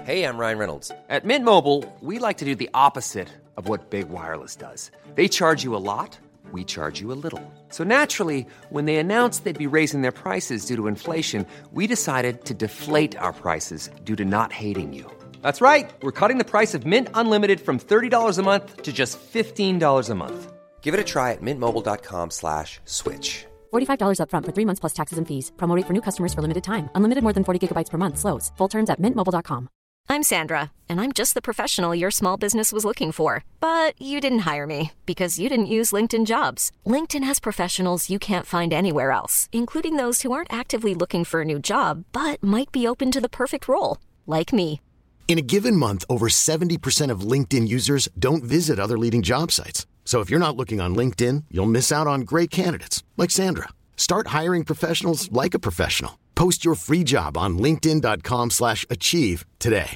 Hey, I'm Ryan Reynolds. At Mint Mobile, we like to do the opposite of what Big Wireless does. They charge you a lot, we charge you a little. So naturally, when they announced they'd be raising their prices due to inflation, we decided to deflate our prices due to not hating you. That's right. We're cutting the price of Mint Unlimited from $30 a month to just $15 a month. Give it a try at mintmobile.com/switch. $45 up front for 3 months plus taxes and fees. Promo rate for new customers for limited time. Unlimited more than 40 gigabytes per month. Slows full terms at mintmobile.com. I'm Sandra, and I'm just the professional your small business was looking for. But you didn't hire me because you didn't use LinkedIn Jobs. LinkedIn has professionals you can't find anywhere else, including those who aren't actively looking for a new job, but might be open to the perfect role, like me. In a given month, over 70% of LinkedIn users don't visit other leading job sites. So if you're not looking on LinkedIn, you'll miss out on great candidates like Sandra. Start hiring professionals like a professional. Post your free job on linkedin.com/achieve today.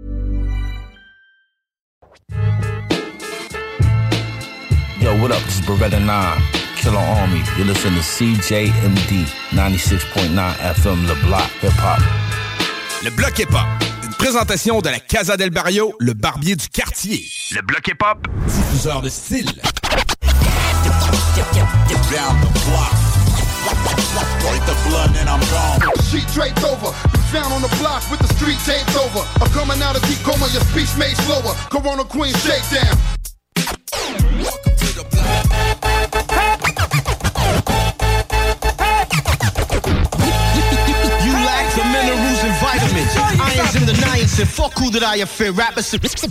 Yo, what up? This is Beretta 9, Killer Army. You're listening to CJMD 96.9 FM, Le Bloc Hip Hop. Le Bloc Hip Hop, une présentation de la Casa del Barrio, le barbier du quartier. Le Bloc Hip Hop, diffuseur de style. Down the block. Break the blood and I'm gone. Sheet draped over. Found on the block with the street taped over. I'm coming out of deep coma, your speech made slower. Corona Queen shakedown. Welcome to the block. You lack the minerals and vitamins. Irons in the niacin. Fuck who that I fear. Rappers. T'écoutes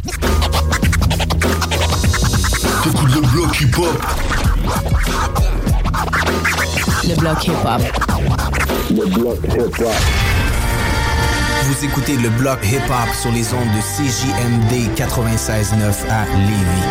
le bloc hip-hop. Le bloc hip-hop. Le bloc hip-hop. Vous écoutez le bloc hip-hop sur les ondes de CJMD 96.9 à Lévis.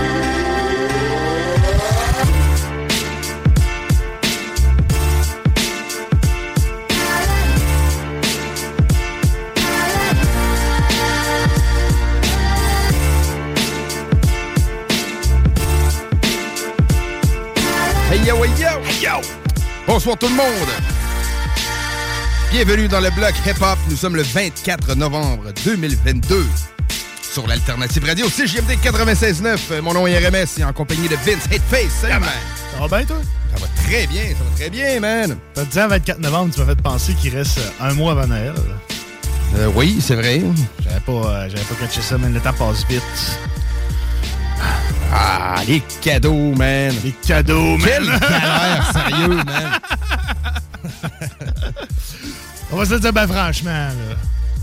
Hey yo, hey yo, hey yo! Bonsoir tout le monde! Bienvenue dans le bloc hip-hop. Nous sommes le 24 novembre 2022 sur l'Alternative Radio CJMD 96.9. Mon nom est RMS et en compagnie de Vince Hateface. Salut, man! Ça va bien, toi? Ça va très bien, man! T'as dit en 24 novembre, tu m'as fait penser qu'il reste un mois avant Noël. Oui, c'est vrai. J'avais pas catché ça, mais le temps passe vite. Ah, les cadeaux, man! Les cadeaux, man! Quel galère, sérieux, man! On va se le dire ben franchement, là.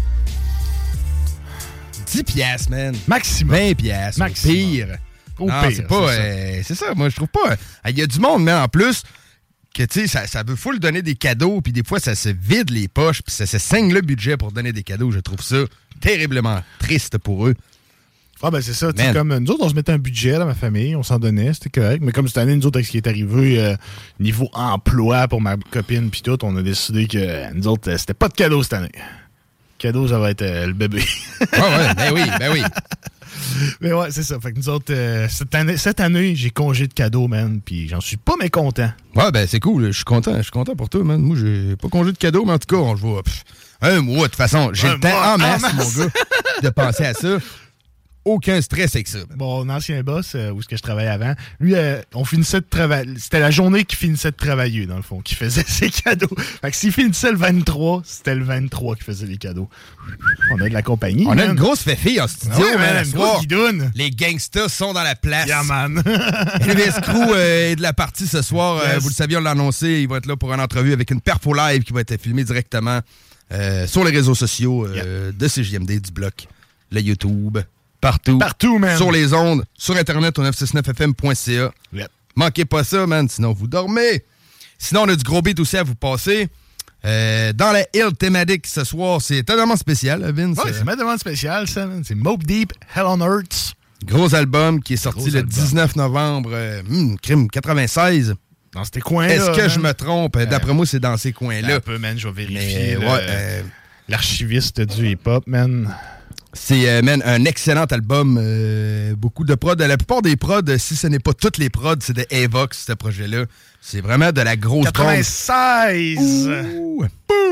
10 piastres, man. Maximum. 20 piastres. Maximum. Pire. Au non, pire, c'est pas... c'est ça, moi, je trouve pas... Il y a du monde, mais en plus, que, tu sais, ça veut full donner des cadeaux, puis des fois, ça se vide les poches, puis ça se saigne le budget pour donner des cadeaux. Je trouve ça terriblement triste pour eux. Ah ben c'est ça, comme nous autres, on se mettait un budget dans ma famille, on s'en donnait, c'était correct. Mais comme cette année, nous autres, avec ce qui est arrivé niveau emploi pour ma copine puis tout, on a décidé que nous autres, c'était pas de cadeau cette année. Le cadeau, ça va être le bébé. Ouais, ben oui. Mais ouais, c'est ça. Fait que nous autres, cette année, j'ai congé de cadeaux, man, puis j'en suis pas mécontent. Ouais, ben c'est cool, je suis content pour toi, man. Moi, j'ai pas congé de cadeaux, mais en tout cas, on voit un mois, de toute façon, j'ai le temps en masse, mon gars, de penser à ça. Aucun stress avec ça. Mon ancien boss, où est-ce que je travaillais avant, lui, on finissait de travailler. C'était la journée qu'il finissait de travailler, dans le fond, qui faisait ses cadeaux. Fait que s'il finissait le 23, c'était le 23 qui faisait les cadeaux. On a de la compagnie. On a une grosse féfille en studio, man. Une grosse guidoune. Les gangsters sont dans la place. Yeah, man. Elvis Crew est de la partie ce soir. Yes. Vous le saviez, on l'a annoncé. Il va être là pour une entrevue avec une perfo live qui va être filmée directement sur les réseaux sociaux de CJMD, du bloc, le YouTube. Partout, man. Sur les ondes, sur Internet, au 969fm.ca. Yep. Manquez pas ça, man, sinon vous dormez. Sinon, on a du gros beat aussi à vous passer. Dans la Hill thématique ce soir, c'est totalement spécial, Vince. Ouais, c'est ma demande spéciale, ça, man. C'est Mobb Deep, Hell on Earth. Gros album qui est sorti le 19 novembre, crime 96. Dans ces coins-là. Est-ce que je me trompe? D'après moi, c'est dans ces coins-là. Un peu, man, je vais vérifier. Mais, l'archiviste du hip-hop, man. C'est un excellent album. Beaucoup de prods. La plupart des prods, si ce n'est pas toutes les prods, c'est de Avox, ce projet-là. C'est vraiment de la grosse 96!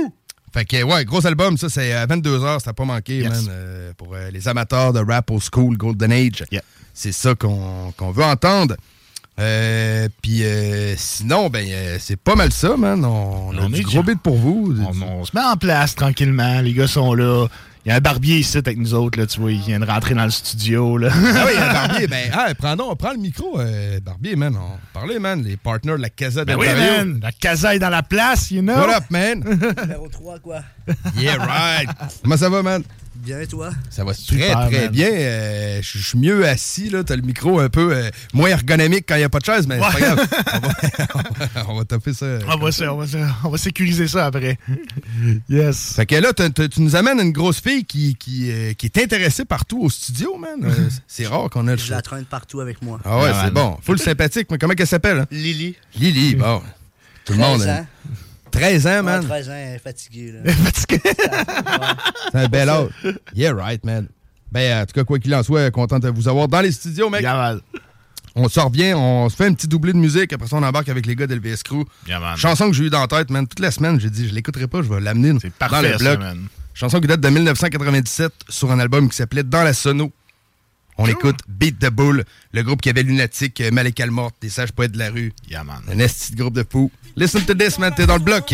Fait que, ouais, gros album, ça, c'est à 22h, ça n'a pas manqué, man. Pour les amateurs de rap old school, Golden Age. Yeah. C'est ça qu'on veut entendre. Puis sinon, c'est pas mal ça, man. On a du gros beat pour vous. On se met en place tranquillement. Les gars sont là. Il y a un barbier ici avec nous autres, là, tu vois, il vient de rentrer dans le studio, là. Ah oui, il y a un barbier. Prends le micro, barbier, man. On parlait, man, les partners de la Casa de oui, man, la Casa est dans la place, you know. What up, man? Numéro 3, quoi. Yeah, right. Comment ça va, man? Bien, toi? Ça va très bien. Je suis mieux assis, là. T'as le micro un peu moins ergonomique quand il n'y a pas de chaise, mais c'est pas grave. On va taper ça. On va sécuriser ça après. Yes. Fait que là, tu nous amènes une grosse fille qui est intéressée partout au studio, man. C'est rare qu'on ait le choix. Je la traîne partout avec moi. Ah ouais, c'est bon. Full sympathique. Mais comment elle s'appelle? Hein? Lily. Lily, bon. Tout le monde. 13 ans, man. 13 ans, elle est fatiguée. Là. Elle est fatiguée. C'est un bel âge. Yeah, right, man. En tout cas, quoi qu'il en soit, content de vous avoir dans les studios, mec. Yeah, man. On se revient, on se fait un petit doublé de musique. Après ça, on embarque avec les gars d'LVS Crew. Yeah, man. Chanson que j'ai eue dans la tête, man. Toute la semaine, j'ai dit, je l'écouterai pas, je vais l'amener dans le bloc. Ça, chanson qui date de 1997 sur un album qui s'appelait Dans la Sono. On écoute Beat the Bull, le groupe qui avait Lunatic, Malek Almort, des sages poètes de la rue. Yeah, man. Un esti de groupe de fous. Listen to this, man, t'es dans le bloc.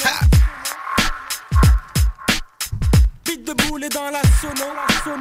Beat the Bull est dans la sono.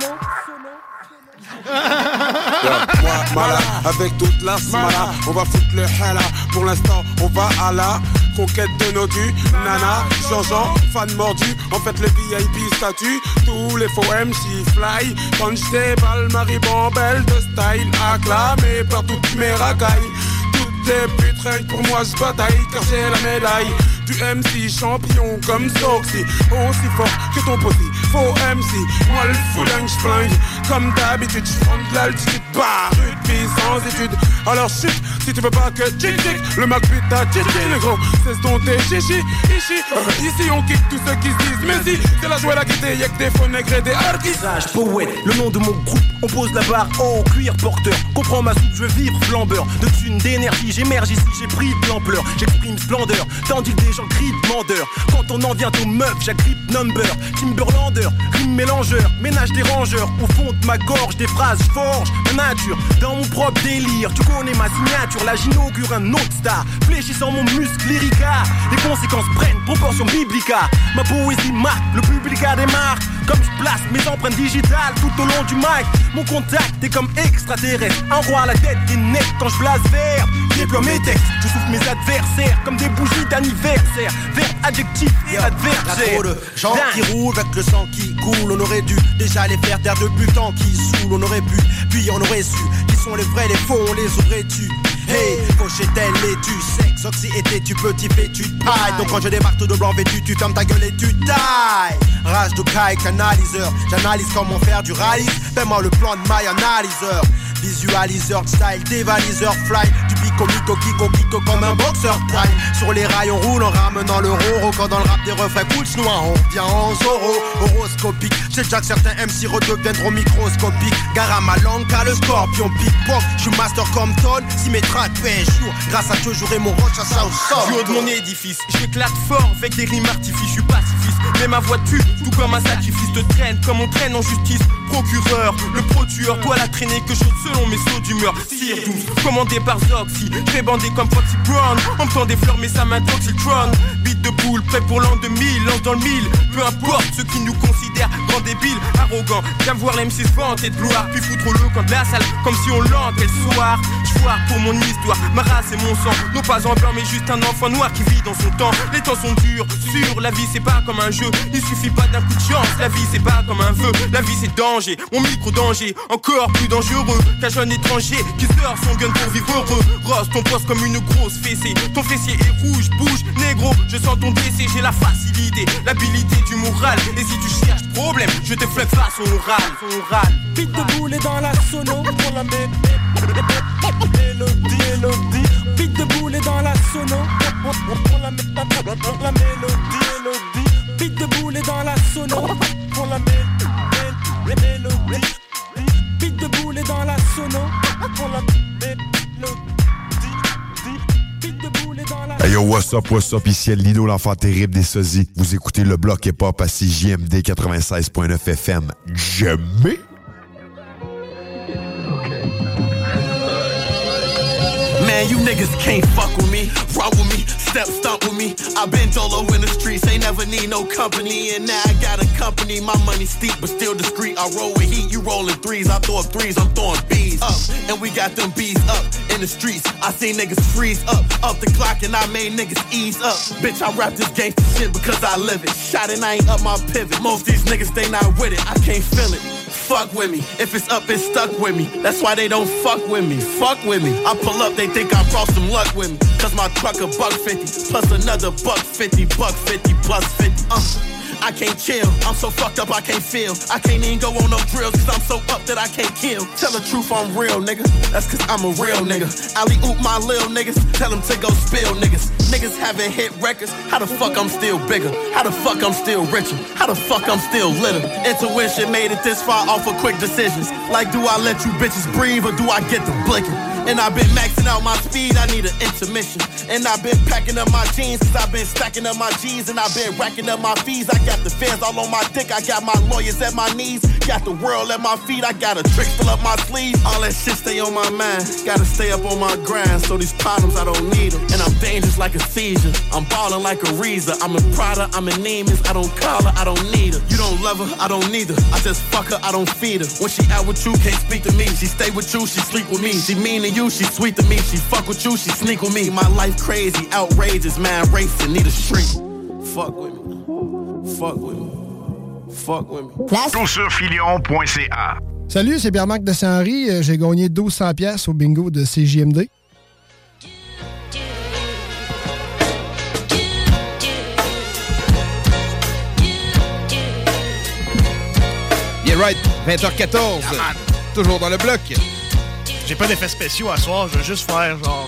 Moi, Mala, avec toute la smala, on va foutre le hala. Pour l'instant, on va à la conquête de nos dus. Nana, Jean-Jean, fan mordu. En fait, le VIP statut. Tous les faux MC fly. Quand j'étais balle, Marie Bambelle de style acclamé par toutes mes racailles. Toutes les putes, rien que pour moi, je bataille car j'ai la médaille du MC champion comme Soxy. Aussi fort que ton pote, faux MC. Moi le fouling, j'flingue. Comme d'habitude, j'prends de l'altitude. Bah, rugby sans études. Alors chut, si tu veux pas que tic-tic, le Mac pute ta chichi, le gros. C'est ton tes chichi, ici. Ici on kick tous ceux qui se disent. Mais si, c'est la joie, la gaieté, y'a que des faux nègres et des harkis. Sage, poète, le nom de mon groupe. On pose la barre en cuir porteur. Comprends ma soupe, je veux vivre flambeur. De thunes, d'énergie, j'émerge ici, j'ai pris de l'ampleur. J'exprime splendeur, tandis que des gens crient demandeur. Quand on en vient aux meufs, j'agrippe number. Timberlander, rime mélangeur, ménage des rangeurs. Au fond de ma gorge, des phrases, forge ma nature. Dans mon propre délire, tu connais ma signature. Là j'inaugure un autre star, fléchissant mon muscle lyrica. Les conséquences prennent proportion biblica. Ma poésie marque, le public a des marques. Comme je place mes empreintes digitales tout au long du mic. Mon contact est comme extraterrestre. Un roi à la tête qui est net quand je blase vert. Déploie mes textes, je souffle mes adversaires comme des bougies d'anniversaire. Verbe, adjectif et adversaire. Trop de gens qui roulent avec le sang qui coule. On aurait dû déjà les faire taire depuis le temps qui saoule. On aurait pu, puis on aurait su qui sont les vrais, les faux, on les aurait tués. Hey, fauché-elle et tu sexe, oxy était tu petit fétu de paille. Donc quand je débarque tout de blanc vêtu, tu fermes ta gueule et tu tailles. Rage de caille, canaliseur, j'analyse comment faire du rallye. Fais-moi le plan de my analyseur. Visualiseur, style, dévaliseur, fly. Du pico, kiko comme un boxeur taille. Sur les rails on roule en ramenant le roro. Quand dans le rap des refrains cool chinois on vient en zoro. Horoscopique, j'ai déjà que certains MC redeviendront microscopiques. Gare à ma langue car le scorpion pickpock. J'suis master comme Todd, si mes tracks pèsent jour. Grâce à Dieu j'aurai mon roche à ça au sol. Du haut de mon édifice, j'éclate fort avec des rimes artifices. J'suis pacifiste, mais ma voix tue, tout comme un sacrifice. Te traîne comme on traîne en justice. Procureur, le pro-tueur, toi la traînée que j'ôte selon mes sauts d'humeur. Sire 12, commandé par Zoxy, fait bandé comme Foxy Brown. On me tend des fleurs mais ça m'intoxictron. Beat de boule, prêt pour l'an 2000, lance dans le mille. Peu importe ceux qui nous considèrent grands débiles, arrogants. J'aime voir l'M6 vanter de gloire, puis foutre le camp de la salle comme si on l'entrait le soir. J'foire pour mon histoire, ma race et mon sang. Non pas en blanc mais juste un enfant noir qui vit dans son temps. Les temps sont durs, sûr, la vie c'est pas comme un jeu. Il suffit pas d'un coup de chance, la vie c'est pas comme un vœu. La vie c'est danger, mon micro-danger, encore plus dangereux qu'un jeune étranger qui sort son gun pour vivre heureux. Rose, ton poste comme une grosse fessée. Ton fessier est rouge, bouge, négro. Je sens ton décès, j'ai la facilité, l'habilité du moral. Et si tu cherches problème, je te flingue façon orale. Beat de boule est dans la sono. Pour la mélodie. Beat de boule est dans la sono. Pour la mélodie. Beat de boule est dans la sono. Pour la mélodie. Beat de boule est dans la sono. Pour la mélodie. Beat de boule est dans la sono. Hey Yo, what's up, ici Lino, l'enfant terrible des sosies. Vous écoutez le bloc hip-hop à CJMD 96.9 FM. Jamais! Man, you niggas can't fuck with me, rock with me, step stump with me. I been dolo in the streets, ain't never need no company. And now I got a company, my money steep but still discreet. I roll with heat, you rolling threes, I throw up threes, I'm throwing B's up. And we got them B's up in the streets. I seen niggas freeze up the clock and I made niggas ease up. Bitch, I rap this gangsta shit because I live it. Shot and I ain't up my pivot. Most these niggas, they not with it, I can't feel it. Fuck with me, if it's up, it's stuck with me. That's why they don't fuck with me, fuck with me. I pull up, they think I brought some luck with me. Cause my truck a $150, plus another $150, $150 plus 50. I can't chill, I'm so fucked up I can't feel. I can't even go on no drills cause I'm so up that I can't kill. Tell the truth, I'm real, nigga, that's cause I'm a real nigga. Alley-oop my lil niggas, tell them to go spill niggas. Niggas haven't hit records, how the fuck I'm still bigger? How the fuck I'm still richer? How the fuck I'm still litter? Intuition made it this far off of quick decisions. Like do I let you bitches breathe or do I get the blinking? And I've been maxing out my speed, I need an intermission. And I've been packing up my jeans, cause I've been stacking up my G's. And I've been racking up my fees, I got the fans all on my dick. I got my lawyers at my knees, got the world at my feet. I got a trick still up my sleeve, all that shit stay on my mind. Gotta stay up on my grind, so these problems I don't need them. And I'm dangerous like a seizure, I'm ballin' like a Reza. I'm in Prada, I'm in Neiman's, I don't call her, I don't need her. You don't love her, I don't need her, I just fuck her, I don't feed her. When she out with you, can't speak to me. She stay with you, she sleep with me. She mean to you, she sweet to me. She fuck with you, she sneak with me. My life crazy, outrageous, man, racing, need a shrink. Fuck with me, fuck with me, fuck with me. Toursurfilion.ca. Salut, c'est Pierre-Marc de Saint-Henri. J'ai gagné 1200$ au bingo de CJMD. Yeah, right, 20h14. Toujours dans le bloc. J'ai pas d'effets spéciaux à soir, je veux juste faire genre...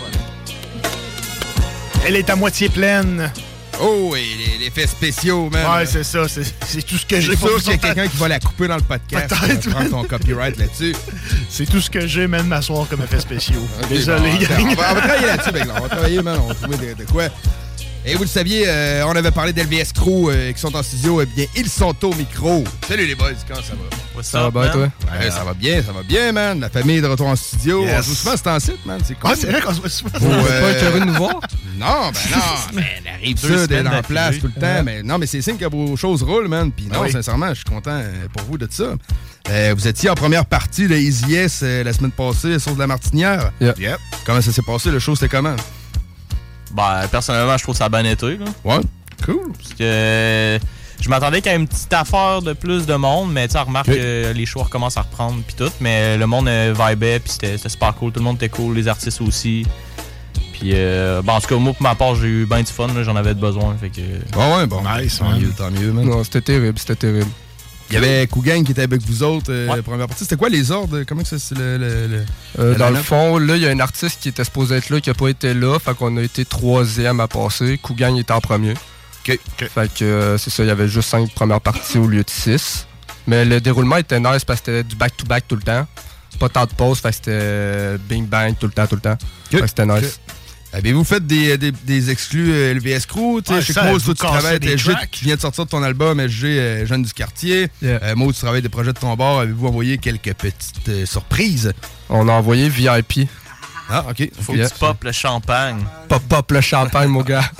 Elle est à moitié pleine. Oh, et l'effet spéciaux, man. Ouais, c'est ça, c'est tout ce que j'ai. C'est sûr qu'il y a quelqu'un qui va la couper dans le podcast. Peut-être. Prendre ton copyright là-dessus. C'est tout ce que j'ai, même, ma soir comme effet spéciaux. Okay, désolé, bon, on va travailler là-dessus, ben, on va travailler, man, on va trouver de quoi. Et vous le saviez, on avait parlé d'LVS Crew qui sont en studio. Eh bien, ils sont au micro. Salut les boys, comment ça va? Ça va bien, toi? Ouais, ça va bien, man. La famille est de retour en studio. Yes. On joue souvent, c'est en site, man. C'est cool. Ah, c'est vrai qu'on se voit souvent. Vous n'êtes pas écœuré de nous voir? Non, ben arrive ça d'être en place tout le temps. Mais non, mais c'est signe que vos choses roulent, man. Puis non, sincèrement, je suis content pour vous de ça. Vous étiez en première partie de Easy S la semaine passée sur de la Martinière. Yep. Comment ça s'est passé? Le show, c'était comment? Ben, personnellement, je trouve ça a bien été. Là. Ouais, cool. Parce que je m'attendais qu'il y ait une petite affaire de plus de monde, mais tu sais, remarque que les shows recommencent à reprendre puis tout. Mais le monde vibait, puis c'était super cool. Tout le monde était cool, les artistes aussi. Puis, en tout cas, moi, pour ma part, j'ai eu bien du fun. Là, j'en avais besoin. Fait que... Ouais, bon. Nice, tant mieux, man. Non, c'était terrible. Il y avait Kougang qui était avec vous autres, première partie. C'était quoi les ordres? Comment que c'est dans le fond, là, il y a un artiste qui était supposé être là, qui n'a pas été là. Fait qu'on a été 3e à passer. Kougang était en premier. OK. Fait que c'est ça, il y avait juste 5 premières parties au lieu de 6. Mais le déroulement était nice parce que c'était du back-to-back tout le temps. Pas tant de pauses, fait que c'était bing-bang tout le temps. Fait que c'était nice. Avez-vous fait des exclus LVS Crew? Je sais que Maud, tu travailles avec LG, qui vient de sortir de ton album LG Jeune du quartier. Maud, tu travailles des projets de ton bord. Avez-vous envoyé quelques petites surprises? On a envoyé VIP. Ah, OK. Faut que tu pop le champagne. Pop le champagne, mon gars.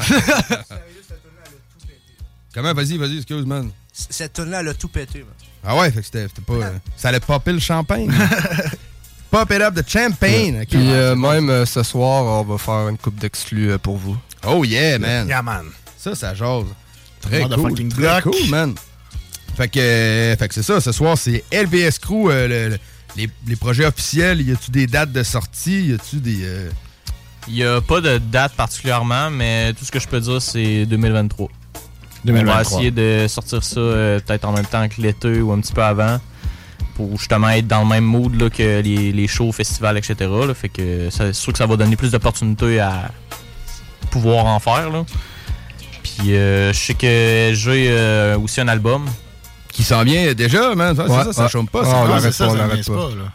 Comment? Vas-y, excuse, man. Cette tune-là, elle a tout pété, man. Ah ouais, fait que c'était pas... ça allait popper le champagne. Pop it up the champagne. Okay. Puis même ce soir, on va faire une coupe d'exclus pour vous. Oh yeah, man. Yeah, man. Ça jase. Très cool, man. Fait que c'est ça. Ce soir, c'est LVS Crew, les projets officiels. Y a-tu des dates de sortie? Y a-tu des... Il y a pas de date particulièrement, mais tout ce que je peux dire, c'est 2023. On va essayer de sortir ça peut-être en même temps que l'été ou un petit peu avant. Pour justement être dans le même mood là, que les shows, festivals, etc. Là, fait que c'est sûr que ça va donner plus d'opportunités à pouvoir en faire. Là. Puis je sais que j'ai aussi un album. Qui s'en vient déjà, man. Ça chôme pas. On n'arrête pas.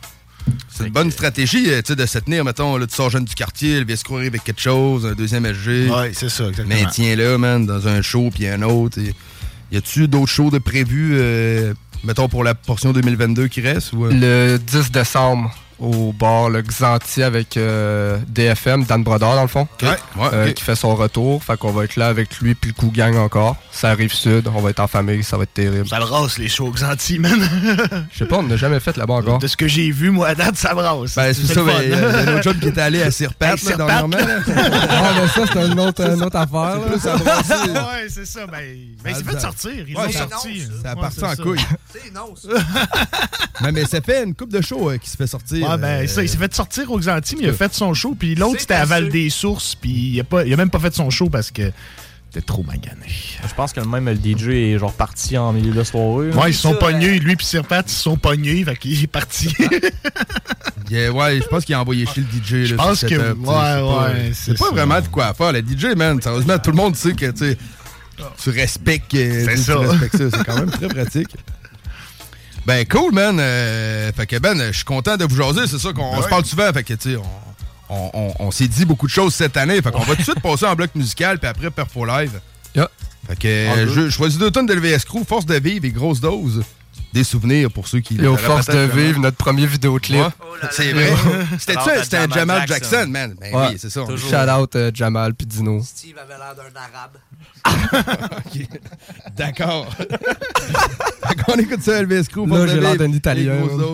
C'est une bonne stratégie de se tenir, mettons, là, tu sors jeune du quartier, il vient se courir avec quelque chose, un deuxième SG. Oui, c'est ça, exactement. Mais tiens-là, man, dans un show, puis un autre. Y a-tu d'autres shows de prévus, mettons, pour la portion 2022 qui reste? Ou, Le 10 décembre, au bar le Xanti avec DFM, Dan Brodeur dans le fond, qui fait son retour. Fait qu'on va être là avec lui puis le Coup Gang encore. Ça arrive sud, on va être en famille, ça va être terrible. Ça brasse les shows Xanti, man. Je sais pas, on n'a jamais fait là-bas encore. De ce que j'ai vu, moi, à date, ça brasse. Ben, c'est ça, il y a un autre job qui était allé à Sirpat, dernièrement. Mais ça, c'est une autre affaire. Là. Ça brasse. Ouais, c'est ça. Ben, il s'est fait sortir. Ils l'ont sorti. Ça a parti en couille. C'est non, ça. Mais ça fait une couple de shows qui se fait sortir. Ouais, ben, ça, il s'est fait sortir au Xanti, mais il a fait son show. Puis l'autre, c'était à Val-des-Sources. Puis il a même pas fait son show parce que c'était trop magané. Je pense que même le DJ est genre parti en milieu de soirée. Ouais, ils se sont pognés. Lui puis Sirpat, ils se sont pognés. Fait qu'il est parti. Ouais, je pense qu'il a envoyé chez le DJ. Je pense que c'est pas vraiment de quoi faire. Le DJ, man, sérieusement, tout le monde sait que tu respectes. C'est ça. Tu respectes ça. C'est quand même très pratique. Ben, cool, man. Fait que, Ben, je suis content de vous jaser. C'est ça qu'on se parle souvent. Fait que, tu sais, on s'est dit beaucoup de choses cette année. Fait qu'on va tout de suite passer en bloc musical, puis après, Perfo Live. Yeah. Fait que, je choisis 2 tonnes de LVS Crew, Force de vivre et Grosse dose. Des souvenirs pour ceux qui... Et au Force de vivre, notre premier vidéoclip. Ouais. C'est vrai. C'était un Jamal Jackson, man. Ben oui, c'est ça. Shout out Jamal puis Dino. Steve avait l'air d'un arabe. Okay. D'accord. On écoute ça, LVS Crew. Là, j'ai l'air d'un Italien.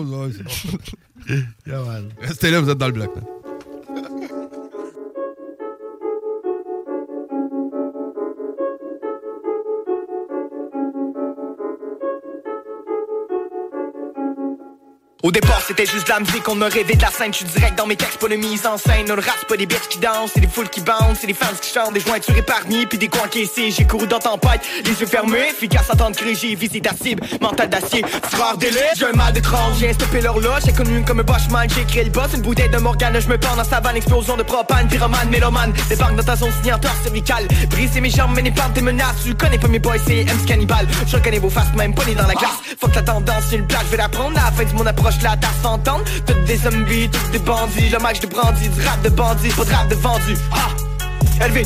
Restez là, vous êtes dans le bloc. Man. Au départ, c'était juste de la musique, on me rêvait de la scène. Je suis direct dans mes textes, pas de mise en scène. On le rap, c'est pas des bitches qui dansent, c'est des foules qui bounce, c'est des fans qui chantent, des jointures épargnées, puis des coins encaissés. J'ai couru dans tempête, les yeux fermés, efficace en temps de crise. J'ai visé ta cible, mental d'acier, frère délai. J'ai un mal d'étrange, j'ai stoppé l'horloge. J'ai connu comme un Boschman, j'ai créé le boss. Une bouteille de Morgane, je me pends dans sa vanne. Explosion de propane, pyromane, mélomane. Débarque dans ta zone signateur cervicale. Briser mes jambes, mais n'est pas des menaces. Tu connais pas mes boys, c'est MC Cannibal. Je reconnais vos faces, même pas né dans la glace. Fuck la tendance, c'est une plage, je vais la prendre. À la fin de mon approche, la tasse s'entend. Toutes des zombies, toutes des bandits. Le match de brandy, du rap de bandit, pas de rap de vendu. Ah, LVS.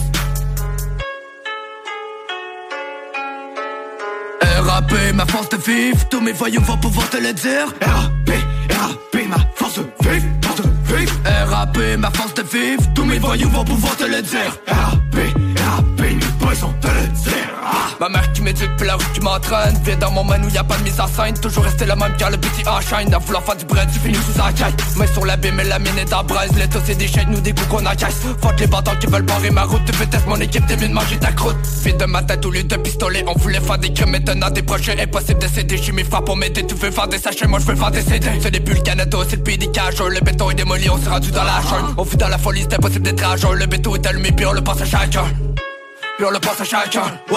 RAP, ma force de vivre, tous mes voyous vont pouvoir te le dire. RAP, ma force de vivre, force de vivre. RAP, ma force de vivre, tous mes voyous vont pouvoir te le dire. RAP, mes boys vont te le dire. Ma mère qui m'éduque, puis la rue qui m'entraîne. Viens dans mon man où y'a pas de mise en scène. Toujours rester la même car le petit enchaîne. À vouloir faire du bread, tu finis sous un caille. Mais sur la bime et la mine est en braise. L'état c'est des chaînes, nous des coups qu'on encaisse. Fuck les bâtons qui veulent barrer ma route. Tu fais test mon équipe, t'es mieux de manger ta croûte. Vide de ma tête au lieu de pistolet. On voulait faire des crimes, maintenant des projets. Impossible de céder, j'ai mes frères pour m'aider. Tu veux faire des sachets, moi je veux faire des CD. C'est des bulles Canada, c'est le pays des cageurs. Le béton est démoli, on s'est rendu dans la jungle. On fut dans la folie, c'est impossible d'être à jour. Le béton est allumé, puis on le passe à chacun. Puis on le passe à chacun, ouais.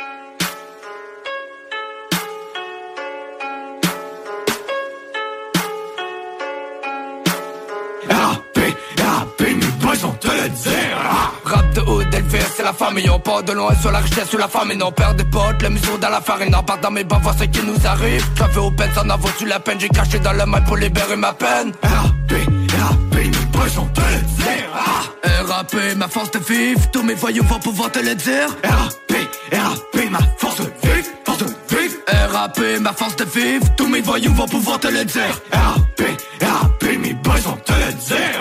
Rap de hood, LVS, c'est la famille. On part de loin sur la richesse, sur la famille. On perd des potes, la mesure dans la farine. On part dans mes bas, voir ce qui nous arrive. J'avais au peine, ça en vaut-tu la peine. J'ai caché dans le mal pour libérer ma peine. RAP, mes boys vont te le dire. RAP, ma force de vivre, tous mes voyous vont pouvoir te le dire. RAP, ma force de vivre, force de vivre. RAP, ma force de vivre, tous mes voyous vont pouvoir te le dire. RAP, mes boys vont te le dire.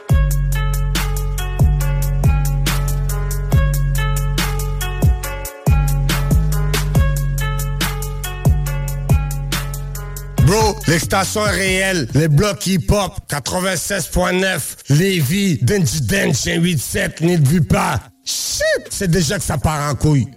Bro, l'extension est réelle. Les blocs hip-hop, 96.9. Lévis, Denji Dench, 187, n'y te vu pas. Shit, c'est déjà que ça part en couille.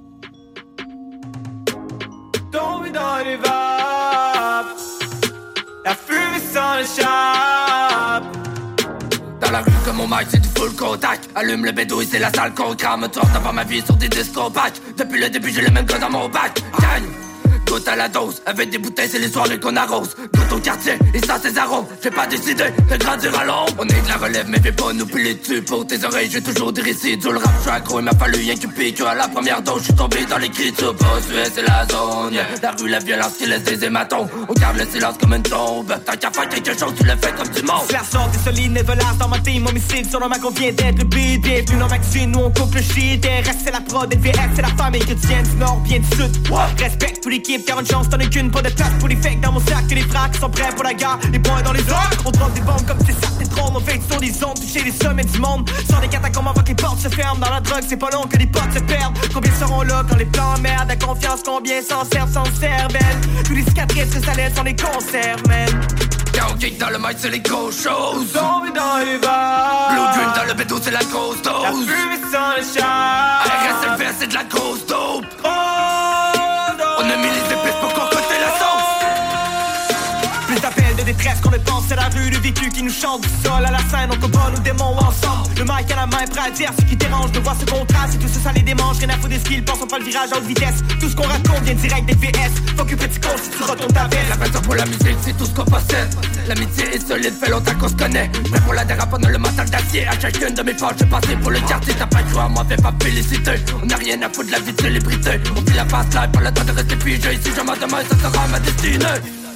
Tombé dans les vapes, la fumée sans le chape. Dans la rue comme mon mic c'est du full contact. Allume le bédou et c'est la salle qu'on crame. Tourne avant ma vie sur des disques compacts. Depuis le début j'ai le même gars dans mon bac. Gagne. goûte à la dose. Avec des bouteilles, c'est les soirées qu'on arrose. Goûte au quartier, et ça c'est arômes. J'ai pas décidé de grandir à l'ombre. On est de la relève, mais fais pas nous piler dessus. Pour tes oreilles, j'ai toujours des récits. Du le rap, j'suis accro, il m'a fallu rien que pique. À la première dose, j'suis tombé dans l'écriture. Boss, c'est la zone, yeah. La rue, la violence qui laisse des hématomes. On garde le silence comme une tombe. Tant qu'à faire quelque chose, tu le fais comme du monde. La sorte des solides, nevelas dans ma team. Homicide sur le mac, on vient d'être beat. Bienvenue dans Maxine, nous on coupe le shit. RS c'est la prod, LVS c'est la famille. Que tu viens du nord, bien du sud. Respecte toute l'équipe, car une chance t'en as qu'une. Pas de place pour les fakes dans mon sac. Que les fracs sont prêts pour la guerre. Les poings dans les airs. On drop des bombes comme c'est ça, t'es drôle. On fait sur des ondes, toucher les sommets du monde. Sans des catacombes avant que les portes se ferment. Dans la drogue, c'est pas long que les potes se perdent. Combien seront là quand les plans merdent? La confiance, combien s'en servent sans cervelle? Tous les cicatrices que ça laisse, on les conserve, man. Quand on kick dans le mic, c'est les grosses choses. Zombie dans les bars. Blue Dream dans le bédo, c'est la grosse dose. La fumée sans le char. RSLV, c'est de la grosse dope. On a mis les épices pour concocter la sauce. Plus d'appels de détresse qu'on ne pense, c'est la rue, le vécu qui nous chante du sol à la scène. On combat nos démons ensemble. Le mic à la main, prêt à dire ce qui dérange. De voir ce contraste, et tout ça, ça les démange. Rien à foutre des skills, pense on prend le virage à haute vitesse. Tout ce qu'on raconte vient direct des VS. Faut que petit con si tu retournes ta veste. La passion pour la musique, c'est tout ce qu'on possède. L'amitié est solide, fait longtemps qu'on se connaît. Prêt pour la dérape, on a le mental d'acier. À chacune de mes poches, j'ai passé pour le quartier. T'as pas de choix, moi fais pas féliciter. On a rien à foutre de la vie de célébrité. On vit la passe live, pas le temps de rester figé. Si je m'en demande, ça sera ma destinée.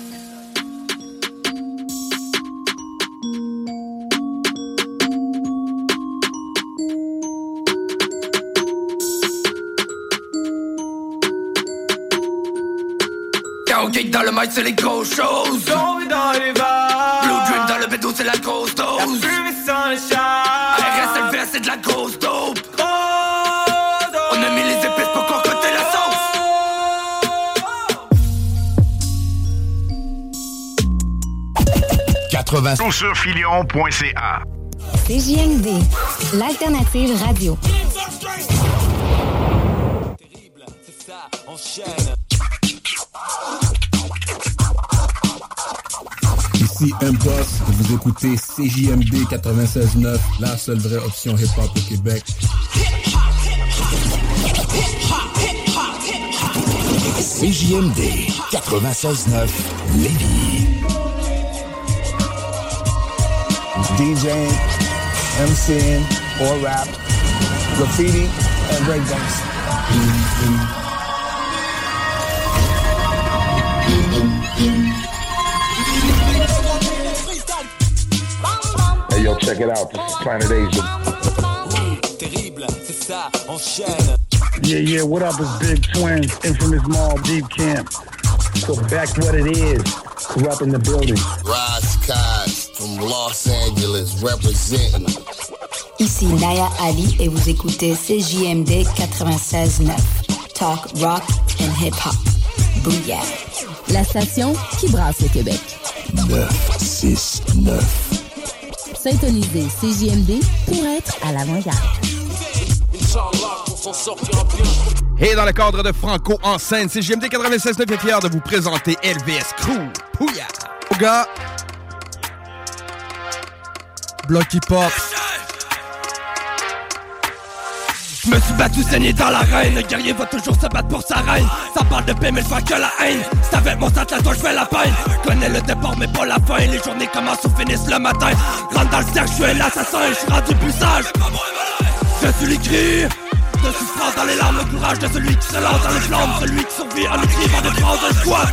Quand on kick dans le mic, c'est les grosses choses. Zombie dans les bars. Blue Dream dans le bédo, c'est la grosse dose. La fumée sans le char. RSLV, c'est de la grosse dope. On a mis les épices pour concocter la sauce. Surfilion.ca CJMD, l'alternative radio. Terrible, c'est ça, enchaîne. Ici M-Boss, vous écoutez CJMD 96.9, la seule vraie option hip-hop au Québec. CJMD 96.9 Lévis. DJing, MCing, or rap, graffiti, and breakdance. Hey yo, check it out. This is Planet Asia. Terrible, c'est ça, enchaîne. Yeah, what up? It's Big Twin, Infamous Mall, Deep Camp. So back what it is, Corrupt in the building. Rise Skies from Los Angeles, representing. Ici Naya Ali et vous écoutez CJMD 96.9. Talk, rock and hip-hop. Booyah. La station qui brasse le Québec. 969. Syntonisez CJMD pour être à l'avant-garde. Et dans le cadre de Franco en scène, CJMD 96.9 est fier de vous présenter LVS Crew. Pouya! Au gars, bloc hip-hop. Je me suis battu saigné dans l'arène. Le guerrier va toujours se battre pour sa reine. Ça parle de paix mais je vois que la haine. C'est avec mon sac là toi je fais la peine. Connais le départ mais pas la fin. Les journées commencent ou finissent le matin. Rentre dans le cercle, je suis l'assassin. Je suis rendu plus sage. Je suis l'écrit de souffrance dans les larmes. Le courage de celui qui se lance dans les flammes. Celui qui survit en écrivant des phrases de squat.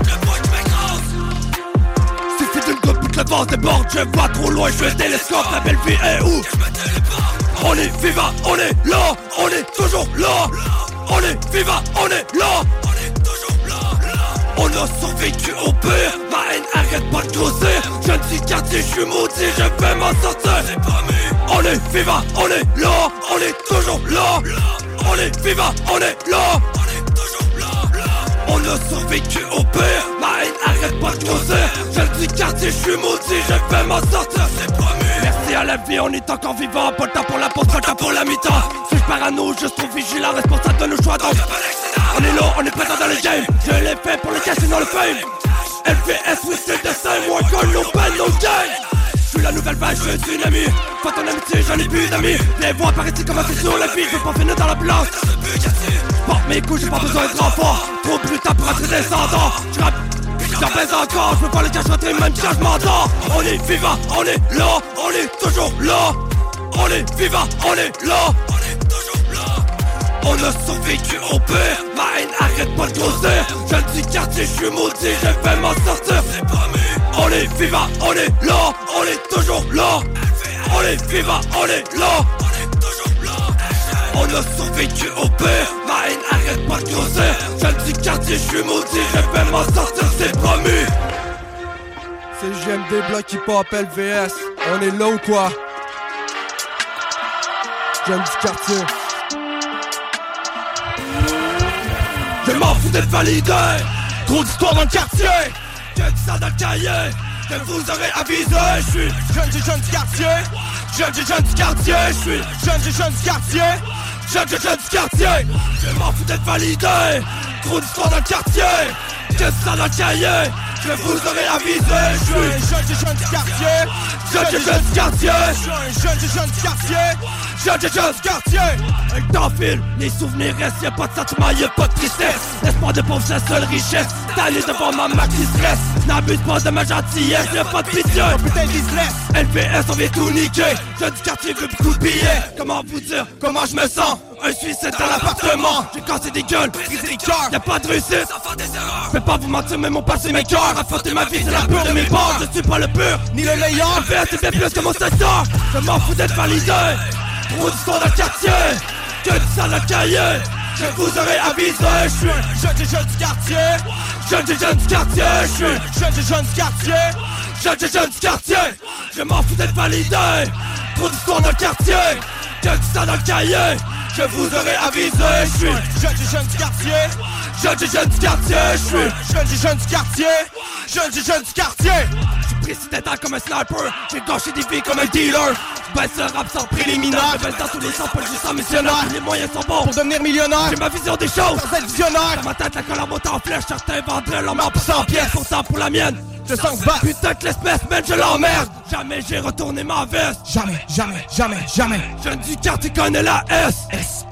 Suffit d'une goutte pour que le vent déborde. Je vois trop loin, je suis un télescope. La belle vie est où? On est vivant, on est là, on est toujours là. On est vivant, on est là, on est toujours là. On a survécu au pire, ma haine arrête pas de grossir. Je ne suis quartier, je suis maudit, je vais m'en sortir. On est vivant, on est là, on est toujours là. On est vivant, on est là, on est toujours là. On a survécu au pire, ma haine arrête pas de grossir. Je ne suis quartier, je suis maudit, je vais m'en sortir. C'est promis. Merci à la vie, on est encore vivant. Pas le temps pour la pause, pas le temps pour la mi-temps. Suis-je parano, juste trop vigilant, responsable de nos choix. Donc, on est là, on est présent dans le game. Je l'ai fait pour le cash et dans le fame. LVS, oui c'est le dessin, more gun, no pen, no game. J'suis la nouvelle vague, j'suis un tsunami. Faut ton amitié, j'en ai plus d'amis. Les voix apparaissent comme c'est sur la vie. J'veux pas finir dans la place. J'porte mes coups, j'ai pas besoin de renfort. Trop brutal pour être descendant. J'rappe, j'en pèse encore. J'peux pas le cacher rentrer même quand j'm'entends. On est vivant, on est là, on est toujours là. On est vivant, on est là, on est toujours là. On a survécu au pire, ma haine arrête pas de grossir. Jeune du quartier, j'suis maudit, je vais m'en sortir. C'est promis. On est vivant, on est là, on est toujours là. On est vivant, on est là, on est toujours là. On a survécu au pire, ma haine arrête pas de grossir. Jeune du quartier, j'suis maudit, je vais m'en sortir, c'est promis. C'est JMD Block Hip-Hop LVS, on est là ou quoi? Jeune du quartier. Je m'en fous d'être validé. Trop d'histoires dans le quartier. Que dit ça dans le cahier. Que vous aurez avisé. J'suis jeune du quartier. Jeune du quartier. J'suis jeune du quartier. Jeune du quartier. Je m'en fous d'être validé. Trop d'histoires dans le quartier. Que dit ça dans le cahier. Que vous aurez avisé. J'suis jeune du quartier. Jeune du quartier. Jeune du quartier. Jeune du quartier. Un temps file, les souvenirs restent, y'a pas de sentiment, y'a pas de tristesse. L'espoir de pauvre, c'est la seule richesse. T'allais devant ma marque qui stresse. N'abuse pas de ma gentillesse, y'a pas de pitié. Putain business, LPS, on vient tout niquer. Jeune du quartier veut beaucoup de billets. Comment vous dire, comment je me sens? Un suicide dans l'appartement. J'ai cassé des gueules, brisé des cœurs. Y'a pas de réussite, je peux pas vous mentir, mais mon passé mes cœurs. Affronter ma vie, c'est la peur de mes bords. Je suis pas le pur, ni le meilleur. LPS, c'est bien plus que mon secteur. Je m'en fous d'être validé. Trop d'histoires dans le quartier. Que dit ça dans le cahier. Je vous aurais avisé. J'suis jeune du quartier. Jeune du quartier. J'suis jeune du quartier. Jeune du quartier. Je m'en fous d'être validé. Trop d'histoires dans le quartier. Que dit ça dans le cahier. Je vous aurais avisé. J'suis jeune du quartier. Jeune du quartier. J'suis jeune du quartier. Jeune du quartier. J'suis précédent comme un sniper. J'ai gâché des vies comme un dealer. Baisse le rap sans préliminaire. Je baisse dans tous les sens, pas juste en missionnaire. Les moyens sont bons pour devenir millionnaire. J'ai ma vision des choses, sans être visionnaire. Dans ma tête, la colère monte en flèche. Certains vendraient leur mort pour 100 pièces. Pourtant pour la mienne, je sens que putain que l'espèce, man, je l'emmerde. Jamais j'ai retourné ma veste. Jamais. Jeune du quartier connaît la S.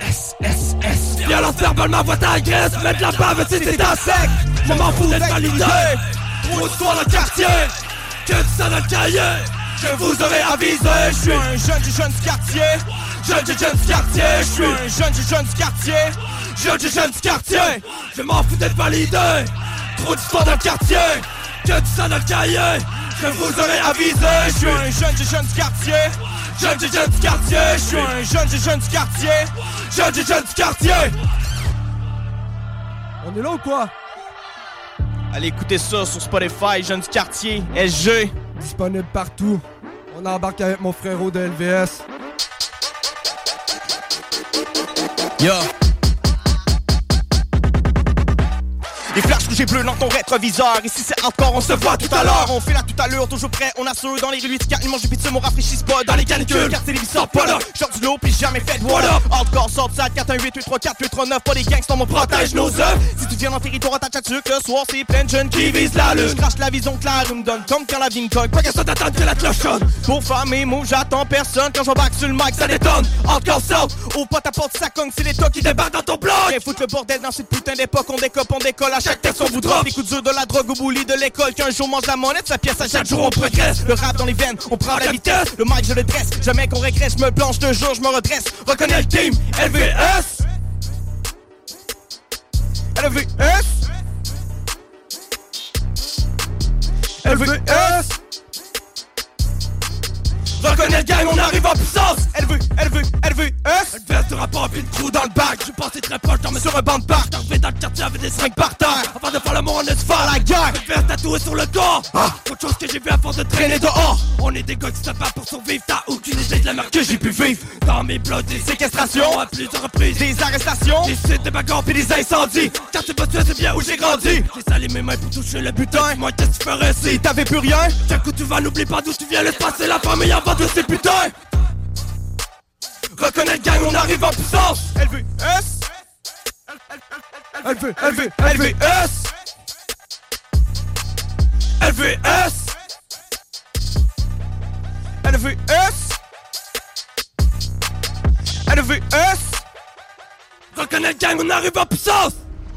Violence verbale, ma voix t'agresse. Mettre la bave, c'est à sec. Je m'en fous d'être validé. Trop d'histoire dans le quartier. Que dit ça dans le cahier. Je vous aurais avisé. J'suis un jeune du quartier. Jeune du quartier. J'suis un jeune du quartier. Jeune du quartier. Je m'en fous d'être validé. Trop d'histoire dans le quartier. Que dit ça dans le cahier. Je vous aurais avisé. J'suis un jeune du quartier. Jeune du quartier. J'suis un jeune du quartier. Jeune du quartier. On est là ou quoi? Allez écouter ça sur Spotify, Jeune du quartier, SG. Disponible partout. On embarque avec mon frérot de LVS. Yo. Les flashs rouges et bleus dans ton rétroviseur. Ici c'est hardcore, on se voit tout à l'heure. On fait la tout à l'heure, toujours prêt, on assure. Dans les rues 8-4, ils mangent du pizza, on rafraîchisse pas. Dans les canicules, quartier les vis sortent pas là. Genre du lot, pis jamais fait de voilà. Hardcore, sort de salle, 418-834-839. Pas des gangsters, on protège nos œuvres. Si tu viens dans le territoire, attache à sucre. Le soir, c'est plein de jeunes qui visent la lune. Crache la vision claire, me donne comme quand la vie me cogne. Pas question d'attendre que la cloche sonne. Pour faire mes mots, j'attends personne. Quand j'embarque sur le mic, ça détonne. Hardcore sort, ouvre pas ta porte, ça cogne. C'est l'État qui débarque dans ton bloc. Viens foutre le bordel dans cette putain d'époque. On décope, on décolle. À chaque texte, on voudra. Des coups durs de la drogue au bouli de l'école. Qu'un jour mange la monnaie, sa pièce à chaque jour on progresse. Le rap dans les veines, on prend la vitesse. Le mic je le dresse, jamais qu'on régresse. Je me planche 2 jours, je me redresse. Reconnais le team, LVS. LVS. LVS. Reconnais le gang, on arrive en puissance. LVS. Une veste de rapport puis une trou dans le bac. Je suis passé très proche, dormais sur un banc de parc. J'arrivais dans le quartier avec des seringues par terre. Avant de faire l'amour, on est de faire la guerre. Une veste tatouée sur le corps. Autre chose que j'ai vu à force de traîner dehors. On est des gars qui se battent pour survivre. T'as aucune idée de la merde que j'ai pu vivre. Dans mes blocs, des séquestrations à plusieurs reprises. Des arrestations, des sites, des bagarres puis des incendies. Car c'est pas tué, c'est bien où j'ai grandi. J'ai salé mes mains pour toucher le butin. Moi, qu'est-ce que tu ferais si t'avais plus rien? D'un coup, tu vas, n'oublie pas d'où tu viens. Laisse passer la famille avant de ces putains. Reconnais le gang, on arrive en puissance. LVS. LVS. Reconnect gang, on arrive en puissance.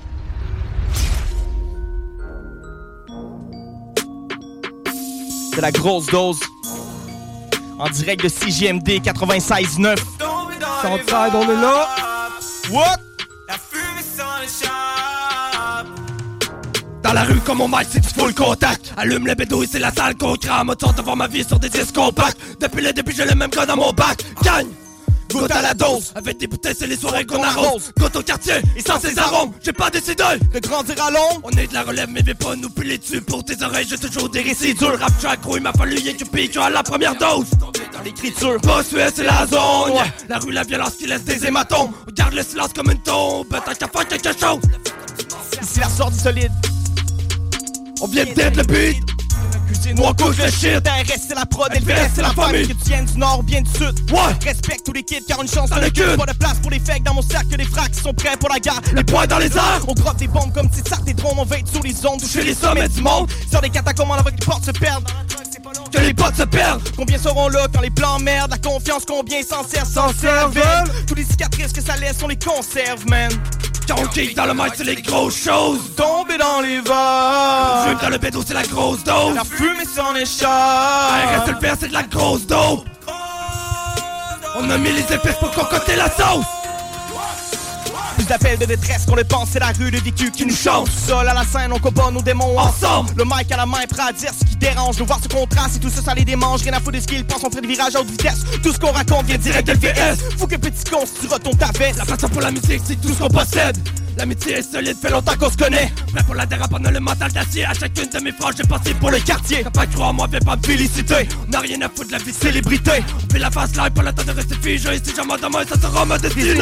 De la grosse dose. En direct de CJMD 96.9. Southside, on est là. What? La fumée sans les chars. Dans la rue comme mon mic, c'est du full contact. Allume le bédouille, c'est la salle qu'on crame. Autant de voir ma vie sur des disques compacts. Depuis le début, j'ai le même gars dans mon bac. Gagne! Goûte à la dose, avec des bouteilles, c'est les soirées qu'on arrose. Goûte au quartier, et sans ses arômes, j'ai pas décidé de grandir à l'ombre. On est de la relève, mais viens pas nous piler dessus. Pour tes oreilles, j'ai toujours des récits durs. Rap track, il m'a fallu YQP à la première dose. Dans l'écriture, boss US, c'est la zone. Ouais. La rue, la violence qui laisse des hématomes. Garde le silence comme une tombe, t'as qu'à faire quelque chose. Ici la sortie solide. On vient d'être le beat. Cuisine, on couche le shit. TRS c'est la prod, LVS c'est la famille. Que tu viennes du nord ou bien du sud. Ouais. Respecte tous les kids car une chance dans le cul. Pas de place pour les fakes dans mon sac, que des fracs qui sont prêts pour la guerre. Les poings dans les airs. On drop des bombes comme Titsart, des drones. On va être sur les ondes, toucher les sommets du monde. Sur des catacombes avant que les portes se perdent. Que les potes se perdent. Combien seront là quand les plans merdent? La confiance, combien s'en servent? Tous les cicatrices que ça laisse, on les conserve, man. Quand on kick dans le mic, c'est les grosses choses. Tomber dans les vagues. Fume dans le bédo, c'est la grosse dose. La fumée s'en échappe. Reste le faire, c'est de la grosse dope. On a mis les épices pour concocter la sauce. Plus d'appels de détresse qu'on le pense, c'est la rue de vécu qui nous chante. Seul à la scène, on combat nos démons ensemble. Le mic à la main, prêt à dire ce qui dérange. Nous voir ce contraste et tout ça, ça les démange. Rien à foutre de ce qu'ils pensent, on fait des virages à haute vitesse. Tout ce qu'on raconte vient direct de LVS. Fou que petit con, si tu retombes ta veste. La passion pour la musique, c'est tout ce qu'on possède. L'amitié est solide, fait longtemps qu'on se connaît. Prêt pour la dérape, on a le mental d'acier. À chacune de mes phrases, j'ai pensé pour le quartier. T'as pas cru en moi, viens pas me féliciter. On n'a rien à foutre de la vie de célébrité. On fait la face live, pas le temps de rester figé. Si jamais demain, ça sera ma destinée.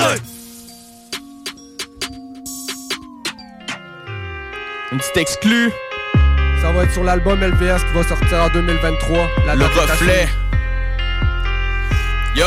Une petite exclue. Ça va être sur l'album LVS qui va sortir en 2023. Le reflet. Yo.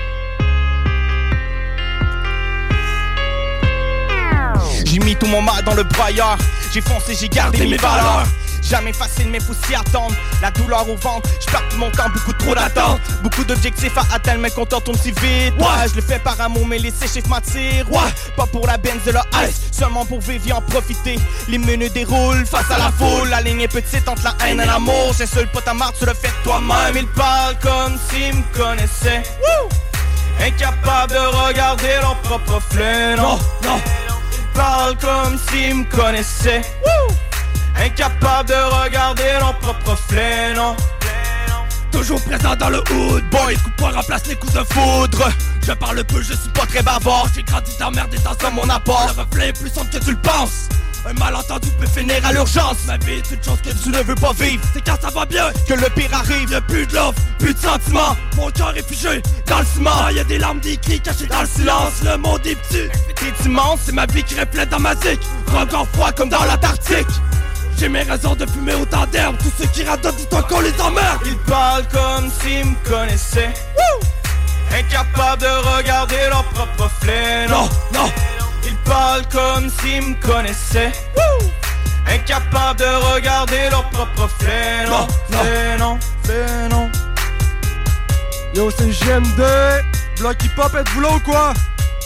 J'ai mis tout mon mal dans le broyeur. J'ai foncé, j'ai gardé mes valeurs. Jamais facile mais faut s'y attendre. La douleur au ventre, j'perds tout mon temps, beaucoup trop d'attente. Beaucoup d'objectifs à atteindre mais qu'on tourne si vite. Ouais, je le fais par amour mais les chiffres m'attirent. Ouais, pas pour la benz de la ice, seulement pour vivre et en profiter. Les menus déroulent face à la foule. La ligne est petite entre la haine et l'amour. C'est seul pote à marre, tu le fais toi-même. Il parle comme s'il me connaissait. Incapable de regarder leur propre reflet. Non, non. Il parle comme s'il me connaissait. Incapable de regarder leur propre reflet, non. Toujours présent dans le hood, boy. Coups de poing remplace les coups de foudre. Je parle peu, je suis pas très bavard. J'ai grandi dans merde et dans mon apport. Le reflet est plus sombre que tu le penses. Un malentendu peut finir à l'urgence. Ma vie est une chose que tu ne veux pas vivre. C'est quand ça va bien que le pire arrive. Y'a plus de love, plus de sentiments. Mon cœur est figé dans le ciment. Y'a des larmes, des cris cachés dans le silence. Le monde est petit, t'es immense. C'est ma vie qui reflète dans ma zik. Regard froid comme dans l'Antarctique. J'ai mes raisons de fumer autant d'herbe. Tous ceux qui radotent, dis-toi qu'on les emmerde. Ils parlent comme s'ils me connaissaient. Incapable de regarder leur propre reflet. Non, non. Ils parlent comme s'ils me connaissaient. Incapable de regarder leur propre reflet. Non, c'est non, c'est non. Yo, c'est JMD. Bloc hip-hop, êtes-vous là ou quoi?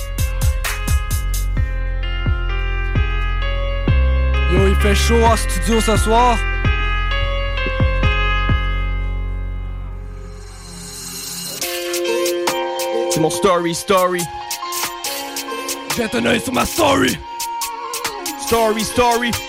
Yo, il fait chaud en studio ce soir. C'est mon story. Jette un œil sur ma story. Story.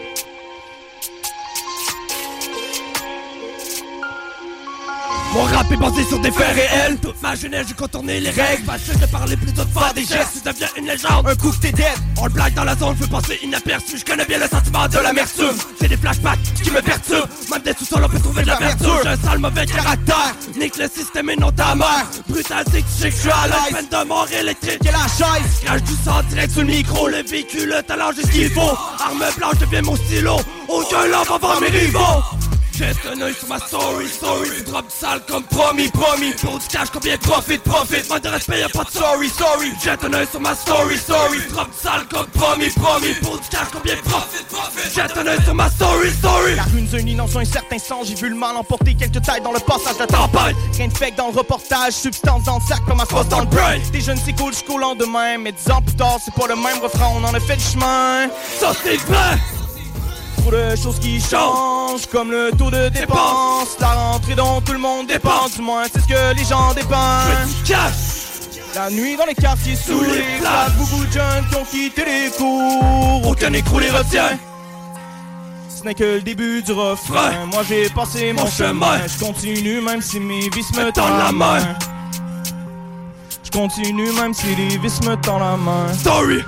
Mon rap est basé sur des faits réels. Toute ma jeunesse j'ai contourné les règles. Facile de parler plutôt de faire des gestes. Tu deviens une légende, un coup que t'es dead. On le blague dans la zone, je veux passer inaperçu. Je connais bien le sentiment de l'amertume. J'ai des flashbacks qui me perturbent. Même des sous-sols on peut trouver de la verdure. J'ai un sale mauvais caractère. Nique le système et non ta mère. Brutal c'est que tu sais que je suis à l'aise. Peine de mort électrique et la chaise. Crache du sang direct sur le micro. Le véhicule, le talent j'ai ce qu'il faut. Arme blanche devient mon stylo. Aucun love avant mes rivaux. Jette un œil sur ma story, du drop sale comme promis. Pour du cash, combien profite. Manque de respect, y'a pas de sorry. Jette un œil sur ma story, du drop sale comme promis. Pour du cash, combien profite. Jette un œil sur ma story. La rue nous unit dans un certain sens, j'ai vu le mal emporter quelques têtes dans le passage de tempête. Rien de fake dans le reportage, substance dans le sac comme un sauce dans le brain. Des jeunes c'est cool jusqu'au lendemain, mais 10 ans plus tard c'est pas le même refrain, on en a fait du chemin. Ça c'est vrai. Trop de choses qui changent, comme le taux de dépense. La rentrée dont tout le monde dépense, du moins c'est ce que les gens dépensent. La nuit dans les quartiers sous les places, beaucoup de jeunes qui ont quitté les cours. Aucun écrou les retient. Ce n'est que le début du refrain. Moi j'ai passé mon chemin. Je continue même si mes vices me tendent la main. Je continue même si les vices me tendent la main. Story.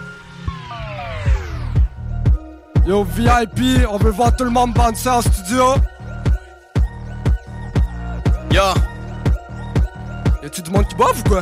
Yo VIP, on veut voir tout le monde bande ça en studio. Yo. Y'a-tu du monde qui boive ou quoi?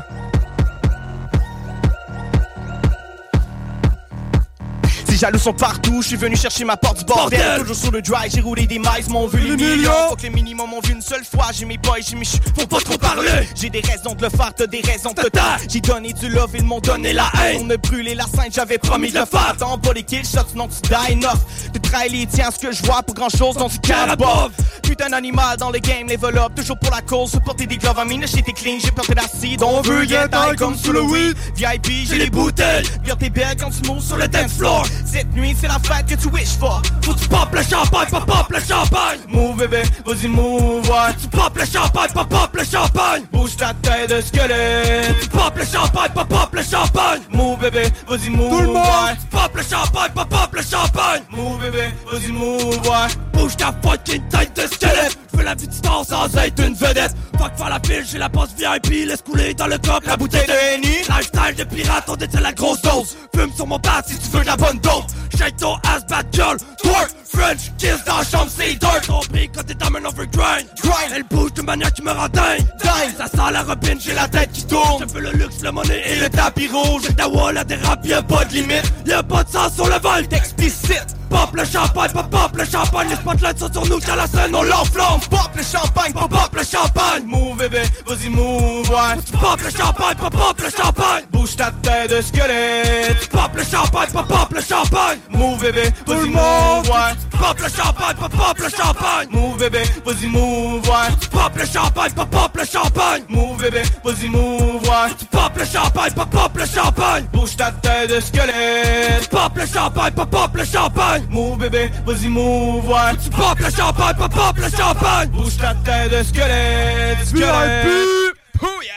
Les jaloux sont partout, je suis venu chercher ma porte du bordel. Toujours sur le drive, j'ai roulé des miles, m'ont vu les millions. Faut que les minimums m'ont vu une seule fois, j'ai mes boys, j'ai mes faut pas trop parler. J'ai des raisons de le faire, t'as des raisons de te taire. J'ai donné du love, ils m'ont donné la haine. On me brûlé la scène, j'avais promis de le faire. T'en pas les kills shots, sinon tu die enough. Tu trahis les tiens, ce que je vois pour grand chose, dont tu carabove. Putain d'animal dans le game, level up, toujours pour la cause. Supporter des gloves, amine, j'étais clean, j'ai porté l'acide. On veut get high comme sous le weed. VIP, j'ai les bouteilles. Viens t'es belle quand tu moves sur le dance floor. Cette nuit, c'est la fête que tu wish for. Faut que tu pop le champagne, pop le champagne. Move bébé, vas-y move, ouais. Tu pop le champagne, pop le champagne. Bouge ta tête de squelette. Tu pop le champagne, pop le champagne. Move bébé, vas-y move, tout le monde. Ouais. Tu pop le champagne, pop le champagne. Move bébé, vas-y move, ouais. Bouge ta fucking tête de squelette. Je veux la vie du star sans être une vedette. Fuck faire la pile, j'ai la passe VIP. Laisse couler dans le cop la bouteille de Henny. Lifestyle de pirate, on détient la grosse dose. Fume sur mon bat si tu veux de la bonne dose. Shake ton ass, bad girl. Twerk, French kiss dans la chambre, c'est dirt. Compris quand t'es dans un overgrind. Elle bouge de manière qui me rend dingue. Ça sent la robine, j'ai la tête qui tourne. Je veux le luxe, le money et le tapis rouge. Ta wall, la dérape, y'a pas de limite. Y'a pas de sens sur le vol, t'explicite. Pop le champagne, pop le champagne. Les spotlights sont sur nous, qu'à la scène on l'enflamme. Pop le champagne, pop le champagne. Move bébé, vas-y move, ouais. Pop le champagne, pop le champagne. Bouge ta tête de squelette. Pop le champagne, pop le champagne. Move bébé, vas-y move, ouais. Pop le champagne, pop le champagne. Move bébé, vas-y move, ouais. Pop le champagne, pop le champagne. Move bébé, vas-y move, ouais. Pop le champagne, pop le champagne. Bouge ta tête de squelette. Pop le champagne, pop le champagne. Move bébé, vas-y move, ouais. Tu pop le champagne, pop le champagne. Bouge ta tête de squelette, squelette. Oh yeah!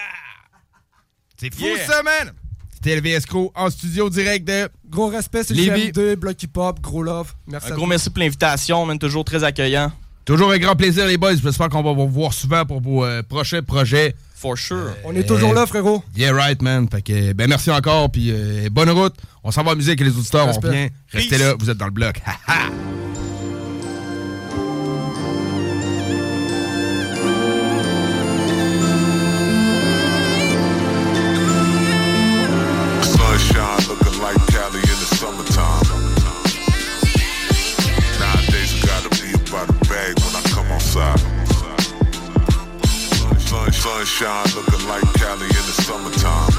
C'est fou ça, man! C'était le VSCO en studio direct de... Gros respect, c'est GMD, Block Hip Hop, gros love. Merci. Un gros merci pour l'invitation, man, toujours très accueillant. Toujours un grand plaisir, les boys. J'espère qu'on va vous voir souvent pour vos prochains projets. For sure. On est toujours là, frérot. Yeah, right, man. Fait que, ben, merci encore, puis bonne route. On s'en va en musique, les auditeurs, respect. On revient. Restez là, vous êtes dans le bloc. Ha ha! Sunshine looking like Cali in the summertime. Nowadays I gotta be about a bag when I come outside. Sunshine looking like Cali in the summertime.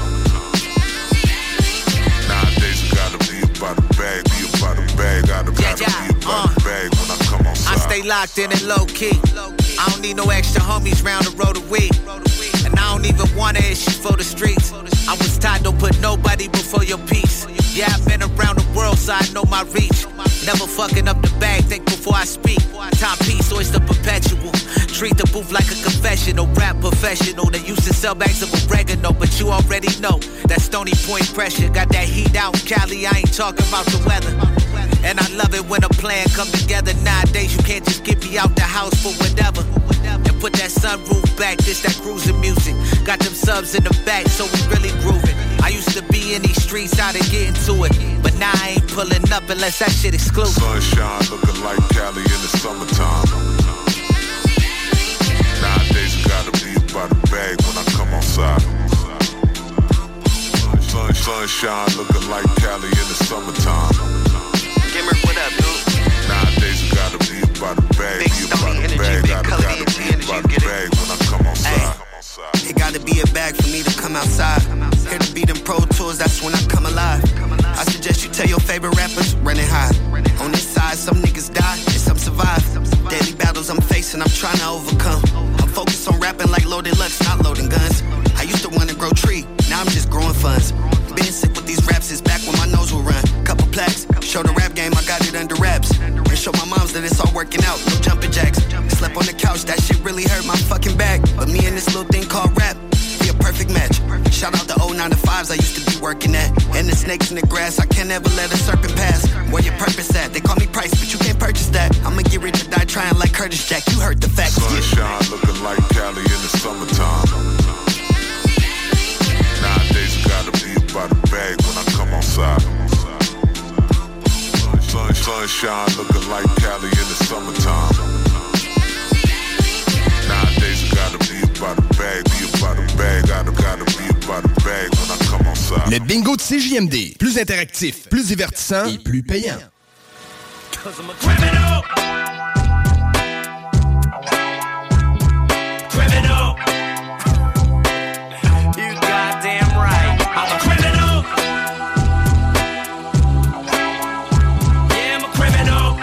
Nowadays I gotta be about a bag, gotta be about a bag when I come outside. I stay locked in and low key. I don't need no extra homies round the road of weed. And I don't even want to issue for the streets. I was taught don't put nobody before your peace. Yeah, I've been around the world, so I know my reach. Never fucking up the bag, think before I speak. Top piece, oyster perpetual. Treat the booth like a confessional. Rap professional, they used to sell bags of oregano. But you already know that Stony Point pressure. Got that heat out in Cali, I ain't talking about the weather. And I love it when a plan come together. Nowadays you can't just get me out the house for whatever. And put that sunroof back, this that cruising music. Got them subs in the back, so we really grooving. I used to be in these streets, how to get into it. But now I ain't pulling up unless that shit exclusive. Sunshine looking like Cali in the summertime. Nowadays I gotta be about a bag when I come outside. Sunshine looking like Cali in the summertime. Gamer, what up, dude? Nowadays I gotta be about a bag, be about a bag. Gotta be about a bag when I come outside. It gotta be a bag for me to come outside. Here to be them Pro Tours, that's when I come alive. I suggest you tell your favorite rappers, running high. On this side, some niggas die and some survive. Daily battles I'm facing, I'm trying to overcome. I'm focused on rapping like Loaded Lux, not loading guns. I used to want to grow tree, now I'm just growing funds. Been sick with these raps since back when my nose would run. Couple plaques, show the rap game, I got it under wraps. And show my moms that it's all working out, no jumping jacks. Slept on the couch, that shit really hurt my fucking back. But me and this little thing called rap, be a perfect match. Shout out the old 9 to 5s I used to be working at. And the snakes in the grass, I can't ever let a serpent pass. Where your purpose at? They call me Price, but you can't purchase that. I'ma get rich or die trying like Curtis Jack, you heard the facts. Sunshine looking like Cali in the summertime. Nowadays it gotta be about a bag when I come outside. Sunshine looking like Cali in the summertime. Nowadays it gotta be about a bag, be about a bag. Gotta be about a bag when I come outside. Le bingo de CJMD, plus interactif, plus divertissant et plus payant. Cause I'm a criminal. Criminal. You goddamn right. I'm a criminal. Yeah, I'm a criminal.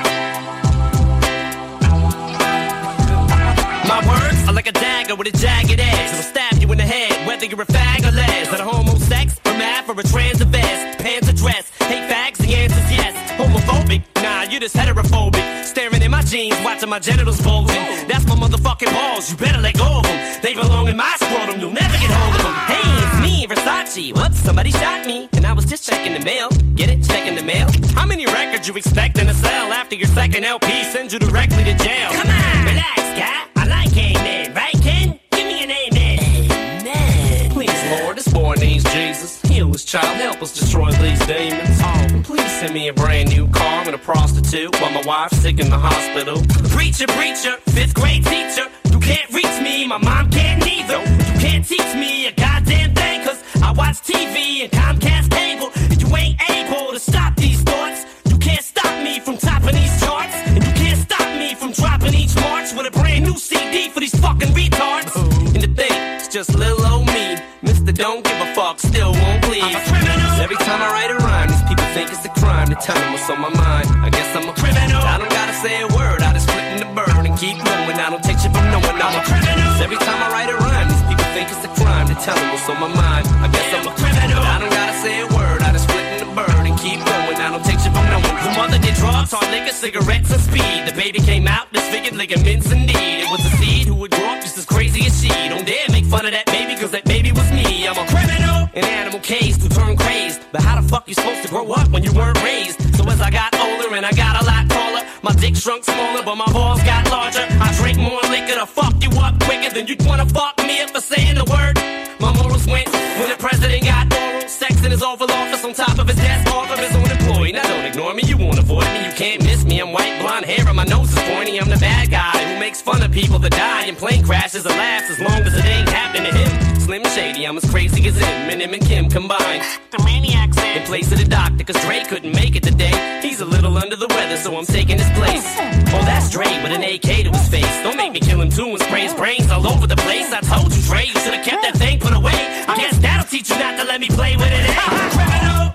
My words are like a dagger with a jagged edge. It'll stab you in the head, whether you're a fag or les. At a homosex, a math, or a trans vest. Pants or dress, hate fags, the answer's yes. Homophobic, nah, you just heterophobic. Staring in my jeans, watching my genitals bulging. That's my motherfucking balls, you better let go of them. They belong in my scrotum, you'll never get hold of them. Hey, it's me, Versace. Whoops, somebody shot me, and I was just checking the mail. Get it? Checking the mail? How many records you expecting to sell after your second LP sends you directly to jail? Come on, relax, guy. I like amen, right, Ken? Give me an amen. Amen. Please, Lord, this boy needs Jesus. Heal his child, help us destroy these demons. Oh, please send me a brand new car and a prostitute while my wife's sick in the hospital. Preacher, preacher, 5th grade teacher. You can't reach me, my mom can't neither. You can't teach me a goddamn thing, cause I watch TV and Comcast cable. And you ain't able to stop these thoughts. You can't stop me from topping these charts. And you can't stop me from dropping each March with a brand new CD for these fucking retards. And the thing, it's just little old me. Mr. Don't give a fuck, still won't please. I'm a criminal. Every time I write a rhyme, these people think it's a crime to tell them what's on my mind. I guess I'm a criminal. I don't gotta say a word, I just split in the bird and keep going. I don't take shit from no one, I'm a criminal. Every time I write a rhyme, these people think it's a crime to tell them what's on my mind. I guess I'm a criminal. I don't gotta say a word, I just split in the bird and keep going. I don't take shit from no one. The mother did drugs, hard liquor, cigarettes, and speed. The baby came out, disfigured ligaments and need. It was a seed who would grow up just as crazy as she. Don't dare make fun of that baby, cause that baby was me. I'm a criminal, an animal caged to turn crazed. But how the fuck you supposed to grow up when you weren't raised? So as I got older and I got a lot taller, my dick shrunk smaller, but my balls got larger. I drink more liquor to fuck you up quicker than you'd wanna fuck me up for saying the word. My morals went when the president got oral sex in his Oval Office on top of his desk, off of his own employee. Now don't ignore me, you won't avoid me, you can't miss me. I'm white, blonde hair, and my nose is pointy. I'm the bad guy who makes fun of people that die in plane crashes and laughs as long as it ain't happening to him. Slim Shady, I'm as crazy as him and Kim combined. The maniac's in place of the doctor, cause Dre couldn't make it today. He's a little under the weather, so I'm taking his place. Oh, that's Dre with an AK to his face. Don't make me kill him too and spray his brains all over the place. I told you, Dre, you should've kept that thing put away. I guess that'll teach you not to let me play with it. Criminal!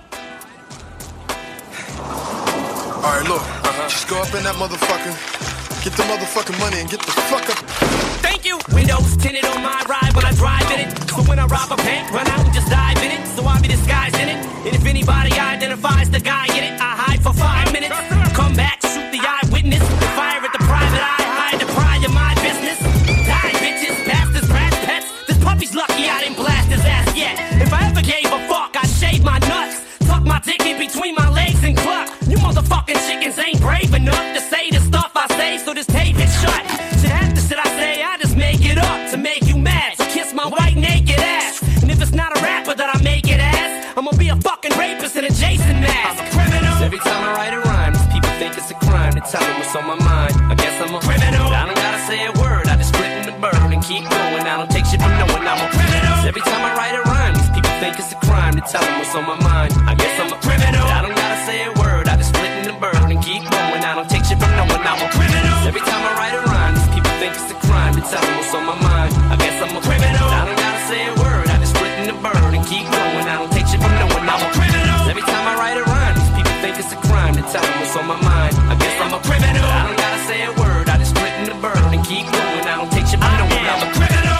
Alright, look, just go up in that motherfucker, get the motherfucking money and get the fuck up. Thank you! Windows tinted on my ride when I drive in it. So when I rob a bank, run out and just dive in it. So I'll be disguised in it. And if anybody identifies the guy in it, I hide for 5 minutes. Come back, shoot the eyewitness. Fire at the private eye, hide the pride of my business. Die, bitches, bastards, brats, pets. This puppy's lucky I didn't blast his ass yet. If I ever gave a fuck, I'd shave my nuts. Tuck my dick in between my legs and cluck. You motherfucking chickens ain't brave enough to say the stuff I say, so just tape it shut. Shit, half the shit I say, I just make it up to make you mad. So kiss my white naked ass. And if it's not a rapper that I make it as, I'ma be a fucking rapist in a Jason mask. I'm a criminal. Every time I write a rhyme, these people think it's a crime to tell them what's on my mind. I guess I'm a criminal. I don't gotta say a word, I just split in the bird and keep going. I don't take shit from no one, I'm a criminal. Every time I write a rhyme, these people think it's a crime to tell them what's on my mind. I guess I'm a criminal. I don't gotta say a word, I just split in the the bird and keep going. I don't take shit from no one, I'm a criminal. Every time I write a rhyme, these people think it's a crime to tell them what's on my mind. I guess I'm a criminal. I don't gotta say a word, I just split in the bird and keep going. I don't take shit from no one, I'm a criminal. Every time I write a rhyme, these people think it's a crime to tell them what's on my mind. I guess I'm a criminal. I don't gotta say a word, I just split in the bird and keep going. I don't take shit from no one, I'm a criminal.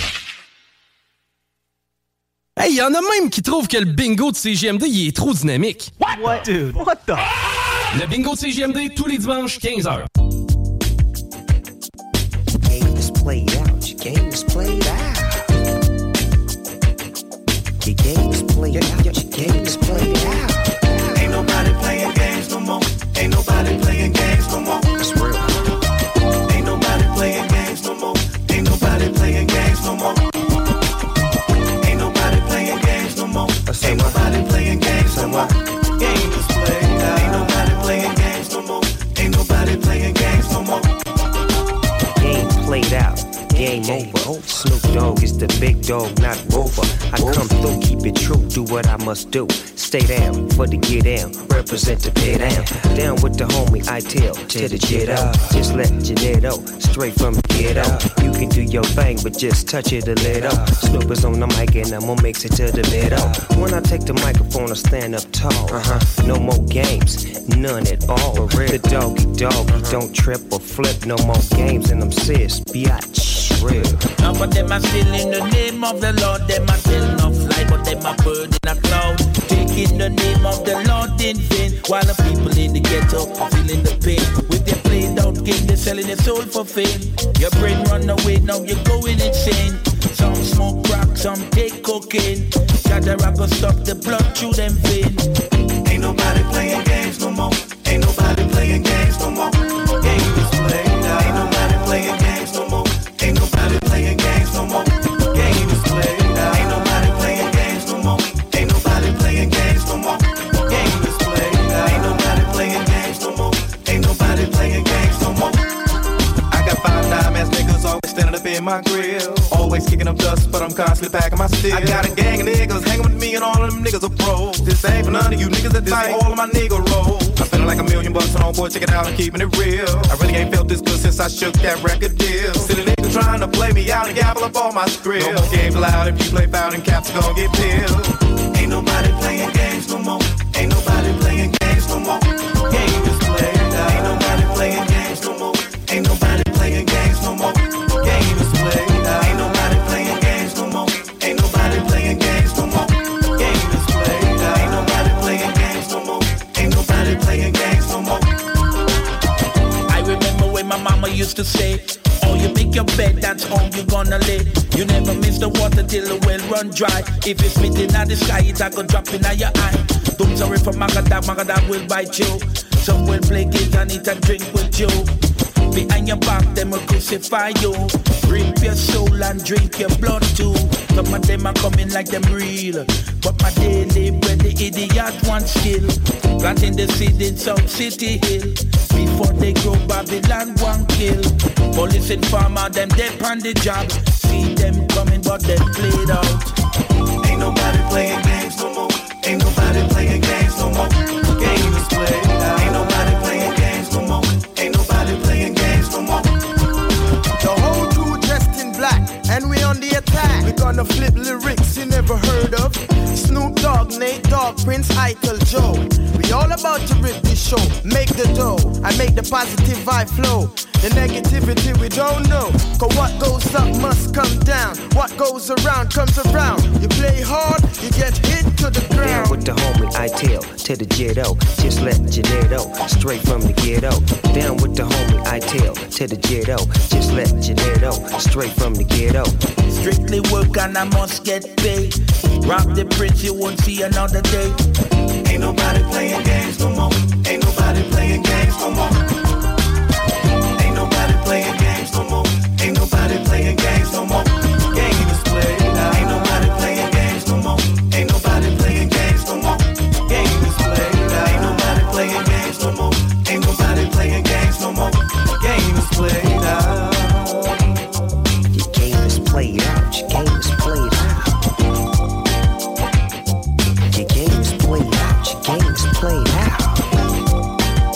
Hey, y'en a même qui trouvent que le bingo de CJMD, il est trop dynamique. What? Dude, what the? Le bingo de CJMD, tous les dimanches, 15h. Game is played out, your game is played out. Your game is played out, your game is played out. Ain't nobody playing games no more. Ain't nobody playing games no more. It's real. Ain't nobody playing games no more. Ain't nobody playing games no more. Ain't nobody playing games no more. Ain't nobody playing games no more. Game is played out. Ain't nobody playing games no more. Ain't nobody playing games no more. Game played out. Game over. Snoop Dogg is the big dog, not Rover. I come through, keep it true, do what I must do. Stay down for the get down, represent the pay down. Down with the homie, I tell to the jet out. Just let Janetto, straight from the ghetto. You can do your thing, but just touch it a little. Snoop is on the mic and I'm gonna mix it to the middle. When I take the microphone, I stand up tall. No more games, none at all. The doggy, don't trip or flip. No more games, and I'm serious, biatch. Real. Now but them are still in the name of the Lord. Them are still no fly, but them are bird in a cloud. Taking the name of the Lord in vain, while the people in the ghetto are feeling the pain. With their played out game, they're selling their soul for fame. Your brain run away, now you're going insane. Some smoke crack, some take cocaine. Gather up and stop the blood through them veins. Ain't nobody playing games no more. Ain't nobody playing games no more. Game is played out. Ain't nobody playing games no more. Ain't nobody playing games no more. Game is played out. Ain't nobody playing games no more. Ain't nobody playing games no more. Game is played out. Ain't nobody playing games no more. Ain't nobody playing games no more. I got 5 dime-ass niggas always standing up in my grill. Always kicking up dust, but I'm constantly packing my steel. I got a gang of niggas hanging with me and all of them niggas are pros. This ain't for none of you niggas that fight all of my nigga rolls. I'm feeling like $1 million on all boy, check it out, I'm keeping it real. I really ain't felt this good since I shook that record deal. Silly niggas trying to play me out and gabble up all my script. No more games allowed, if you play foul and caps gon' get peeled. Ain't nobody playing games no more. Ain't nobody playing games no more. Game is played out. Ain't nobody playing games no more. Ain't nobody playing games no more. Game is played out. Ain't nobody playing games no more. Ain't nobody playing games no more. Game is played out. Ain't nobody playing games no more. Ain't nobody playing games no more. I remember when my mama used to say, oh, you make your bed, that's all you gonna lay. You never miss the water till the well run dry. If it's spitting at the sky, it's a go drop in your eye. Don't sorry for Magadag will bite you. Some will play games and eat and drink with you. Behind your back, them will crucify you. Rip your soul and drink your blood too. Some of them are coming like them real, but my daily bread, the idiot wants skill. Planting the seed in South City Hill. Before they grow, Babylon one kill. Police and farmer, them dead on the job. See them coming, but they played out. Ain't nobody playing games no more. Ain't nobody playing games no more. Game is played out. Ain't nobody playing games no more. Ain't nobody playing games no more. The whole crew dressed in black, and we on the attack. We gonna flip lyrics you never heard of. Snoop Dogg, Nate Dogg, Prince Eitel, Joe. We all about to rip this show. Make the dough, and make the positive vibe flow. The negativity we don't know. Cause what goes up must come down. What goes around comes around. You play hard, you get hit to the ground. Down with the homie, I tell to the jetto. Just let Janetto, straight from the ghetto. Down with the homie, I tell to the jetto. Just let Janetto, straight from the ghetto. Strictly work and I must get paid. Rob the prince, you won't see another day. Ain't nobody playing games no more. Ain't nobody playing games no more. Ain't nobody playing games no more. Ain't nobody playing games no more. Game is played out. Ain't nobody playing games no more. Ain't nobody playing games no more. Game is played out. Ain't nobody playing games no more. Ain't nobody playing games no more. Game is played out. Your game is played out. Your game is played out. Your game is played out. Your game is played out.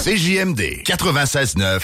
CJMD 96.9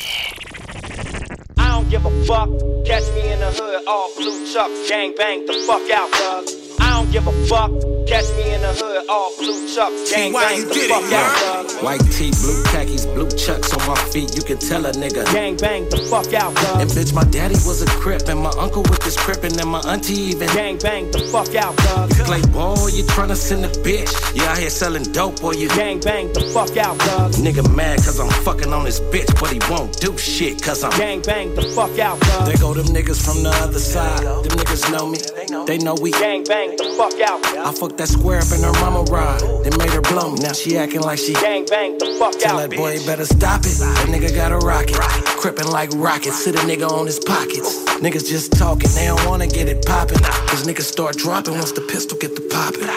I don't give a fuck. Catch me in the hood, all blue chuck, gang bang the fuck out, bug. I don't give a fuck. Catch me in the hood, all blue chuck, gang bang the fuck out, bug. White tee, blue khakis, blue chucks on my feet, you can tell a nigga. Gang bang the fuck out, bug. And bitch, my daddy was a crip, and my uncle with this crippin', and my auntie even. Gang bang the fuck out, bug. You play ball, you tryna send a bitch. You out here selling dope, or you. Gang bang the fuck out, bug. Nigga mad cause I'm fucking on this bitch, but he won't do shit cause I'm. Gang bang the fuck out, bug. There go them niggas from the other side. Them niggas know me, they know we. Gang bang the fuck out. I fucked that square up in her mama ride. They made her blow me, now she acting like she. Gang bang the fuck Tell out, that boy he better stop it. That nigga got a rocket, crippin' like rockets. Sit a nigga on his pockets. Niggas just talking, they don't wanna get it poppin'. Cause niggas start dropping once the pistol get the poppin'.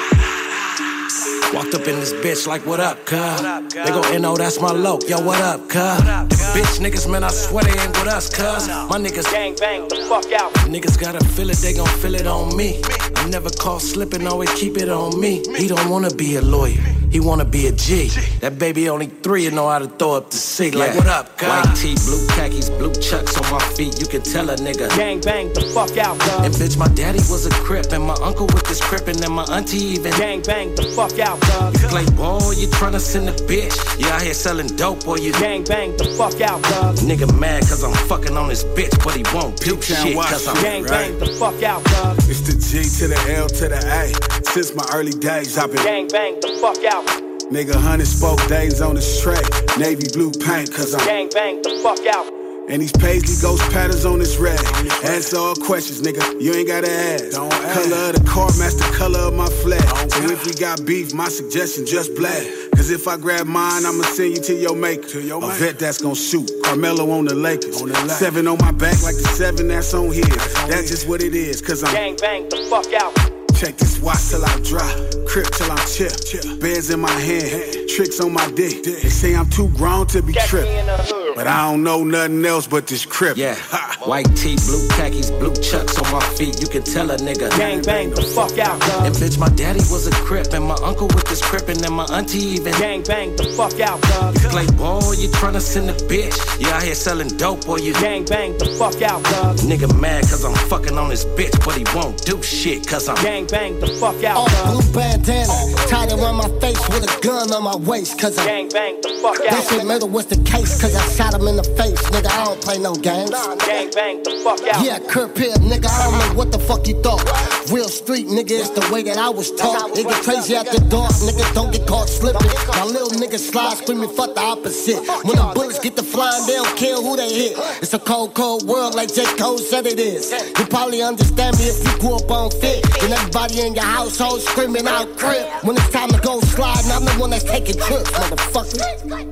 Walked up in this bitch like, what up, cuz? They go, N.O., that's my loc, yo, what up, cuz? Bitch niggas, man, I swear they ain't with us, cuz. My niggas gang bang the fuck out. Niggas gotta feel it, they gon' feel it on me. I never call slippin', always keep it on me. He don't wanna be a lawyer, he wanna be a G. That baby only 3 and know how to throw up the C. Like, what up, cuz? White tee, blue khakis, blue chucks on my feet, you can tell a nigga. Gang bang the fuck out, cuz. And bitch, my daddy was a crip, and my uncle with this crippin', and my auntie even. Gang bang the fuck out. You play ball, you tryna send a bitch. You out here selling dope, or you gang bang the fuck out, bug. Nigga mad cause I'm fucking on this bitch, but he won't do shit cause I'm gang bang the fuck out, bug. It's the G to the L to the A. Since my early days, I've been gang bang the fuck out. Nigga, 100 spoke days on the straight. Navy blue paint cause I'm gang bang the fuck out. And these paisley ghost patterns on this rag. Answer all questions, nigga, you ain't gotta ask. Color of the car match the color of my flag. So if we got beef, my suggestion just black. Cause if I grab mine, I'ma send you to your maker. A vet that's gon' shoot, Carmelo on the Lakers. 7 on my back like the 7 that's on his. That's just what it is, cause I'm gang bang the fuck out. Check this watch till I drop, crip till I'm chip. Bands in my hand, tricks on my dick. They say I'm too grown to be tripped, but I don't know nothing else but this crip. Yeah, white tee, blue khakis, blue chucks on my feet. You can tell a nigga. Gang bang the fuck out, bug. And bitch, my daddy was a crip, and my uncle with this crippin', and my auntie even. Gang bang the fuck out, bug. You play ball, you tryna send a bitch. You out here selling dope, or you gang bang the fuck out, bug. Nigga mad cause I'm fucking on this bitch, but he won't do shit cause I'm gang bang the fuck out, all blue bandana, tied around my face with a gun on my waist, cause I'm gang bang the fuck out. They said murder was the case, cause I shot him in the face, nigga, I don't play no games. Gang bang the fuck out. Yeah, Kurt Pitt, nigga, I don't know what the fuck you thought. Real street, nigga, it's the way that I was taught. It get crazy at the dark, nigga, don't get caught slipping. My little niggas slide screaming, fuck the opposite. When the bullets get to flying, they don't care who they hit. It's a cold, cold world like J. Cole said it is. You probably understand me if you grew up on fit. And everybody in your household screaming out crib. When it's time to go sliding, I'm the one that's taking trips, motherfucker.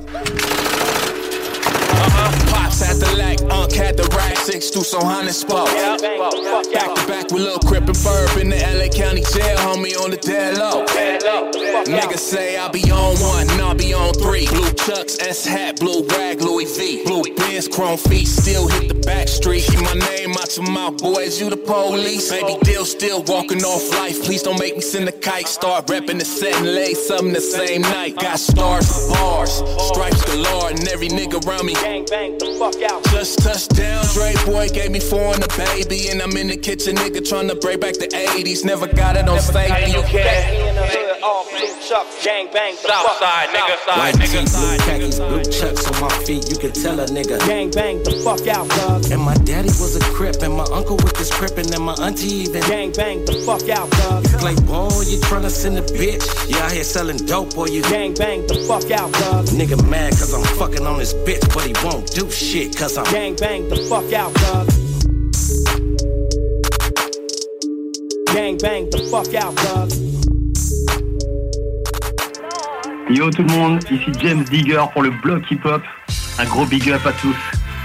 Pops at the lack, had the rack, 6 through some honey spot. Back to back with Lil Crip and Ferb in the LA County jail, homie on the dead low. Niggas say I'll be on 1, and I'll be on 3. Blue chucks, S hat, blue rag, Louis V. Blue Benz, chrome feet, still hit the back street. Keep my name out your mouth, boys, you the police. Baby deal still walking off life, please don't make me send a kite. Start repping the set and lay something the same night. Got stars for bars, stripes galore, and every nigga around me gang bang the fuck out. Just touched down, Dre boy gave me 4 and a baby, and I'm in the kitchen, nigga, tryna break back the 80s. Never got it on safety. You in the hood, all blue chuck, gang bang the fuck side, nigga, side, nigga, blue khakis, blue chucks on my feet. You can tell a nigga. Gang bang the fuck out, bug. And my daddy was a crip, and my uncle with this crippin', and my auntie even. Gang bang the fuck out, bug. You play ball, you tryna send a bitch. You out here selling dope, or you gang bang the fuck out, bug. Nigga mad cause I'm fucking on this bitch, but he won't do shit cause I'm gang bang the fuck out, bug. Gang bang the fuck out, bug. Yo tout le monde, ici James Digger pour le bloc hip-hop. Un gros big up à tous.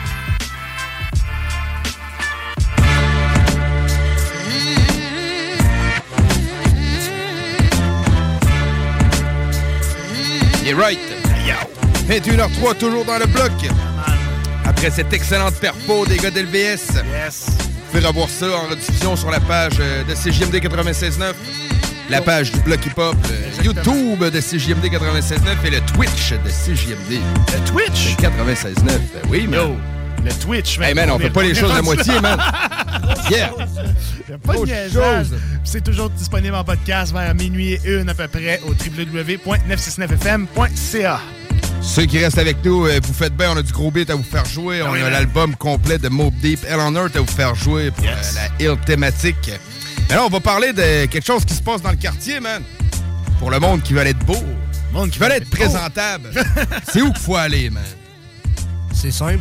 Yeah right. 21h03 toujours dans le bloc. Après cette excellente perfo des gars d'LVS. Yes. Vous pouvez revoir ça en rediffusion sur la page de CJMD 96.9. La page du Bloc Hip-Hop, le YouTube de CJMD 96.9 et le Twitch de CJMD. Le Twitch? 96.9, oui, man. Yo, le Twitch, man. Hey, man, on fait pas les choses à moitié, man. Yeah! Il a pas de niaisage. C'est toujours disponible en podcast vers minuit et 1 à peu près au www.969fm.ca. Ceux qui restent avec nous, vous faites bien, on a du gros beat à vous faire jouer. On a l'album complet de Mobb Deep, Hell on Earth à vous faire jouer pour la Hill thématique. Mais là, on va parler de quelque chose qui se passe dans le quartier, man. Pour le monde qui veut être beau, le monde qui veut être présentable. C'est où qu'il faut aller, man? C'est simple.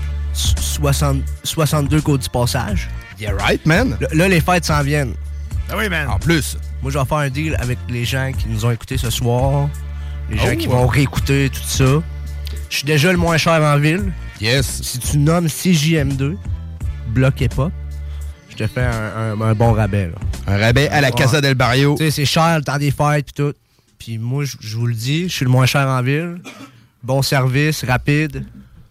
62 Côte du Passage. Yeah right, man. Là, les fêtes s'en viennent. Ah oui, man. En plus. Moi, je vais faire un deal avec les gens qui nous ont écoutés ce soir. Les gens qui vont réécouter tout ça. Je suis déjà le moins cher en ville. Yes. Si tu nommes CJM2, Bloc Hip-Hop, je te fais un bon rabais. Là. Un rabais à la Casa del Barrio. Tu sais, c'est cher le temps des fêtes pis tout. Puis moi, je vous le dis, je suis le moins cher en ville. Bon service, rapide.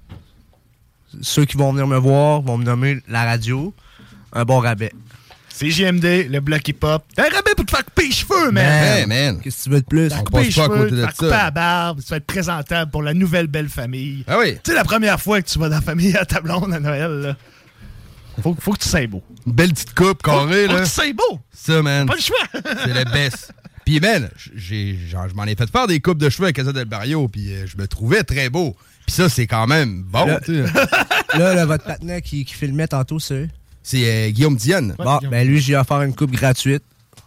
Ceux qui vont venir me voir vont me nommer la radio. Un bon rabais. CJMD, le Bloc Hip-Hop. Un rabais pour te faire couper les cheveux, man. Hey, man. Qu'est-ce que tu veux de plus? On passe pas à côté de ça. Couper la barbe, tu vas être présentable pour la nouvelle belle famille. Ah oui. Tu sais, la première fois que tu vas dans la famille à ta blonde à Noël, là, faut que tu sois beau. Une belle petite coupe carrée, là. Faut que tu sois beau. Ça, man. Pas le choix. C'est le best. Puis, man, je m'en ai fait faire des coupes de cheveux à Casa del Barrio, puis je me trouvais très beau. Puis ça, c'est quand même bon, tu sais. Là, votre partenaire qui filmait tantôt, c'est Guillaume Dionne. Bon, ben lui, j'ai offert une coupe gratuite.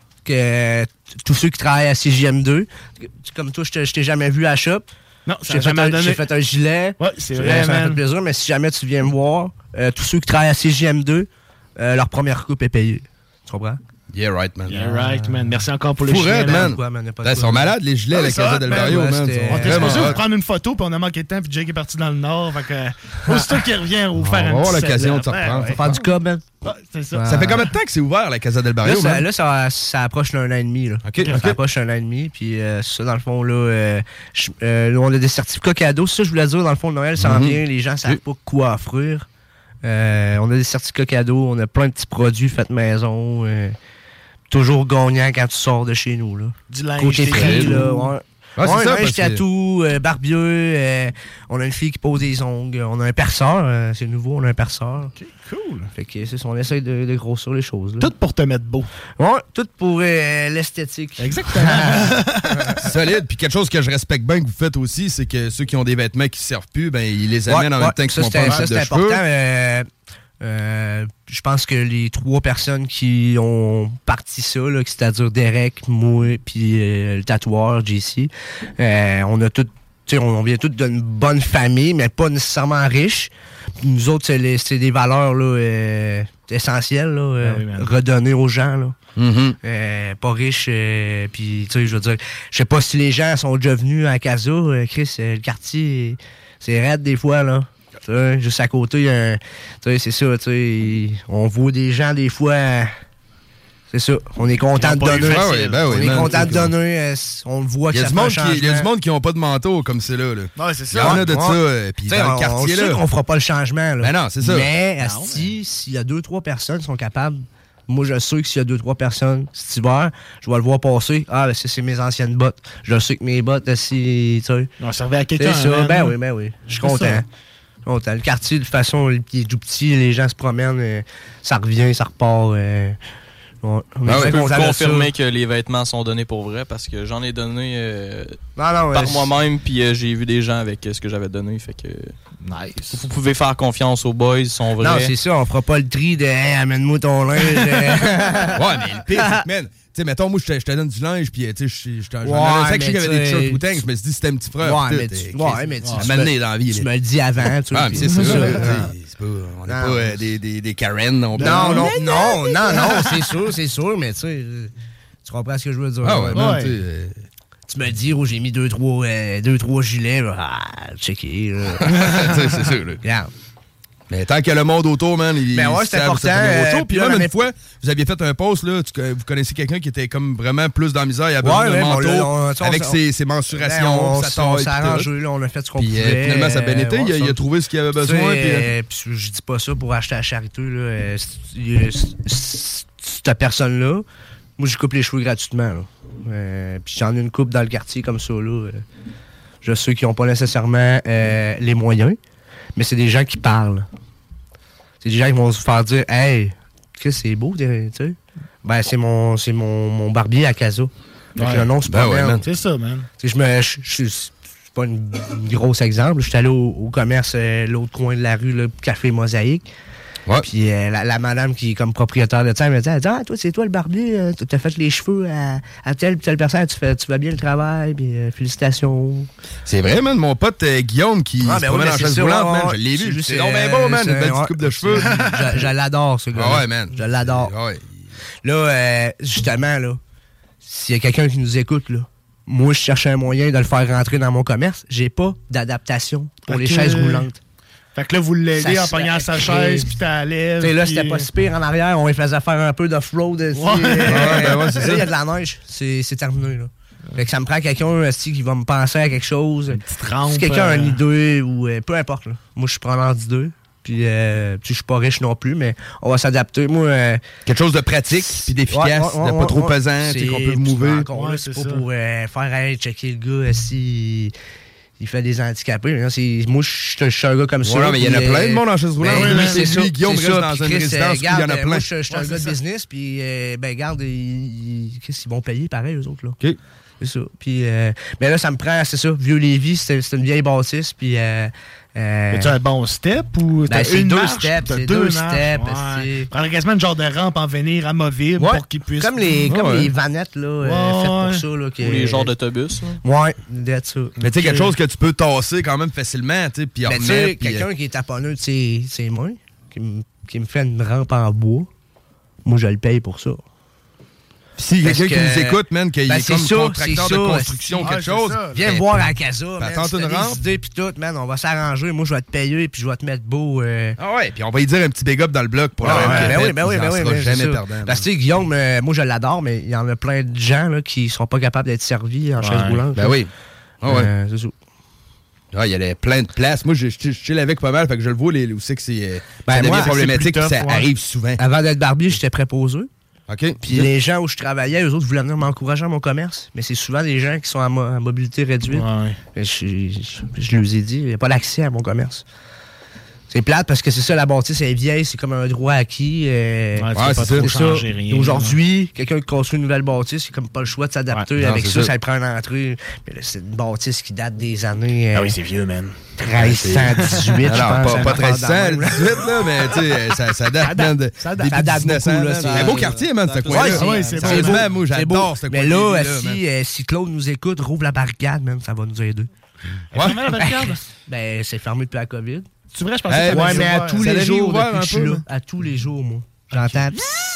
Que tous ceux qui travaillent à CJM2, comme toi, je t'ai jamais vu à la shop. Non, j'ai fait un gilet. Ouais, c'est vrai, ça man. fait plaisir, mais si jamais tu viens me voir, tous ceux qui travaillent à CJM2, leur première coupe est payée. Tu comprends? Yeah, right, man. Yeah, right, man. Merci encore pour le gilet, man. Ils sont malades, les gilets à la Casa del Barrio, man. On était supposé vous prendre une photo, puis on a manqué de temps, puis Jake est parti dans le nord. Fait que, aussitôt qu'il revient, on va faire un petit. On va avoir l'occasion de se reprendre. On va faire du cob, man. C'est ça. Ça fait combien de temps que c'est ouvert, la Casa del Barrio, man? Là, ça approche d'un an et demi. Là. OK. Ça approche d'un an et demi. Puis ça, dans le fond, là, on a des certificats cadeaux. Ça, je voulais dire, dans le fond, Noël s'en vient. Les gens ne savent pas quoi offrir. On a des certificats cadeaux. On a plein de petits produits faits maison. Toujours gagnant quand tu sors de chez nous. Là. Du linge. Côté prix, là. Ouais. Ah, c'est ça, linge, tatou, barbieux. On a une fille qui pose des ongles. On a un perceur. C'est nouveau, on a un perceur. OK, cool. Fait que c'est ça, on essaie de grossir les choses. Là. Tout pour te mettre beau. Ouais, tout pour l'esthétique. Exactement. Solide. Puis quelque chose que je respecte bien que vous faites aussi, c'est que ceux qui ont des vêtements qui ne servent plus, ben ils les amènent en même temps qu'ils font pas mal de cheveux. C'est important. Je pense que les 3 personnes qui ont parti ça, là, c'est-à-dire Derek, moi, puis le tatoueur, JC, on vient tous d'une bonne famille, mais pas nécessairement riches. Nous autres, c'est des valeurs là, essentielles, là, redonner aux gens. Là. Pas riches, puis tu sais, je veux dire, je sais pas si les gens sont déjà venus à Casa, Chris, le quartier, c'est raide des fois, là. T'sais, juste à côté, c'est ça, on voit des gens des fois, c'est ça, on est content de donner. On est content de donner, on le voit que ça fait un changement. Il y a du monde qui n'ont pas de manteau comme c'est là. Ouais, c'est ça. Il y en a de ça, puis dans le quartier, là. On fera pas le changement, là. Ben non, c'est ça. Mais, s'il y a 2-3 personnes qui sont capables, moi, je sais que s'il y a 2-3 personnes cet hiver, je vais le voir passer. Ah, ben, c'est mes anciennes bottes. Je sais que mes bottes, tu sais. On servait à quelqu'un. C'est ça, ben oui. Je suis content. Le quartier, de toute façon, il est tout petit, les gens se promènent, ça revient, ça repart. Je peux vous confirmer que les vêtements sont donnés pour vrai parce que j'en ai donné par moi-même, puis j'ai vu des gens avec ce que j'avais donné. Fait que nice. Vous pouvez faire confiance aux boys, ils sont vrais. Non, c'est ça, on fera pas le tri de hey, amène-moi ton linge. Ouais, mais le pire, c'est que, man, tu sais, mettons, moi, je te donne du linge, puis tu sais, j'en ai un sac qui avait des t-shirts ou tanks, je me suis dit, c'était un petit frère. Ouais, mais tu m'as dans la vie. Tu me le dis avant, tu vois. c'est ça. On n'est pas des Karen non plus. Non, c'est sûr, mais tu sais, tu comprends ce que je veux dire. Ah ouais, tu me dis, j'ai mis 2-3 gilets, checker. C'est sûr, là. Mais tant qu'il y a le monde autour, man, c'est important. Puis même une fois, vous aviez fait un post, là, vous connaissez quelqu'un qui était comme vraiment plus dans la misère, il a besoin d'un manteau avec ses mensurations, sa taille. On s'est arrangé, là, on a fait ce qu'on pouvait. Finalement, ça a bien été, il a trouvé ce qu'il avait besoin. Puis je dis pas ça pour acheter la charité, là. Cette personne-là, moi, je coupe les cheveux gratuitement, là. Puis j'en ai une couple dans le quartier comme ça, là. Je sais qui n'ont pas nécessairement les moyens, mais c'est des gens qui parlent. C'est des gens qui vont se faire dire « Hey, c'est beau, tu sais. » Ben, c'est mon barbier à Casa. Ouais. Le nom, c'est pas man. C'est ça, man. C'est pas un gros exemple. Je suis allé au commerce, l'autre coin de la rue, le Café Mosaïque. Ouais. Puis la madame qui est comme propriétaire de ça, elle me dit « Ah, toi, c'est toi le barbier, t'as fait les cheveux à telle personne, tu fais bien le travail, puis félicitations. » C'est vrai, man, mon pote Guillaume qui se promène en chaise roulante, man, je l'ai vu. C'est donc bien beau, man, une belle petite coupe de cheveux. Je l'adore, ce gars. Ah ouais, man. Je l'adore. Ouais. Là, justement, là, s'il y a quelqu'un qui nous écoute, là, moi, je cherchais un moyen de le faire rentrer dans mon commerce. J'ai pas d'adaptation pour les chaises roulantes. Fait que là, vous l'aidez en pognant sa chaise, puis t'as l'aise. Tu sais, là, c'était pas si pire en arrière. On les faisait faire un peu d'off-road. Ouais, c'est ça. Là, il y a de la neige. C'est terminé, là. Fait que ça me prend quelqu'un qui va me penser à quelque chose. Une petite rampe. Si quelqu'un a une idée, ou peu importe, là. Moi, je suis preneur d'idées. Puis, je suis pas riche non plus, mais on va s'adapter. Moi, quelque chose de pratique, puis d'efficace, de pas trop pesant, qu'on peut mouver. C'est pas pour faire checker le gars si... Il fait des handicapés. Moi, je suis un gars comme ça. Ouais, mais il y en a plein de monde en chaise roulante. Oui, c'est ça. Guillaume reste dans une résidence, puis il y en a plein. Moi, je suis un gars de business, puis, regarde, qu'est-ce qu'ils vont payer pareil, eux autres, là. OK. C'est ça. Puis, mais là, ça me prend, c'est ça. Vieux-Lévis, c'est une vieille bâtisse, puis... As-tu un bon step ou t'as c'est une deux marche? steps, c'est deux steps. Prendre quasiment une genre de rampe en venir amovible pour qu'ils puissent... Comme les vanettes là, faites pour ça. Là, ou les genres d'autobus. Ouais, that's ça. Mais tu sais, quelque chose que tu peux tasser quand même facilement, tu sais, puis remettre. Tu sais, quelqu'un qui est taponneux, c'est moi, qui me fait une rampe en bois, moi, je le paye pour ça. Si quelqu'un qui nous écoute, man, qu'il est comme contracteur de construction ou quelque chose, viens me voir à la casa, man. Tente une rampe. Des idées pis tout, man, on va s'arranger. Moi, je vais te payer puis je vais te mettre beau. Ah ouais, puis on va y dire un petit big up dans le bloc pour la Ben oui. jamais perdant. Parce que tu sais, Guillaume, moi, je l'adore, mais il y en a plein de gens là, qui sont pas capables d'être servis en chaise roulante. Ben oui. Ah ouais. C'est ça. Ah, il y a plein de places. Moi, je chill avec pas mal, fait que je le vois où c'est que c'est devient problématique, ça arrive souvent. Avant d'être barbier, j'étais préposé. OK. Puis les gens où je travaillais, eux autres voulaient venir m'encourager à mon commerce. Mais c'est souvent des gens qui sont à mobilité réduite. Ouais. Je leur ai dit, il n'y a pas d'accès à mon commerce. C'est plate parce que c'est ça, la bâtisse est vieille, c'est comme un droit acquis. C'est ça. Aujourd'hui, quelqu'un qui construit une nouvelle bâtisse, il n'a comme pas le choix de s'adapter avec ça. Ça prend une entrée. Mais là, c'est une bâtisse qui date des années... Ah oui, c'est vieux, man. 1318, je pense. Pas 1318, là, mais tu sais, ça date, man. Ça date beaucoup, là. C'est un beau quartier, man, ce coin-là. Oui, c'est beau. Moi, j'adore ce coin-là. Mais là, si Claude nous écoute, rouvre la barricade, man, ça va nous aider. Fermé la barricade? Ben, c'est fermé depuis la COVID. C'est vrai, je pensais que ouais, mais à tous les jours, depuis que je suis là. À tous les jours, moi. J'entends...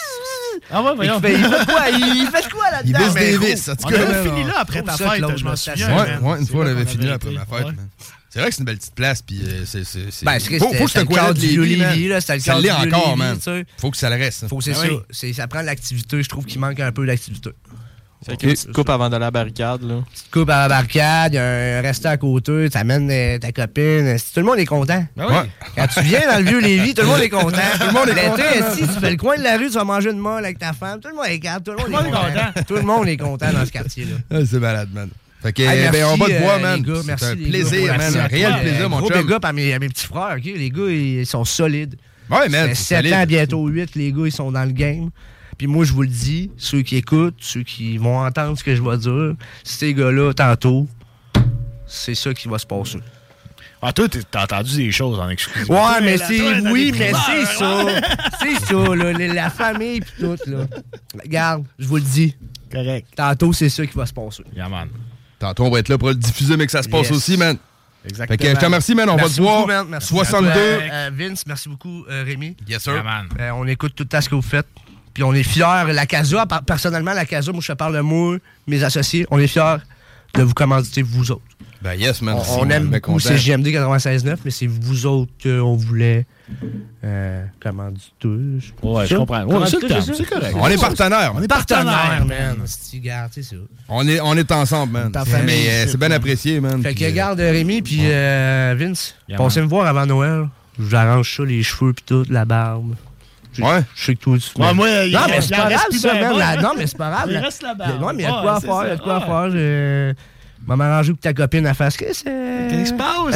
Ah ouais, voyons. Il fait quoi là-dedans? Il baisse des vis. On avait fini là après ta fête, je m'en souviens. Ouais, une fois, on avait fini là après ma fête, man. C'est vrai que c'est une belle petite place, puis c'est... Faut que c'est le cadre du Vieux-Lévis, là. Ça l'est encore, man. Faut que ça le reste. C'est ça. Ça prend de l'activité. Je trouve qu'il manque un peu d'activité. Fait qu'une petite coupe avant d'aller à la barricade, là. Petite coupe à la barricade, il y a un resto à côté, t'amènes ta copine. Tout le monde est content. Quand tu viens dans le Vieux-Lévis, tout le monde est content. Tout le monde est content. Si tu fais le coin de la rue, tu vas manger une molle avec ta femme. Tout le monde est calme. Tout le monde est content. Tout le monde est content dans ce quartier-là. C'est malade, man. Fait que, on va te voir, man. C'est un plaisir, man. Un réel plaisir, mon chum. Gros big up à mes petits frères, OK? Les gars, ils sont solides. Ouais, man. 7 ans, bientôt 8, les gars, ils sont dans le game. Puis moi, je vous le dis, ceux qui écoutent, ceux qui vont entendre ce que je vais dire, ces gars-là, tantôt, c'est ça qui va se passer. Ah, toi, t'as entendu des choses en exclusivité. Ouais, mais c'est... Oui, mais c'est ça. C'est ça, là. La famille pis tout, là. Regarde, je vous le dis. Correct. Tantôt, c'est ça qui va se passer. Yeah, man. Tantôt, on va être là pour le diffuser, mais que ça se passe aussi, man. Exactement. Fait que je te remercie, man. On va te voir. Merci 62. Vince, merci beaucoup, Rémi. Yes, sir. Yeah, man. On écoute tout le temps ce que vous faites. Puis on est fiers. La Casa, personnellement, la Casa, moi, je te parle de moi, mes associés, on est fiers de vous commanditer, vous autres. Ben yes, man. On aime beaucoup CJMD 96.9, mais c'est vous autres qu'on voulait commanditer. Ouais, je comprends. Ouais, c'est correct. On est partenaires. On est partenaires, man. C'est ça. On est ensemble, man. Mais c'est bien apprécié, man. Fait que regarde Rémi puis Vince, passez me voir avant Noël. Je vous arrange ça, les cheveux puis tout, la barbe. Ouais. Je sais que toi, tu... Ouais, moi, non, mais c'est pas grave, ça, même. Non, mais c'est pas grave. Il reste là-bas. Non, mais il y a de quoi à faire, il y a de quoi à faire. Je vais m'arranger pour que ta copine elle fasse que c'est... Qu'est-ce qui se passe?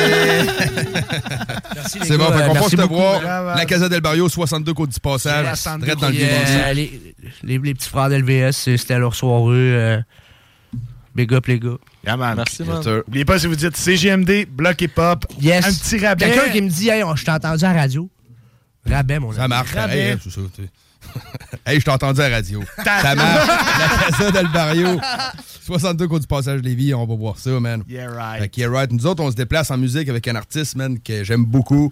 Merci, c'est bon, on passe te voir. beaucoup. La Casa del Barrio, 62 Côte du Passage. Direct dans le vieux les petits frères d'LVS, c'était leur soirée. Big up, les gars. Yeah, man. Merci, man. N'oubliez pas, si vous dites CGMD, Bloc et Pop, yes. un petit rabais. Quelqu'un qui me dit, hey, je t'ai entendu à la radio. Rabais, mon ami. Ça marche. Rabais. Hey, c'est ça, hey, je t'ai entendu à la radio. Ça marche. La Casa del Barrio. 62 Côte du Passage Lévis, on va voir ça, man. Yeah, right. Fait que, yeah, right. Nous autres, on se déplace en musique avec un artiste, man, que j'aime beaucoup.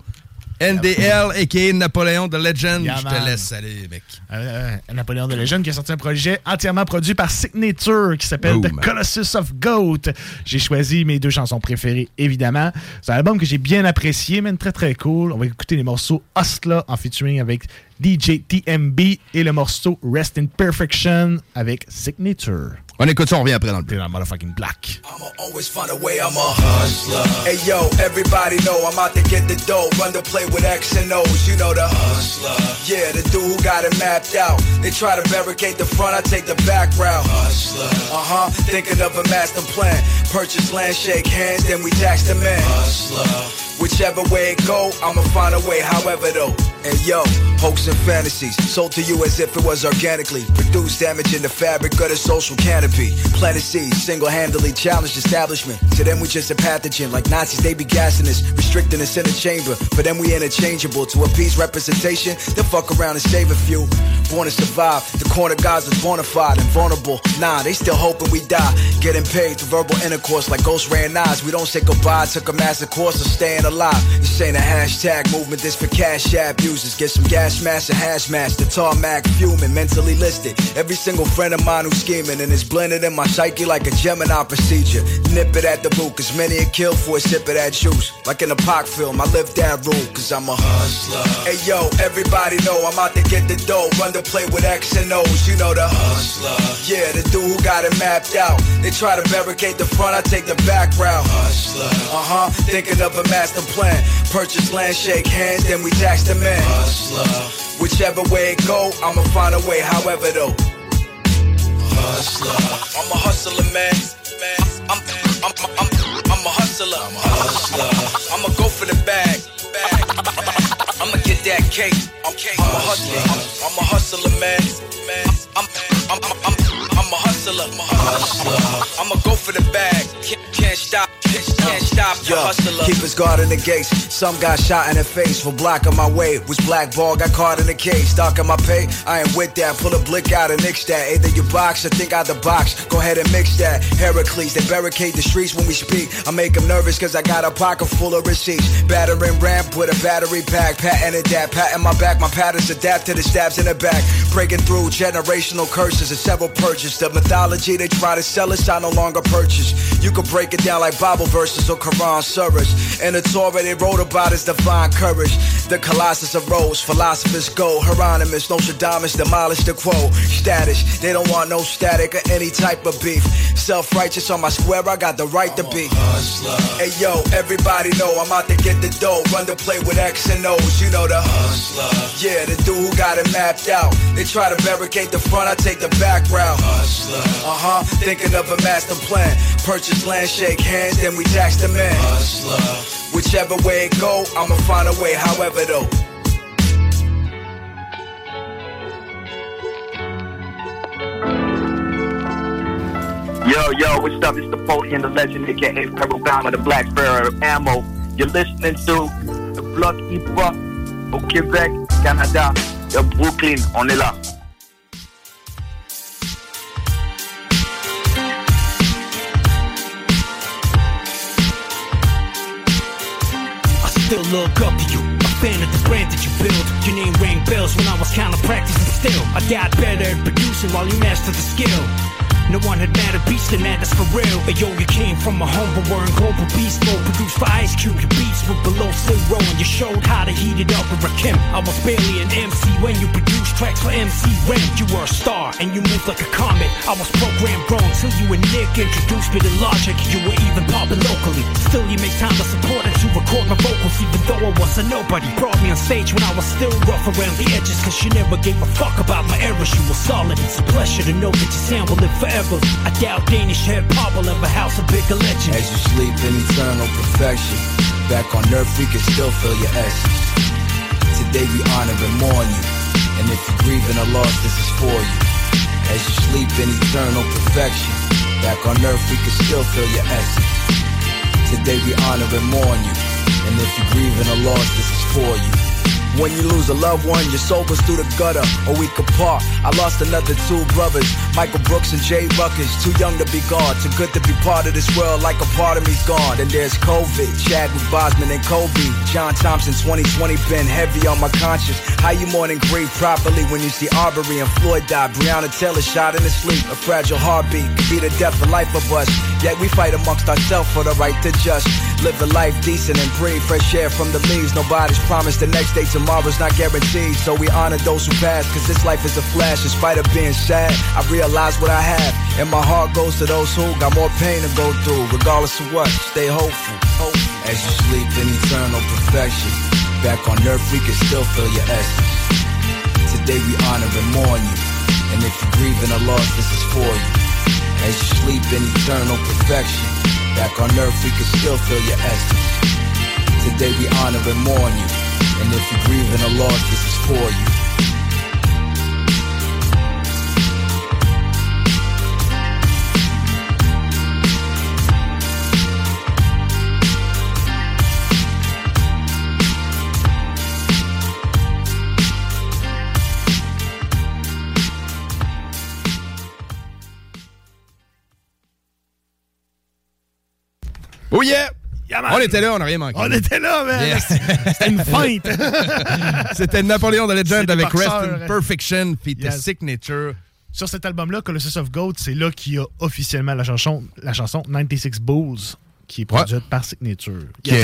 NDL, a.k.a. Napoléon the Legend. Yeah, je te laisse aller, mec. Napoléon the Legend qui a sorti un projet entièrement produit par Signature qui s'appelle The Colossus of Goat. J'ai choisi mes deux chansons préférées, évidemment. C'est un album que j'ai bien apprécié, mais très très cool. On va écouter les morceaux Hustla en featuring avec DJ TMB et le morceau Rest in Perfection avec Signature. On écoute ça, on revient après dans le Dans motherfucking black. I'ma always find a way, I'm a hustler. Hey yo, everybody know I'm out to get the dough. Run the play with X and O's, you know the hustler. Yeah, the dude who got it mapped out. They try to barricade the front, I take the back route. Hustler. Thinking of a master plan. Purchase land, shake hands, then we tax the man. Hustler. Whichever way it go, I'ma find a way, however though. And yo, hopes and fantasies, sold to you as if it was organically. Produce damage in the fabric of the social canopy. Planted seeds, single-handedly challenged establishment. To them we just a pathogen, like Nazis they be gassing us, restricting us in a chamber. For them we interchangeable, to appease representation, they'll fuck around and save a few. Born to survive, the corner guys is bona fide and vulnerable. Nah, they still hoping we die. Getting paid through verbal intercourse like Ghost Ran Eyes. We don't say goodbye, took a master course of staying alive. This ain't a hashtag movement, this for cash app users. Get some gas mask and hash mask, the tarmac fuming, mentally listed. Every single friend of mine who's scheming and it's blended in my psyche like a Gemini procedure. Nip it at the root, cause many are killed for a sip of that juice. Like in a Pac film, I live that rule, cause I'm a hustler. Hey yo, everybody know I'm out to get the dough. Run the play with X and O's, you know the hustler. Yeah, the dude who got it mapped out. They try to barricade the front, I take the back route. Hustler. Thinking of a master plan. Purchase land, shake hands, then we tax the man. Hustler. Whichever way it go, I'ma find a way, however though. Hustler. I'm a hustler, man. I'm a hustler. I'm a hustler. I'ma go for the bag. I'ma get that cake. I'm a hustler. I'm a hustler, man. I'm a hustler. I'ma go for the bag. Can't stop. Can't stop. Yo, hustler. Keep his guard in the gates. Some got shot in the face for blocking my way. Was blackball, got caught in the case. Stocking my pay, I ain't with that. Pull a blick out and nix that. Either you box or think out the box. Go ahead and mix that. Heracles, they barricade the streets when we speak. I make them nervous cause I got a pocket full of receipts. Battering ramp with a battery pack. Patented that, patting my back. My patterns adapt to the stabs in the back. Breaking through generational curses and several purges. The mythology they try to sell us, I no longer purchase. You can break it down like Bible verses or Quran surahs. In the Torah they wrote about his divine courage. The Colossus arose, philosophers go. Hieronymus, Nostradamus demolished the quote. Status, they don't want no static or any type of beef. Self-righteous on my square, I got the right to be. Hey yo, everybody know I'm out to get the dough. Run the play with X and O's, you know the hustler. Yeah, the dude who got it mapped out. They try to barricade the front, I take the back route. Hustler. Thinking of a master plan. Purchase land, shake hands, then we tax the man. Hustler. Whichever way it go, I'ma find a way, however though. Yo, what's up? It's Napoleon the Legend, aka Purple Bomber, the Black Bearer of Ammo. You're listening to the Bloc Hip Hop au Québec, Canada, de Brooklyn. On est là. Still look up to you, a fan of the brand that you build. Your name rang bells when I was kinda practicing still. I got better at producing while you mastered the skill. No one had met a beast than that, that's for real. But yo, you came from a humble world, global beast mode, produced for Ice Cube. Your beats were below zero, and you showed how to heat it up with Rakim. I was barely an MC when you produced tracks for MC Ren. You were a star, and you moved like a comet. I was programmed wrong till you and Nick introduced me to Logic. You were even popping locally. Still, you make time to support and to record my vocals, even though I was a nobody. Brought me on stage when I was still rough around the edges, cause you never gave a fuck about my errors. You were solid. It's a pleasure to know that your sound will live forever. I doubt Danish Head Pop will ever house a bigger legend. As you sleep in eternal perfection, back on earth we can still feel your essence. Today we honor and mourn you, and if you're grieving a loss, this is for you. As you sleep in eternal perfection, back on earth we can still feel your essence. Today we honor and mourn you, and if you're grieving a loss, this is for you. When you lose a loved one, your soul goes through the gutter, a week apart. I lost another two brothers, Michael Brooks and Jay Ruckers. Too young to be gone, too good to be part of this world, like a part of me's gone. Then there's COVID, Chadwick Boseman and Kobe. John Thompson, 2020 been heavy on my conscience. How you mourn and grieve properly when you see Arbery and Floyd die? Breonna Taylor shot in his sleep, a fragile heartbeat could be the death or life of us. Yet we fight amongst ourselves for the right to just live a life decent and breathe fresh air from the leaves. Nobody's promised the next day, tomorrow's not guaranteed. So we honor those who passed, cause this life is a flash. In spite of being sad, I realize what I have, and my heart goes to those who got more pain to go through. Regardless of what, stay hopeful. As you sleep in eternal perfection, back on earth we can still feel your essence. Today we honor and mourn you, and if you're grieving a loss, this is for you. As you sleep in eternal perfection, back on earth we can still feel your essence. Today we honor and mourn you, and if you're grieving a loss, this is for you. Oh yeah! On était là, on n'a rien manqué. On était là, man! Yes. C'était une feinte! C'était Napoléon de Legend avec Rest boxeurs, in Perfection puis The Yes. Signature. Sur cet album-là, Colossus of Goat, c'est là qu'il y a officiellement la chanson 96 Bulls, qui est produite par Signature.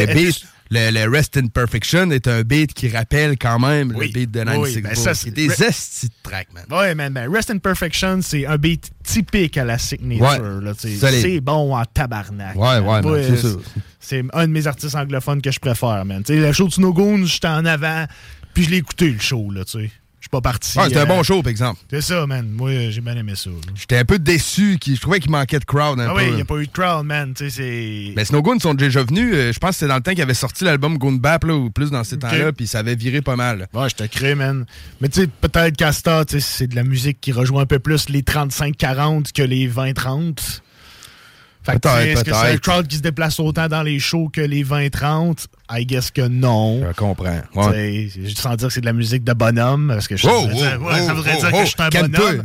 Le Rest in Perfection est un beat qui rappelle quand même le beat de 96 ben Bulls. ça, c'est des estis de track, man. Ouais, man. Rest in Perfection, c'est un beat typique à la Signature. Ouais. Là, c'est bon en tabarnak. Ouais, man, c'est sûr. C'est un de mes artistes anglophones que je préfère, man. T'sais, le show de Snow Goons, j'étais en avant, puis je l'ai écouté, le show, là, tu sais. Je suis pas parti. Ouais, c'était un bon show, par exemple. C'est ça, man. Moi, j'ai bien aimé ça. J'étais un peu déçu. Je trouvais qu'il manquait de crowd un peu. Oui, il n'y a pas eu de crowd, man. Mais Snow Goons sont déjà venus. Je pense que c'était dans le temps qu'ils avaient sorti l'album Goon Bap, là, ou plus dans ces temps-là, puis ça avait viré pas mal. Ouais, je te crée, man. Mais tu sais, peut-être qu'Asta, c'est de la musique qui rejoint un peu plus les 35-40 que les 20-30. Fait que, est-ce que c'est un crowd qui se déplace autant dans les shows que les 20-30? I guess que non. Je comprends. Ouais. Sans dire que c'est de la musique de bonhomme, parce que ça voudrait dire que je suis un bonhomme.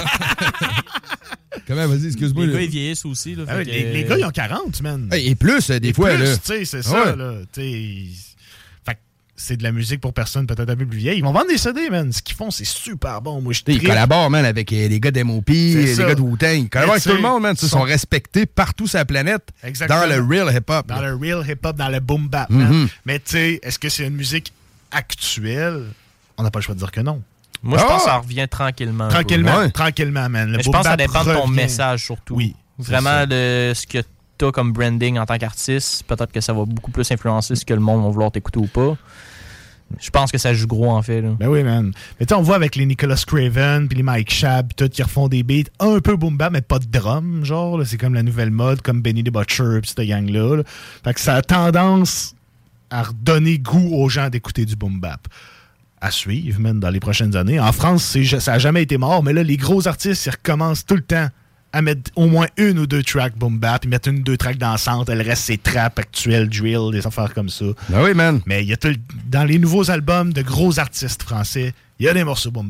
Comment, vas-y, excuse-moi. Les gars, ils vieillissent aussi. Là, les gars, ils ont 40, man. Et plus, des fois. Plus, là. Tu sais, c'est ça, là. Fait que c'est de la musique pour personnes peut-être un peu plus vieilles. Ils vont vendre des CD, man. Ce qu'ils font, c'est super bon. Moi, ils collaborent, man, avec les gars d'MOP, les gars de Wu-Tang. Ils collaborent avec tout le monde, man. Ils sont respectés partout sur la planète. Exactement. Dans le real hip-hop. Dans le real hip-hop, dans le boom bap, man. Mais tu sais, est-ce que c'est une musique actuelle? On n'a pas le choix de dire que non. Moi, je pense que ça revient tranquillement. Tranquillement, man. Mais je pense que ça dépend de ton message, surtout. Oui. Vraiment, de ce que tu as comme branding en tant qu'artiste, peut-être que ça va beaucoup plus influencer ce que le monde va vouloir t'écouter ou pas. Je pense que ça joue gros, en fait. Là. Ben oui, man. Mais tu sais, on voit avec les Nicholas Craven, puis les Mike Shab, tout, qui refont des beats un peu boom bap, mais pas de drum, genre. Là. C'est comme la nouvelle mode, comme Benny the Butcher, puis cette gang-là. Là. Fait que ça a tendance à redonner goût aux gens d'écouter du boom bap. À suivre, même dans les prochaines années. En France, ça n'a jamais été mort, mais là, les gros artistes, ils recommencent tout le temps à mettre au moins une ou deux tracks boom bap, ils mettent une ou deux tracks dansante, le reste, c'est trap, actuel, drill, des affaires comme ça. Ben oui, man. Mais il y a dans les nouveaux albums de gros artistes français, il y a des morceaux boom bap,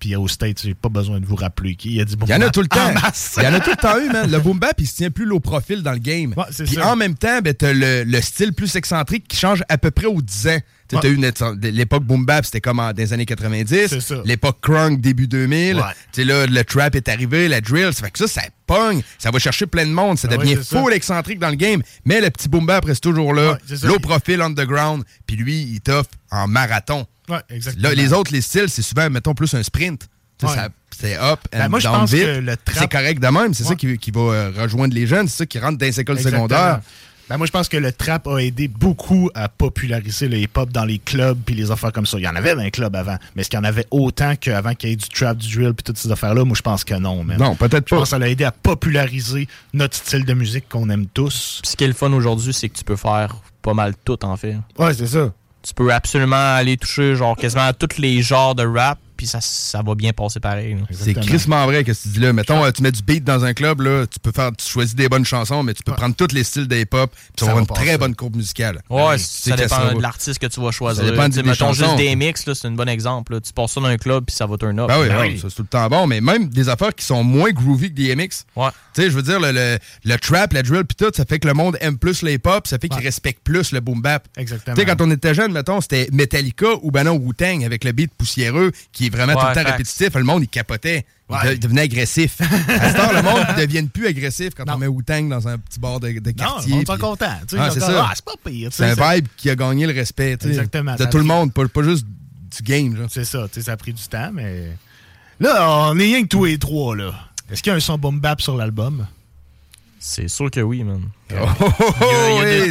puis aux States, j'ai pas besoin de vous rappeler qu'il y a du boom bap. Il y en a tout le temps. masse. Il y en a tout le temps eu, man. Le boom bap, il se tient plus low profil dans le game. Ouais, c'est puis ça. en même temps, ben, t'as le style plus excentrique qui change à peu près aux 10 ans. T'as eu l'époque boom bap, c'était comme dans les années 90. C'est ça. L'époque crunk, début 2000. Ouais. Là, le trap est arrivé, la drill. Ça fait que ça pogne. Ça va chercher plein de monde. Ça devient full excentrique dans le game. Mais le petit boom bap reste toujours là. Ouais, low profil, underground. Puis lui, il t'offre en marathon. Ouais, exactement. Là, les autres, les styles, c'est souvent, mettons, plus un sprint. Ouais. C'est up and moi, je down pense vite. que le trap... C'est correct de même. C'est ça qui va rejoindre les jeunes. C'est ça qui rentre dans les écoles secondaires. Moi, je pense que le trap a aidé beaucoup à populariser le hip-hop dans les clubs puis les affaires comme ça. Il y en avait dans les clubs avant, mais est-ce qu'il y en avait autant qu'avant qu'il y ait du trap, du drill puis toutes ces affaires-là? Moi, je pense que non. Man. Non, peut-être pas. Je pense que ça l'a aidé à populariser notre style de musique qu'on aime tous. Puis ce qui est le fun aujourd'hui, c'est que tu peux faire pas mal tout, en fait. Ouais, c'est ça. Tu peux absolument aller toucher genre quasiment à tous les genres de rap, puis ça va bien passer pareil. C'est crissement vrai que tu dis là. Mettons, tu mets du beat dans un club, là, tu choisis des bonnes chansons, mais tu peux prendre tous les styles de hip-hop, puis tu vas avoir une très bonne courbe musicale. Ouais, ça dépend de l'artiste que tu vas choisir. Ça dépend mettons juste des mix, c'est un bon exemple. Là. Tu passes ça dans un club, puis ça va turn up. Oui, ça, c'est tout le temps bon, mais même des affaires qui sont moins groovy que des MX. Ouais. Tu sais, je veux dire, le trap, la drill, puis tout, ça fait que le monde aime plus le hip-hop, ça fait qu'il respecte plus le boom bap. Exactement. Tu sais, quand on était jeune, mettons, c'était Metallica ou ben non, Wu-Tang avec le beat poussiéreux qui est vraiment tout le temps répétitif. Le monde, il capotait. Il devenait agressif. À ce temps, le monde ne devient plus agressif quand on met Wu-Tang dans un petit bar de quartier. Non, on est content. C'est ça. C'est pas pire. C'est un vibe qui a gagné le respect. Exactement. De tout le monde, pas juste du game. Genre. C'est ça. Ça a pris du temps, mais... Là, on est rien que tous les trois, là. Est-ce qu'il y a un son boom bap sur l'album? C'est sûr que oui, man. Oui,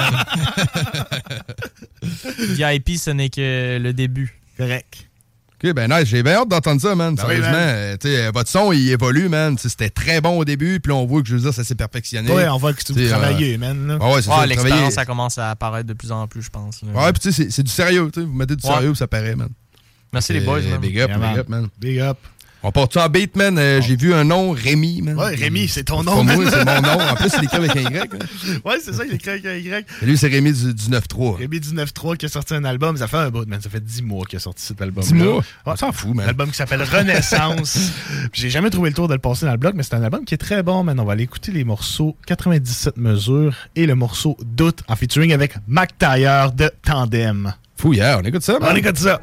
VIP, ce n'est que le début. Correct. OK, ben nice. J'ai bien hâte d'entendre ça, man. Sérieusement. Votre son, il évolue, man. C'était très bon au début, puis là, on voit que, je veux dire, ça s'est perfectionné. Oui, on voit que vous travaillez, man. Ouais, c'est ça. L'expérience, ça commence à apparaître de plus en plus, je pense. Là. Ouais, puis tu sais, c'est du sérieux. Vous mettez du sérieux, ça paraît, man. Merci les boys, man. Big up, man. Big up. On part-tu en beat, man? J'ai vu un nom, Rémi, man. Ouais, Rémi, c'est ton nom. Pas moi, c'est mon nom. En plus, il écrit avec un Y. Ouais, c'est ça, il écrit avec un Y. Et lui, c'est Rémi du 9-3. Rémi du 9-3 qui a sorti un album. Ça fait un bout, man. Ça fait 10 mois qu'il a sorti cet album. 10 mois? On s'en fout, man. Un album qui s'appelle Renaissance. J'ai jamais trouvé le tour de le passer dans le bloc, mais c'est un album qui est très bon, man. On va aller écouter les morceaux 97 mesures et le morceau Doute en featuring avec Mac Tailleur de Tandem. Fouillard, on écoute ça, man. On écoute ça.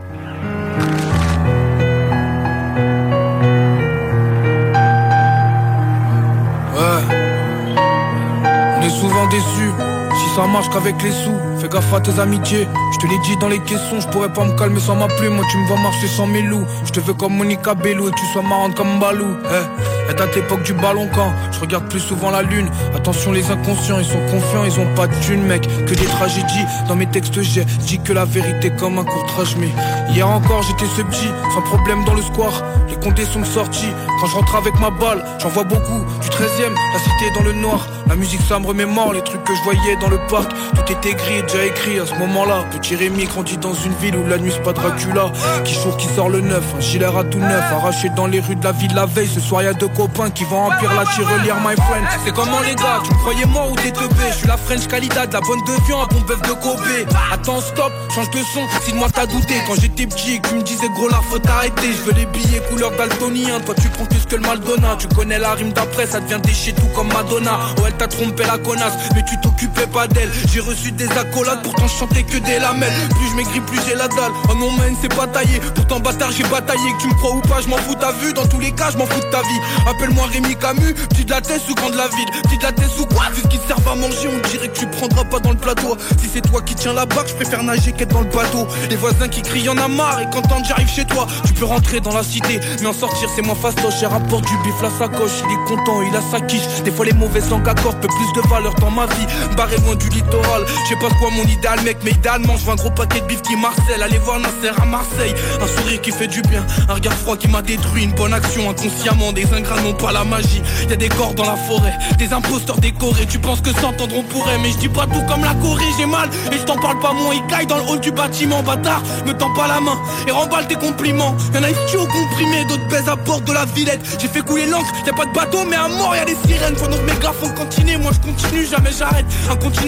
On est souvent déçus, si ça marche qu'avec les sous. Fais gaffe à tes amitiés, je te l'ai dit dans les caissons. Je pourrais pas me calmer sans ma plume, moi tu me vois marcher sans mes loups. Je te veux comme Monica Bello et que tu sois marrante comme Balou. Et date l'époque du ballon quand je regarde plus souvent la lune. Attention les inconscients, ils sont confiants, ils ont pas de thune mec. Que des tragédies, dans mes textes j'ai dit que la vérité comme un court-trage. Mais hier encore j'étais ce petit, sans problème dans le square. Les condés sont sortis, quand je rentre avec ma balle, j'en vois beaucoup. Du 13e, la cité dans le noir. La musique ça me remémore, les trucs que je voyais dans le parc. Tout était gris, déjà écrit à ce moment-là. Petit Rémi grandit dans une ville où la nuit c'est pas Dracula. Qui jour qui sort le neuf, un gilet à tout neuf. Arraché dans les rues de la ville la veille. Ce soir y'a deux copains qui vont remplir la tirelire, my friend. C'est comment les gars, tu me croyais mort ou t'es teubé? Je suis la French Calidad, la bonne de viande, un bon bœuf de Kobe. Attends stop, change de son, si de moi t'as douté. Quand j'étais petit, tu me disais gros là faut t'arrêter. Je veux les billets couleur daltonien, toi tu prends plus que le Maldona. Tu connais la rime d'après, ça devient déchet tout comme Madonna. Oh elle t'a trompé la connasse, mais tu t'occupais pas d'elle. J'ai reçu des accolades, pourtant je chantais que des lamelles. Plus je maigris, plus j'ai la dalle. Oh non man, c'est pas taillé, pourtant bâtard j'ai bataillé. Que tu me crois ou pas, je m'en fous t'as vu. Dans tous les cas, je m'en fous de ta vie. Appelle-moi Rémi Camus, petit de la tête ou grand de la ville. Petit de la tête ou quoi? Vu ce qui te sert à manger, on dirait que tu prendras pas dans le plateau. Si c'est toi qui tiens la barque, je préfère nager qu'être dans le bateau. Les voisins qui crient y'en a marre, et quand j'arrive chez toi, tu peux rentrer dans la cité, mais en sortir c'est moins fastoche. J'ai rapport du bif, la sacoche, il est content, il a sa quiche. Des fois les mauvaises langues accordent peu plus de valeur dans ma vie. Barré loin du littoral, je sais pas quoi mon idéal mec, mais idéalement je veux un gros paquet de bif qui Marcel. Allez voir Nasser à Marseille, un sourire qui fait du bien, un regard froid qui m'a détruit. Une bonne action inconsciemment, des ingrats n'ont pas la magie. Y'a des corps dans la forêt, des imposteurs décorés. Tu penses que s'entendre on pourrait, mais je dis pas tout comme la Corée. J'ai mal et je t'en parle pas, mon Ikai dans le hall du bâtiment. Bâtard, me tends pas la main et remballe tes compliments. Y'en a ici au comprimé, d'autres baisent à bord de la Villette. J'ai fait couler l'encre, y'a pas de bateau mais à mort y'a des sirènes. Faut donc méga, faut continuer, moi je continue, jamais j'arrête. Un continent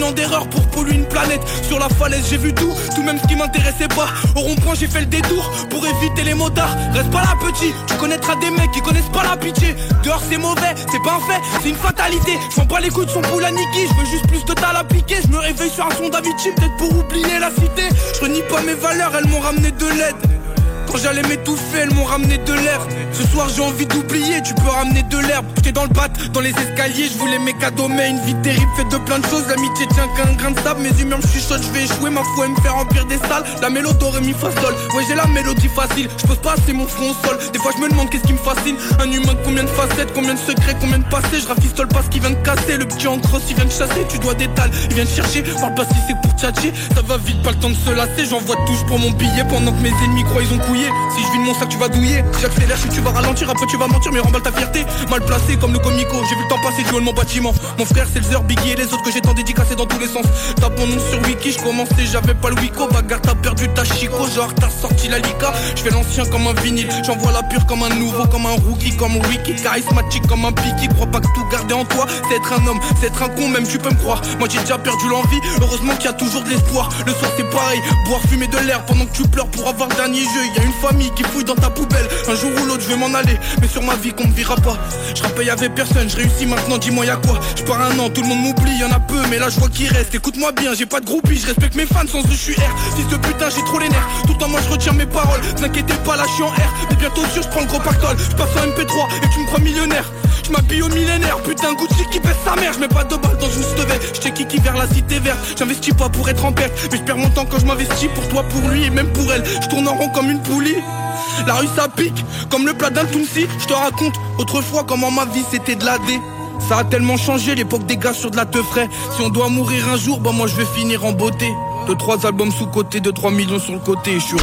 an d'erreur pour polluer une planète. Sur la falaise j'ai vu tout même ce qui m'intéressait pas. Au rond-point j'ai fait le détour pour éviter les motards. Reste pas là petit, tu connaîtras des mecs qui connaissent pas la pitié. Dehors c'est mauvais, c'est pas un fait, c'est une fatalité. Je prends pas les coups de son poule à Niki, je veux juste plus de tal à piquer. Je me réveille sur un son d'Avicii, peut-être pour oublier la cité. Je renie pas mes valeurs, elles m'ont ramené de l'aide. Quand j'allais m'étouffer, elles m'ont ramené de l'herbe. Ce soir j'ai envie d'oublier, tu peux ramener de l'herbe. J'étais dans le bat, dans les escaliers, je voulais mes cadeaux. Mais une vie terrible faite de plein de choses. L'amitié tient qu'un grain de sable. Mes humeurs me chuchotent, je vais échouer. Ma foi me faire remplir des salles. La mélodie do ré mi fa sol. Ouais j'ai la mélodie facile, je pose pas assez mon front au sol. Des fois je me demande qu'est-ce qui me fascine. Un humain combien de facettes, combien de secrets, combien de passés. Je rafistole pas ce qui vient de casser. Le petit en crosse il vient de chasser, tu dois d'étal, il vient de chercher. Parle pas si c'est pour tchatcher, ça va vite, pas le temps de se lasser. J'envoie touche pour mon billet pendant que mes ennemis croient ils ont couillé. Si je vide mon sac tu vas douiller, si j'accélère si tu vas ralentir. Après tu vas mentir mais remballe ta fierté. Mal placé comme le comico, j'ai vu le temps passer du haut de mon bâtiment. Mon frère c'est le Zer, Biggie et les autres que j'ai tant dédicacés dans tous les sens. Tape mon nom sur Wiki, je commençais j'avais pas le Wiko. Bagarre t'as perdu ta chico, genre t'as sorti la Lika. Je fais l'ancien comme un vinyle, j'envoie la pure comme un nouveau, comme un rookie, comme Ricky. Charismatique comme un Piki, crois pas que tout garder en toi c'est être un homme, c'est être un con même tu peux me croire. Moi j'ai déjà perdu l'envie, heureusement qu'il y a toujours de l'espoir. Le soir c'est pareil, boire, fumer de l'air pendant que tu pleures pour avoir le dernier jeu. Y a une famille qui fouille dans ta poubelle, un jour ou l'autre je vais m'en aller, mais sur ma vie qu'on me verra pas. Je rappelle y'avait personne, je réussis maintenant, dis-moi y'a quoi. Je pars un an, tout le monde m'oublie, y'en a peu, mais là je vois qu'il reste. Écoute-moi bien, j'ai pas de groupie, je respecte mes fans, sans eux je suis R. Fils de putain, j'ai trop les nerfs, tout le temps moi je retiens mes paroles. T'inquiétez pas, là je suis en R, mais bientôt sûr je prends le gros pactole. Je passe en MP3 et tu me crois millionnaire. Je m'habille au millénaire, putain Gucci qui baisse sa mère. Je mets pas de balles dans une stevet, je kiki vers la cité verte. J'investis pas pour être en perte, mais je perds mon temps quand je m'investis. Pour toi, pour lui et même pour elle, je tourne en rond comme une poulie. La rue ça pique, comme le plat d'un Tounsi. Je te raconte autrefois comment ma vie c'était de la D. Ça a tellement changé, l'époque des gars sur de la teuf frais. Si on doit mourir un jour, bah moi je vais finir en beauté. 2-3 albums sous côté, 2-3 millions sur le côté, je suis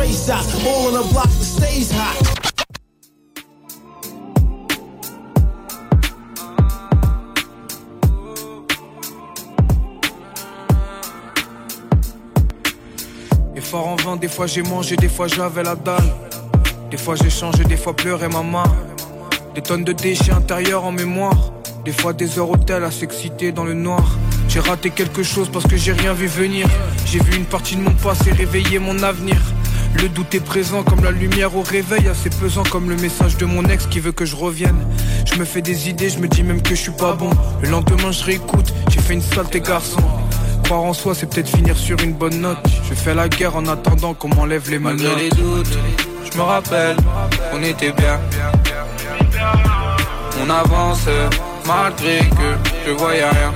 fort en vain, des fois j'ai mangé, des fois j'avais la dalle. Des fois j'ai changé, des fois pleuré maman. Des tonnes de déchets intérieurs en mémoire. Des fois des heures hôtel à s'exciter dans le noir. J'ai raté quelque chose parce que j'ai rien vu venir. J'ai vu une partie de mon passé réveiller mon avenir. Le doute est présent comme la lumière au réveil, assez pesant comme le message de mon ex qui veut que je revienne. Je me fais des idées, je me dis même que je suis pas bon. Le lendemain je réécoute, j'ai fait une saleté garçon. Croire en soi c'est peut-être finir sur une bonne note. Je fais la guerre en attendant qu'on m'enlève les menottes. Malgré les doutes, je me rappelle, on était bien. On avance malgré que je voyais rien.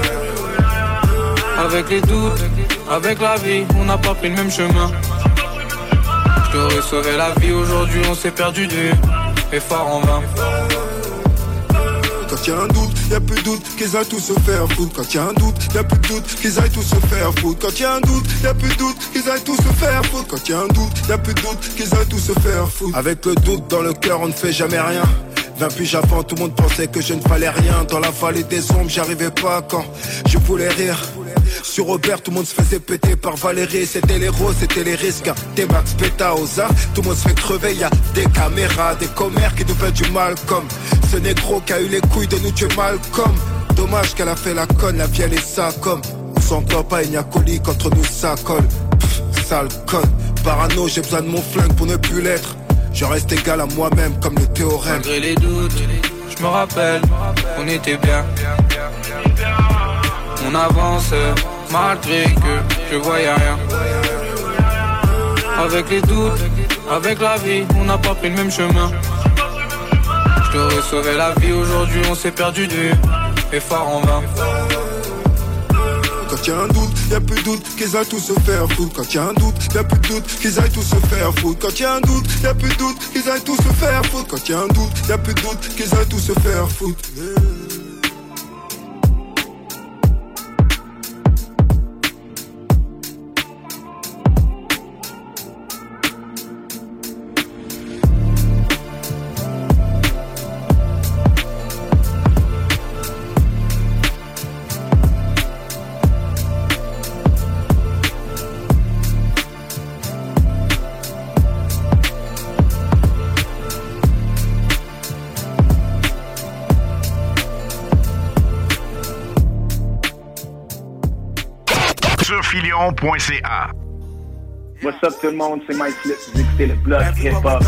Avec les doutes, avec la vie, on n'a pas pris le même chemin. Je t'aurais sauvé la vie, aujourd'hui on s'est perdu de vue. Et fort en vain. Quand y'a un doute, y'a plus de doute qu'ils aillent tous se faire foutre. Quand y'a un doute, y'a plus de doute qu'ils aillent tous se faire foutre. Quand y'a un doute, y'a plus de doute qu'ils aillent tous se faire foutre. Quand y'a un doute, y'a plus de doute qu'ils aillent tous se faire foutre. Avec le doute dans le cœur, on ne fait jamais rien. 20 piges avant, tout le monde pensait que je ne valais rien. Dans la vallée des ombres, j'y arrivais pas quand je voulais rire. Sur Robert, tout le monde se faisait péter par Valérie. C'était les roses, c'était les risques. Des Max Pétaosa, tout le monde se fait crever. Y'a des caméras, des commères qui nous fait du mal. Comme ce négro qui a eu les couilles de nous tuer Malcolm. Dommage qu'elle a fait la conne, la vieille et ça comme. On s'entend pas, il n'y a colis qu'entre nous ça colle. Pff, sale conne, parano, j'ai besoin de mon flingue pour ne plus l'être. Je reste égal à moi-même comme le théorème. Malgré les doutes, je me rappelle, on était bien. On avance malgré que je voyais rien. Avec les doutes, avec la vie, on n'a pas pris le même chemin. Je t'aurais sauvé la vie, aujourd'hui on s'est perdu de vue. Et fort en vain. Quand y'a un doute, y'a plus de doute qu'ils aillent tous se faire foutre. Quand y'a un doute, y'a plus de doute qu'ils aillent tous se faire foutre. Quand y'a un doute, y'a plus de doute qu'ils aillent tous se faire foutre. Quand y'a un doute, y'a plus de doute qu'ils aillent tous se faire foutre. arthurfilion.ca. What's up tout le monde, c'est Mike Flip, vous écoutez le Bloc Hip-Hop.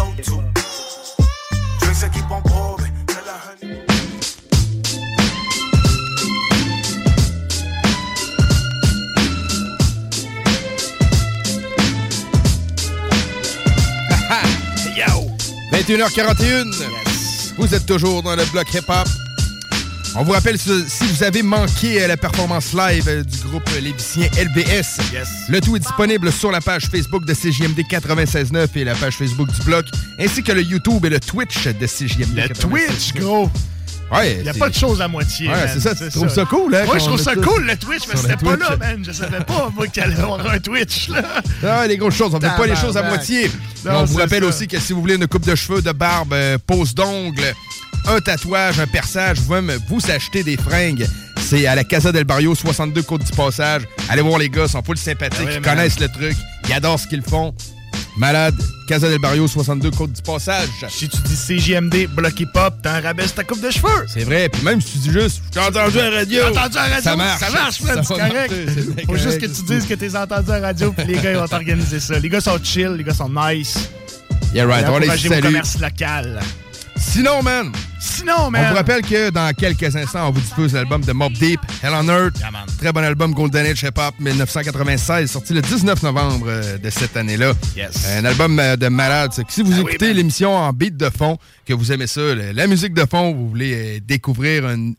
Yo! 21h41. Yes. Vous êtes toujours dans le Bloc Hip-Hop. On vous rappelle, si vous avez manqué la performance live du groupe lévicien LBS, le tout est disponible sur la page Facebook de CJMD 96.9 et la page Facebook du Bloc, ainsi que le YouTube et le Twitch de CJMD 96.9. Le Twitch, gros! Ouais, il n'y a pas de choses à moitié. Ouais, c'est ça, tu trouves ça cool, hein? Moi, je trouve ça cool, le Twitch, mais c'était pas là, man. Je savais pas, moi, qu'il allait avoir un Twitch, là. Ah, les grosses choses, on fait pas les choses à moitié. Non, on vous rappelle aussi que si vous voulez une coupe de cheveux, de barbe, pose d'ongles, un tatouage, un perçage, vous pouvez même vous acheter des fringues. C'est à la Casa del Barrio, 62 Côte du Passage. Allez voir les gars, ils sont full sympathiques, ils connaissent le truc, ils adorent ce qu'ils font. Malade, Casa del Barrio, 62 Côte du Passage. Si tu dis CJMD, Bloc Hip-Hop, t'en rabaisse ta coupe de cheveux. C'est vrai, puis même si tu dis juste, j'ai entendu à la radio. Ça marche. Ça marche, man, c'est correct. Faut juste que tu dises que t'es entendu à la radio, puis les gars, ils vont t'organiser ça. Les gars sont chill, les gars sont nice. Yeah, right, on les salue. Au commerce local. Sinon, man, on vous rappelle que dans quelques instants, on vous diffuse l'album de Mobb Deep, Hell on Earth. Yeah, très bon album, Golden Age Hip Hop 1996, sorti le 19 novembre de cette année-là. Yes. Un album de malade. Si vous écoutez l'émission en beat de fond, que vous aimez ça, la musique de fond, vous voulez découvrir une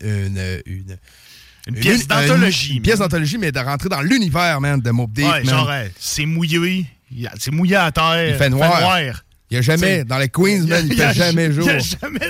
pièce d'anthologie. Une pièce d'anthologie, mais de rentrer dans l'univers, man, de Mobb Deep. Ouais, genre, c'est mouillé. C'est mouillé à terre. Il fait noir. Il n'y a jamais, dans les Queens, man, il fait jamais jour. Il n'y a jamais.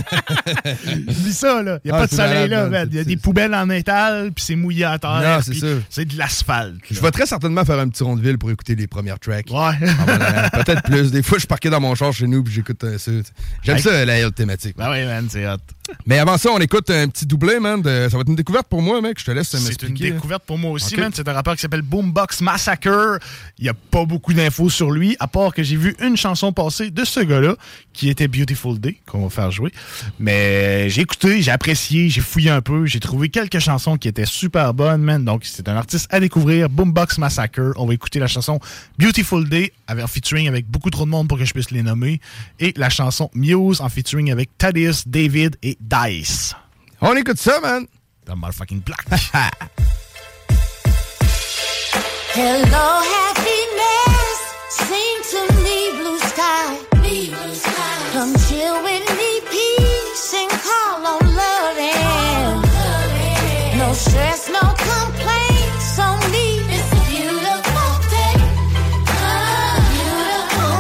Oublie ça, là. Il n'y a pas de soleil, là, man. Il y a des poubelles en métal, puis c'est mouillé à terre. Non, c'est ça. C'est de l'asphalte. Je vais très certainement faire un petit rond de ville pour écouter les premières tracks. Ouais. Peut-être plus. Des fois, je suis parqué dans mon char chez nous, puis j'écoute ça. J'aime ça, la hill thématique. Ben oui, man, c'est hot. Mais avant ça, on écoute un petit doublé, man. Ça va être une découverte pour moi, mec. Je te laisse m'expliquer. C'est une découverte pour moi aussi, man. C'est un rappeur qui s'appelle Boombox Massacre. Il n'y a pas beaucoup d'infos sur lui, à part que j'ai vu une chanson passer de ce gars-là, qui était Beautiful Day, qu'on va faire jouer. Mais j'ai écouté, j'ai apprécié, j'ai fouillé un peu, j'ai trouvé quelques chansons qui étaient super bonnes, man. Donc, c'est un artiste à découvrir, Boombox Massacre. On va écouter la chanson Beautiful Day, en featuring avec beaucoup trop de monde pour que je puisse les nommer, et la chanson Muse, en featuring avec Thaddeus, David et Dice. On écoute ça, man. The motherfucking Black. Hello, happiness. Sing to me, blue sky. Come chill with me, peace, and call on love and no stress, no complaints on me. It's a beautiful day. Beautiful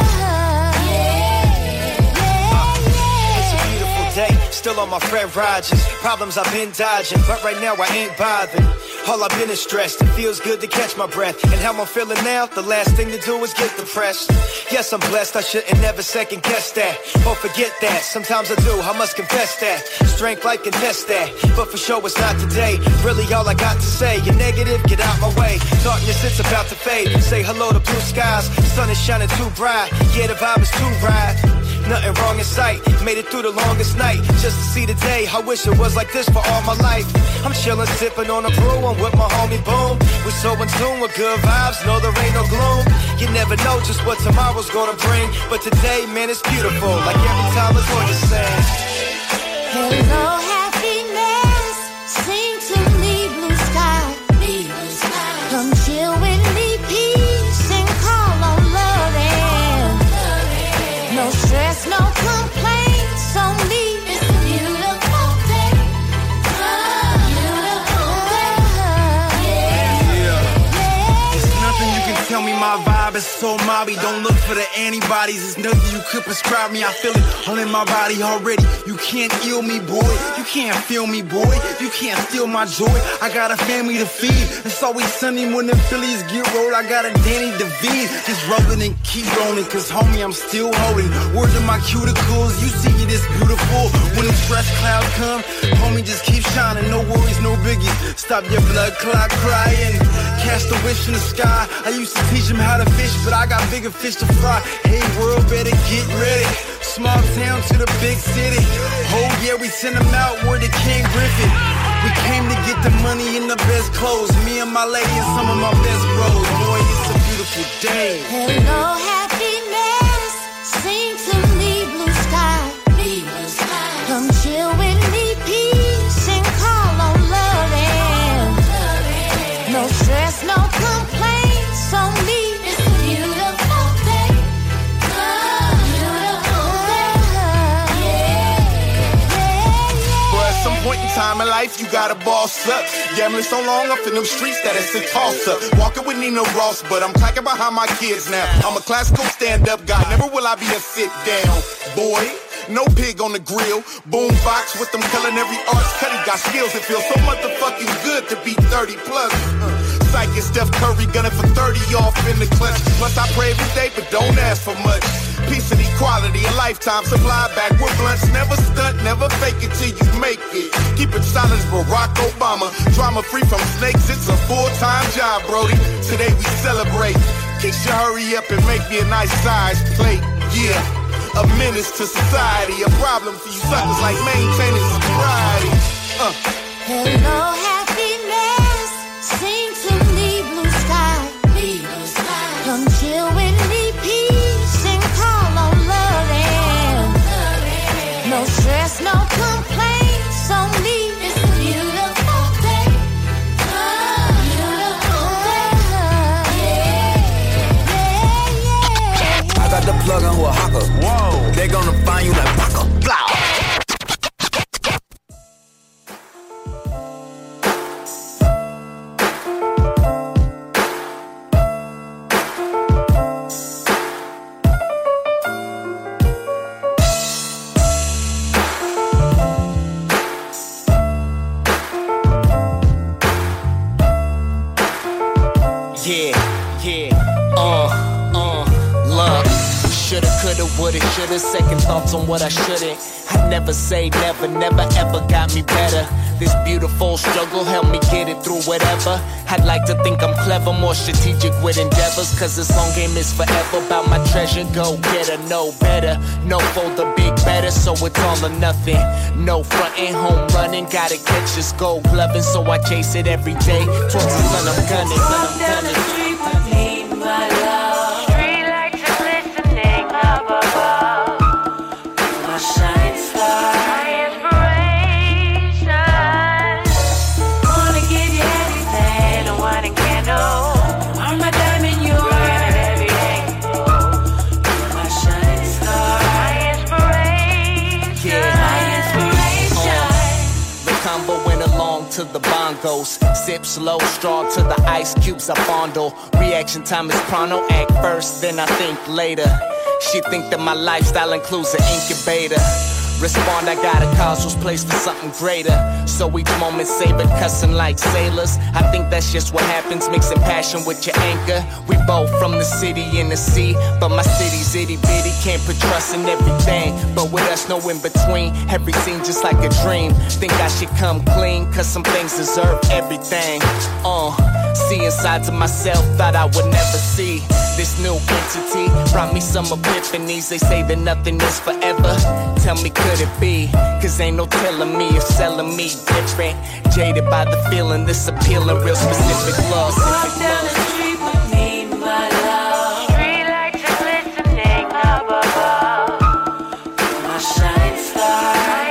day. It's a beautiful day. Still on my Fred Rogers. Problems I've been dodging, but right now I ain't bothered. All I've been is stressed. It feels good to catch my breath. And how I'm feeling now, the last thing to do is get depressed. Yes, I'm blessed, I shouldn't never second guess that. Or forget that, sometimes I do, I must confess that. Strength like contest that, but for sure it's not today. Really all I got to say, you're negative, get out my way. Darkness, it's about to fade. Say hello to blue skies, sun is shining too bright. Yeah, the vibe is too right. Nothing wrong in sight, made it through the longest night just to see the day. I wish it was like this for all my life. I'm chillin', sippin' on a brew, I'm with my homie Boom. We're so in tune with good vibes, no there ain't no gloom. You never know just what tomorrow's gonna bring, but today, man, it's beautiful, like every time it's what you're saying. Hello, happiness, sing to me, blue sky. Come chill with me, peace, and call on love and no stress, no complaints on me. It's a beautiful day. Beautiful day. There's nothing you can tell me, my vibe is so mobby. Don't look for the antibodies, there's nothing you could prescribe me. I feel it all in my body already. You can't ill me, boy. You can't feel me, boy. You can't steal my joy. I got a family to feed. It's always sunny when the Phillies get rolled. I got a Danny DeVine. Just rolling and keep rolling, cause homie, I'm still holding. Word to my cuticles, you see it is beautiful. When the stress clouds come, homie, just keep shining. No worries, no biggies. Stop your blood clot crying. Cast a wish in the sky. I used to teach him how to fish. fish, but I got bigger fish to fry. Hey world, better get ready. Small town to the big city. Oh yeah, we send them out where they can't grip it. We came to get the money and the best clothes. Me and my lady and some of my best bros. Boy, it's a beautiful day. Hello, happiness. Sing to me, blue sky. Blue sky. Come chill with me, peace, and call on love and no stress, no complaints on me. It's a beautiful day. Some point in time in life, you gotta boss up. Gambling so long up in them streets that it's a toss up. Walking with Nina Ross, but I'm clacking behind my kids now. I'm a classical stand-up guy, never will I be a sit-down boy. No pig on the grill, boom box with them culinary arts. Cuddy got skills, it feels so motherfucking good to be 30 plus. Psychic Steph Curry gunning for 30 off in the clutch. Plus I pray every day, but don't ask for much. Peace and equality, a lifetime supply back with blunts. Never stunt, never fake it till you make it. Keep it solid as Barack Obama. Drama free from snakes, it's a full-time job, Brody. Today we celebrate. Keisha, hurry up and make me a nice size plate. Yeah, a menace to society. A problem for you suckers like maintaining sobriety. Hello, happiness. Sing to me, blue sky. Blue sky. Come chill with me, peace, and call on love and no stress, no complaints on me. It's a beautiful day. Beautiful day. I got the plug on who a hawker. Whoa. They gonna find you like Paco. Blah. Woulda, shoulda, second thoughts on what I shouldn't. I never say never, never ever got me better. This beautiful struggle helped me get it through whatever. I'd like to think I'm clever, more strategic with endeavors. Cause this long game is forever about my treasure. Go get her, no better. No for the big better, so it's all or nothing. No frontin', home running, gotta catch this gold gloving. So I chase it every day. Towards the sun I'm gunning, Walk down the street with me, my love. Street lights are glistening up above. My shining star, my inspiration. Wanna give you everything, a wine and candle. I'm my diamond, you're everything. My shining star, my inspiration. My inspiration. The combo went along to the bongos. Sip slow, straw to the ice cubes I fondle. Reaction time is pronto, act first, then I think later. She think that my lifestyle includes an incubator. Respond, I got a cause was placed for something greater. So each moment savor, cussing like sailors. I think that's just what happens, mixing passion with your anchor. We both from the city and the sea, but my city's itty bitty. Can't put trust in everything, but with us no in between. Everything just like a dream. Think I should come clean, cause some things deserve everything. Seeing sides of myself thought I would never see. This new entity brought me some epiphanies. They say that nothing is forever. Tell me, could it be? Cause ain't no telling me if selling me different. Jaded by the feeling, this appealing, real specific love. Walk down the street with me, my love. Street lights are glistening up above. My shining star, my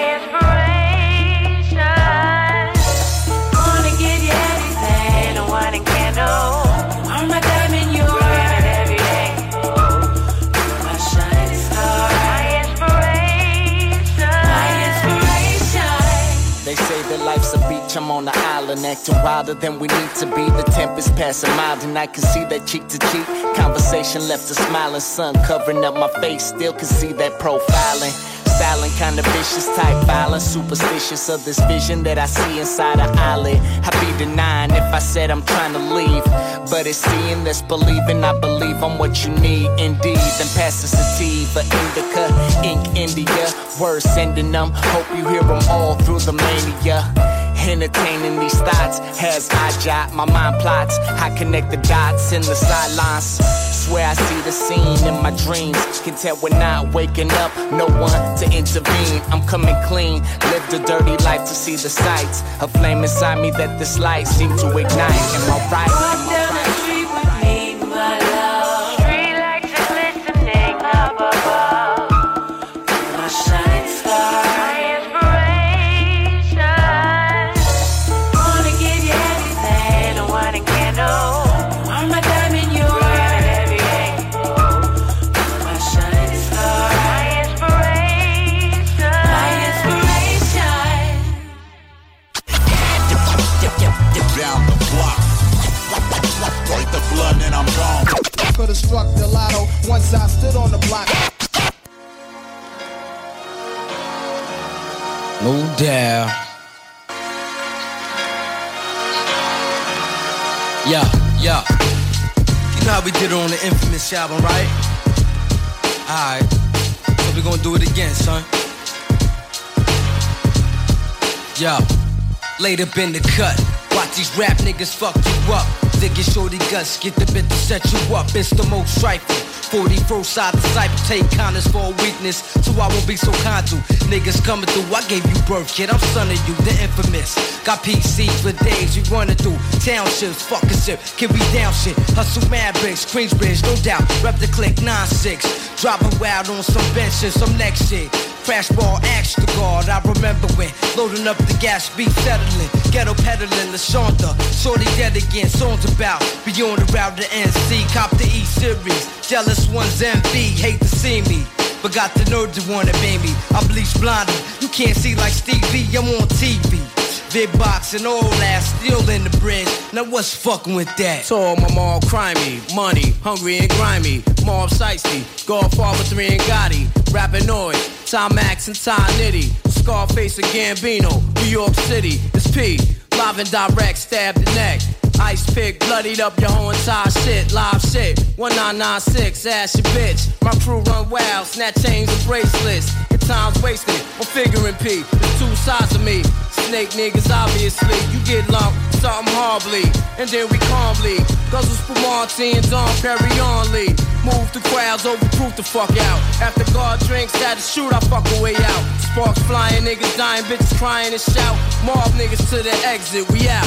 inspiration. Wanna give you everything, a wine and candle. I'm my diamond, you're everything. My shining star, my inspiration. My inspiration. They say that life's a beach, I'm on the island, acting wilder than we need to be. The tempest passing mild, and I can see that cheek to cheek. Conversation left a smiling sun covering up my face, still can see that profiling. Styling kinda vicious, type violence, superstitious of this vision that I see inside her eyelid. I'd be denying if I said I'm trying to leave, but it's seeing that's believing. I believe I'm what you need, indeed. Then pass the sativa, indica, ink, India. Words sending them, hope you hear them all through the mania. Entertaining these thoughts as I jot my mind plots. I connect the dots in the sidelines. Swear I see the scene in my dreams. Can tell we're not waking up, no one to intervene. I'm coming clean, lived a dirty life to see the sights. A flame inside me that this light seemed to ignite. Am I right? Walk down the street with me, my love. Street lights are glistening up above. My shining star, my inspiration. Wanna give you everything, a wine and candle. I'm a diamond, you're a heavy angel. My shining star, my inspiration. My inspiration. Down the block. Break the blood and I'm gone. Could've struck the lotto once I stood on the block. No doubt. Yeah. You know how we did it on the Infamous album, right? Alright. So we gonna do it again, son. Yo. Laid up in the cut. Watch these rap niggas fuck you up. Digging shorty guts, get the bit to set you up. It's the most trifling. 41st side disciple, take kindness for a weakness, so I won't be so kind to niggas coming through. I gave you birth, kid, I'm son of you, the infamous. Got PCs for days, we running through townships, fucking shit, can we down shit? Hustle mad bricks, Queensbridge, no doubt. Rep the click 9-6, dropping wild on some benches, some next shit. Crash ball, axe the guard, I remember when loading up the gas, beat settling, ghetto peddling, LaShonda, shorty dead again, songs about beyond the route to NC, cop the E-Series, jealous ones envy, hate to see me, but got the nerve to wanna baby. I bleach blinded, you can't see like Stevie, I'm on TV. Big box and all that, still in the bridge. Now what's fucking with that? So all my mom crimey, money, hungry and grimy. Mom Sightsy, Godfather 3 and Gotti. Rapping noise, Tom Max and Tom Nitty. Scarface and Gambino, New York City. It's P, live and direct, stab the neck. Ice pick, bloodied up your whole entire shit. Live shit, 1996, ass your bitch. My crew run wild, snatch chains and bracelets. Your time's wasted, I'm figuring P. There's two sides of me. Snake niggas, obviously. You get lumped, something horribly. And then we calmly. Guzzle Spumante and Don Perry only. Move the crowds, overproof the fuck out. After God drinks, had to shoot, I fuck a way out. Sparks flying, niggas dying, bitches crying and shout. Mob niggas to the exit, we out.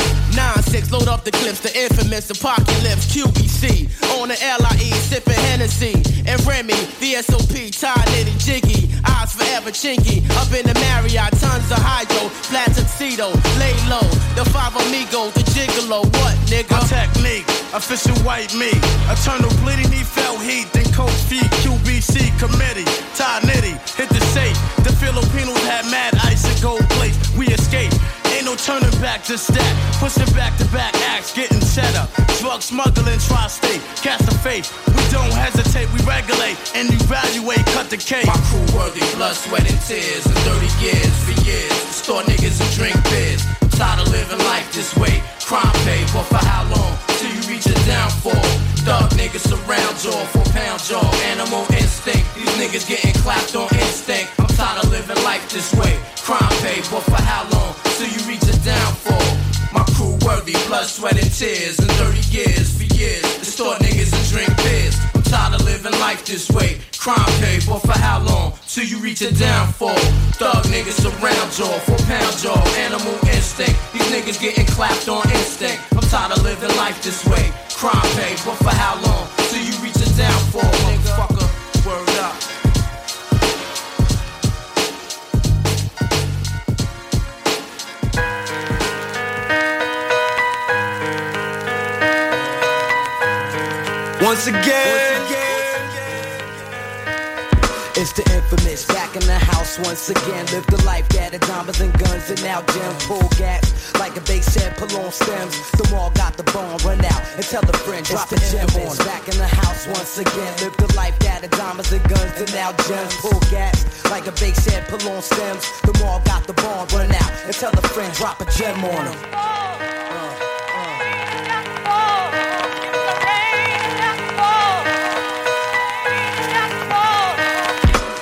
9-6, load up the clips, the infamous apocalypse, QBC. On the LIE, sipping Hennessy. And Remy, VSOP, tied knitted jiggy. Eyes forever chinky. Up in the Marriott, tons of hydro. Flat tuxedo, lay low. The five amigos, the gigolo. What, nigga? My technique, official white meat. Eternal bleeding, he felt heat. Then coach feet, QBC committee. Tied nitty, hit the safe. The Filipinos had mad ice and gold plates. We escaped. Ain't no turning back, just that. Pushing back-to-back acts, getting set up. Drug smuggling, tri-state, cast a faith. We don't hesitate, we regulate and evaluate, cut the cake. My crew worthy, blood, sweat, and tears. And 30 years for years. Store niggas and drink beers. I'm tired of living life this way. Crime pay, but for how long? Till you reach a downfall. Thug niggas surround jaw, 4-pound jaw. Animal instinct, these niggas getting clapped on instinct. I'm tired of living life this way. Crime pay, but for how long? Till you reach a downfall. My crew worthy, blood, sweat, and tears. And 30 years for years. Distort niggas and drink beers. I'm tired of living life this way. Crime pay, but for how long? Till you reach a downfall. Thug niggas surround jaw, 4-pound jaw. Animal instinct. These niggas getting clapped on instinct. I'm tired of living life this way. Crime pay, but for how long? Till you reach a downfall, motherfucker. Word up. Once again, it's the infamous, back in the house once again. Live the life that had diamonds and guns and now gems. Pull gas like a bass head, pull on stems. The mall got the bone, run out and tell a friend, drop a gem on. Back in the house once again. Live the life that had diamonds and guns and now gems. Pull gas like a bass head, pull on stems. The mall got the bone, run out and tell a friend, drop a gem on them.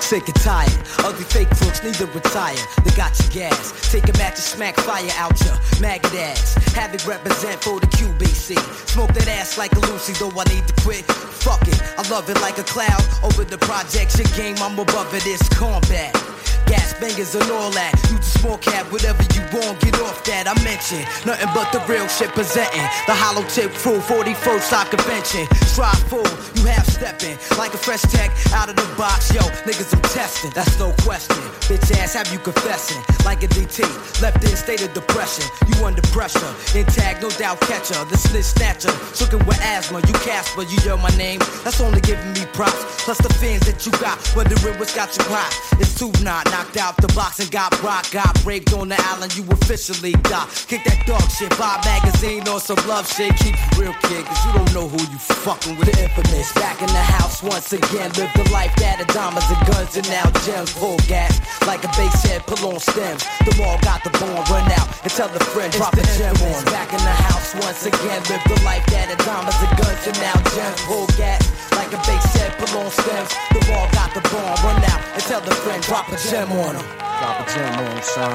sick and tired. Ugly fake crooks need to retire. They got your gas. Take a match and smack fire out your maggot ass. Have it represent for the QBC. Smoke that ass like a Lucy, though I need to quit. Fuck it, I love it like a cloud. Over the projection game, I'm above it, it's combat. Gas bangers and all that. Use a small cab, whatever you want, get off that. I mention nothing but the real shit presenting. The hollow tip crew, 41st side convention. Strive full, you half stepping like a fresh tech out of the box. Yo, niggas, I'm testing, that's no question. Bitch ass, have you confessing like a DT? Left in state of depression, you under pressure. Intact, no doubt catcher, the snitch snatcher. Shookin' with asthma, you Casper, you yell my name. That's only giving me props. Plus the fans that you got, wondering what's got you hot. It's too knocked out the box and got rocked. Got raped on the island, you officially got. Kick that dog shit, buy a magazine or some love shit. Keep it real, kid, cause you don't know who you fucking with. The infamous, back in the house once again. Live the life that of diamonds and guns and now gems. Pull gas, like a bass head, pull on stems. The mall got the bomb, run out and tell the friend, drop a gem on. Back in the house once again. Live the life that of diamonds and guns and now gems. Pull gas, like a bass head, pull on stems. The mall got the bomb, run out and tell the friend, drop a gem on him. Drop a gem on him, son.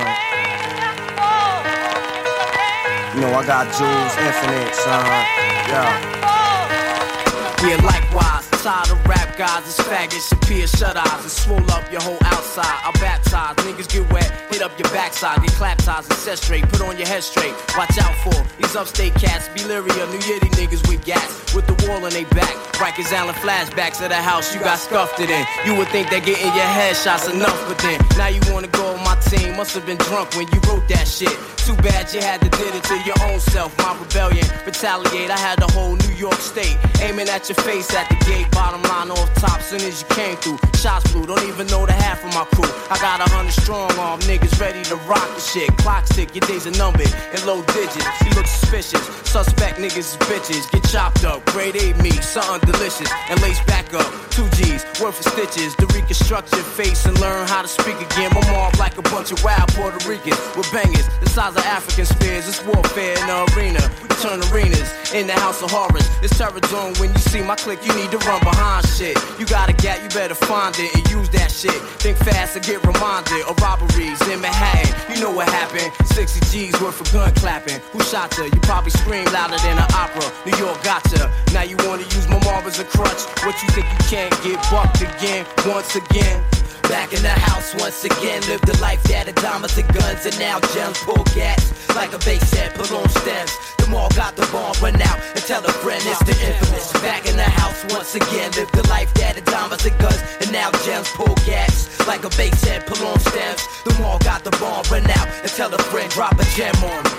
You know I got jewels, infinite, son. Yeah. Yeah, likewise, tired of rap guys, it's faggots, appear shut eyes and swole up your whole outside. I baptize, niggas get wet, hit up your backside, get clap ties and set straight, put on your head straight. Watch out for these upstate cats, Beliria, New Yiddy niggas with gas, with the wall on they back. Rikers Island flashbacks of the house you got scuffed it in. You would think that getting your headshots enough, but then now you wanna go on my team. Must have been drunk when you wrote that shit. Too bad you had to did it to your own self. My rebellion, retaliate. I had the whole New York state aiming at your face at the gate. Bottom line off top, soon as you came through. Shots flew, don't even know the half of my crew. I got 100 strong arm niggas ready to rock the shit. Clock tick, your days are numbered in low digits. You look suspicious. Suspect niggas is bitches. Get chopped up, grade A meat, something delicious. And lace back up, 2 G's, worth of stitches. To reconstruct your face and learn how to speak again. My mom like a bunch of wild Puerto Ricans with bangers the size of African spears. It's warfare in the arena. We turn arenas in the house of horrors. It's terror zone when you see my clique. You need to run behind shit. You got a gap, you better find it and use that shit. Think fast and get reminded of robberies in Manhattan. You know what happened? 60 G's worth of gun clapping. Who shot her? You probably scream louder than an opera. New York gotcha. Now you wanna use my mom as a crutch. What you think you can't get bucked again, once again? Back in the house once again. Live the life that of diamonds and guns and now gems. Pull gas like a bass head, pull on stems. The mall got the bomb, run out and tell a friend it's the infamous. Back in the house once again. Live the life that of diamonds and guns and now gems. Pull gas like a bass head, pull on stems. The mall got the bomb, run out and tell a friend, drop a gem on him.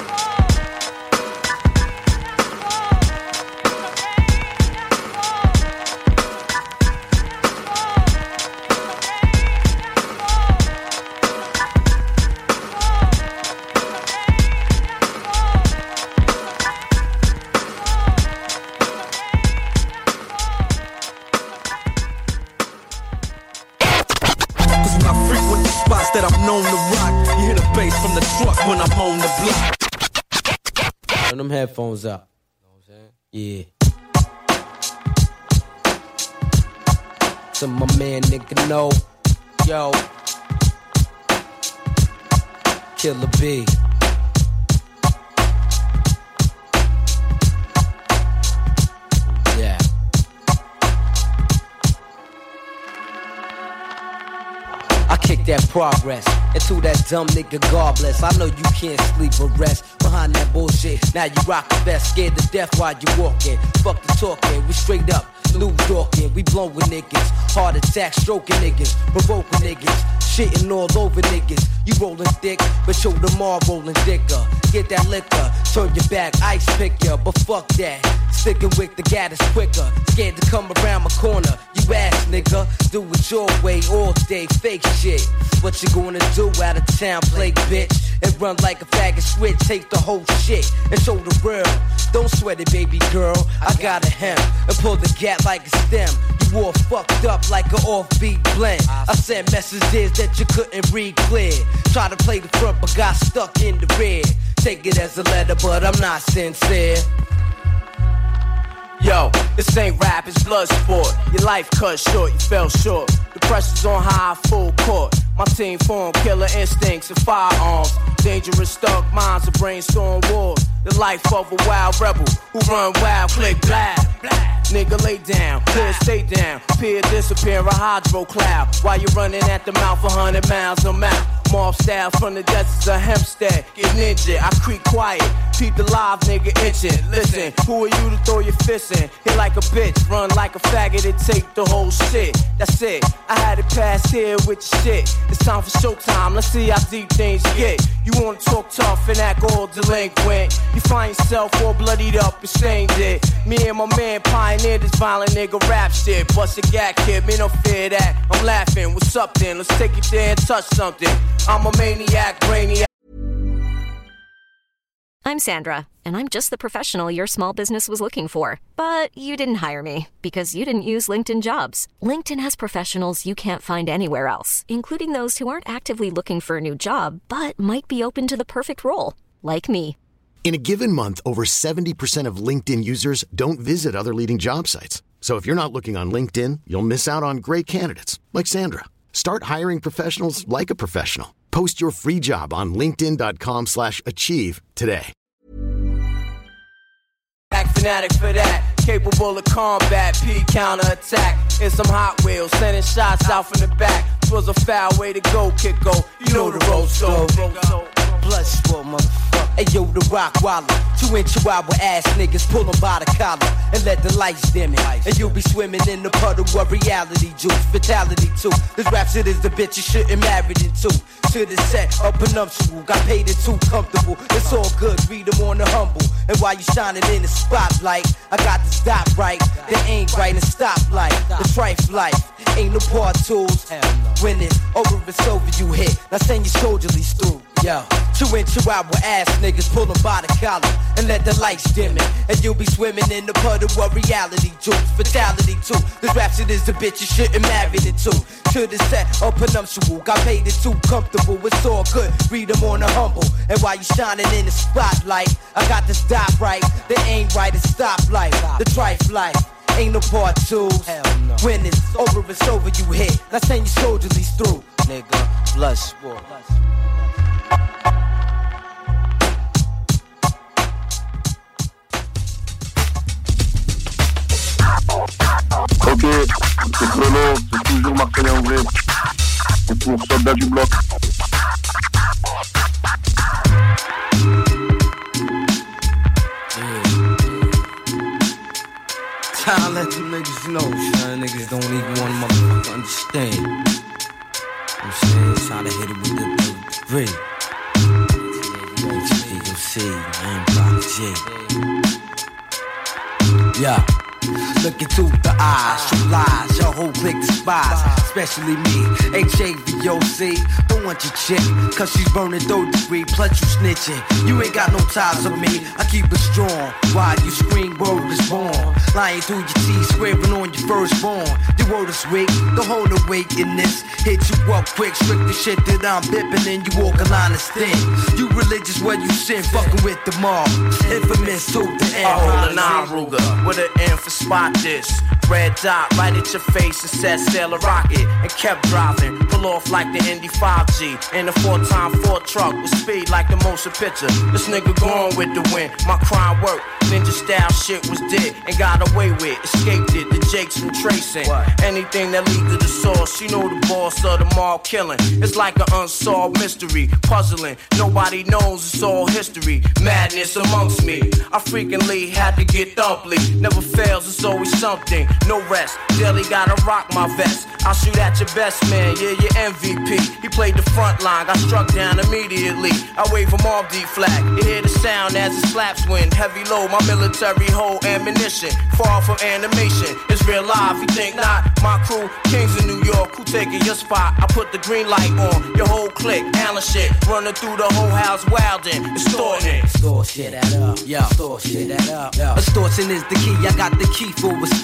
That I'm known to rock. You hear the bass from the truck when I'm on the block. Turn them headphones up. Yeah. So my man nigga know. Yo. Killer B. Yeah. I kick that progress into that dumb nigga God bless. I know you can't sleep or rest behind that bullshit. Now you rock the best, scared to death while you walking. Fuck the talking, we straight up New Yorkin'. We blowin' niggas, heart attack stroking niggas, provoking niggas, shitting all over niggas. You rollin' thick, but show them all rollin' thicker. Get that liquor, turn your back, ice pick ya, but fuck that. Sticking with the gat is quicker. Scared to come around my corner. You ass nigga, do it your way all day, fake shit. What you gonna do out of town, play bitch? And run like a faggot switch, take the whole shit and show the world. Don't sweat it, baby girl. I got a hem and pull the gap like a stem. You all fucked up like an offbeat blend. I sent messages that you couldn't read clear. Try to play the front but got stuck in the rear. Take it as a letter but I'm not sincere. Yo, this ain't rap, it's blood sport. Your life cut short, you fell short. The pressure's on high, full court. My team formed killer instincts and firearms. Dangerous thug minds, a brainstorm wars. The life of a wild rebel who run wild, click, blab. Nigga lay down, clear, stay down. Peer disappear, a hydro cloud. While you running at the mouth 100 miles a mile. Mob style from the deserts of Hempstead. Get ninja, I creep quiet. Peep the live nigga itching. Listen, who are you to throw your fist in? Hit like a bitch, run like a faggot and take the whole shit. That's it, I had it pass here with your shit. It's time for showtime, let's see how deep things get. You wanna talk tough and act all delinquent. You find yourself all bloodied up and stained it. Me and my man pioneered this violent nigga rap shit. Bust a gag kid, me no fear that. I'm laughing, what's up then? Let's take it there and touch something. I'm a maniac, brainiac. I'm Sandra, and I'm just the professional your small business was looking for. But you didn't hire me because you didn't use LinkedIn Jobs. LinkedIn has professionals you can't find anywhere else, including those who aren't actively looking for a new job, but might be open to the perfect role, like me. In a given month, over 70% of LinkedIn users don't visit other leading job sites. So if you're not looking on LinkedIn, you'll miss out on great candidates like Sandra. Start hiring professionals like a professional. Post your free job on linkedin.com/achieve today. Act fanatic for that, capable of combat, P counterattack. In some Hot Wheels, sending shots out from the back. This was a foul way to go, kick go. You know the road so. Blood sport, motherfucker. Hey yo, the rock waller. 2-inch Chihuahua ass niggas pull them by the collar and let the lights dim it. And you'll be swimming in the puddle of reality juice. Fatality too. This rap shit is the bitch you shouldn't married into. To the set, up prenuptial. Got paid it too comfortable. It's all good, read them on the humble. And while you shining in the spotlight, I got to stop right. They ain't right and stop light. The trife life. Ain't no part tools. When it's over, it's over, you hit. Now send your soldierlies through. Yo, 2-inch Chihuahua ass niggas pull them by the collar and let the lights dim it. And you'll be swimming in the puddle of reality juice. Fatality too. This rap shit is the bitch you shouldn't marry into. To the set, up prenuptial. Got paid it too comfortable. It's all good. Read them on the humble. And while you shining in the spotlight, I got to stop right. They ain't right and stop life. The trife life. Ain't no part twos. No. When it's over, you hit. Now send your soldierlies through. Nigga, blood sport. Ok, c'est Chrono, c'est toujours Marseillais en vrai. C'est pour Soldat du Bloc. I'll let you niggas know, son. Niggas don't even want to motherfucker understand. I'm saying, it's how to hit it with the three. HPOC, man, Block G. Yeah. Look into the eyes, true lies, your whole clique despise, especially me, HAVOC. Don't want your chick, cause she's burning 3rd degree, plus you snitching. You ain't got no ties on me, I keep it strong. While you scream, word is born. Lying through your teeth, scraping on your firstborn. Your word is weak, don't hold awake in this. Hit you up quick, strict the shit that I'm bipping, and you walk a line of thin. You religious where you sin, fucking with the mob. Infamous to the end. I hold a 9 Ruger with an M for spot this. Red dot right at your face and said sail a rocket and kept driving. Pull off like the Indy 5G in a 4x4 truck with speed like the motion picture. This nigga going with the wind. My crime work. Ninja style shit was dead and got away with. Escaped it. The Jakes from tracing. Anything that lead to the source. You know the boss of the mob killing. It's like an unsolved mystery. Puzzling. Nobody knows it's all history. Madness amongst me. I frequently had to get thumply. Never fails. It's always something. No rest, daily gotta rock my vest. I'll shoot at your best man, yeah, your MVP. He played the front line, got struck down immediately. I wave him off D flag. You hear the sound as it slaps wind. Heavy load, my military hold ammunition. Far from animation, it's real life, you think not? My crew, kings in New York, who taking your spot? I put the green light on, your whole clique, Allen shit. Running through the whole house, wildin', extorting. Extortion that up, yeah. Extortion that up, yeah. Extortion is the key, I got the key for extortion.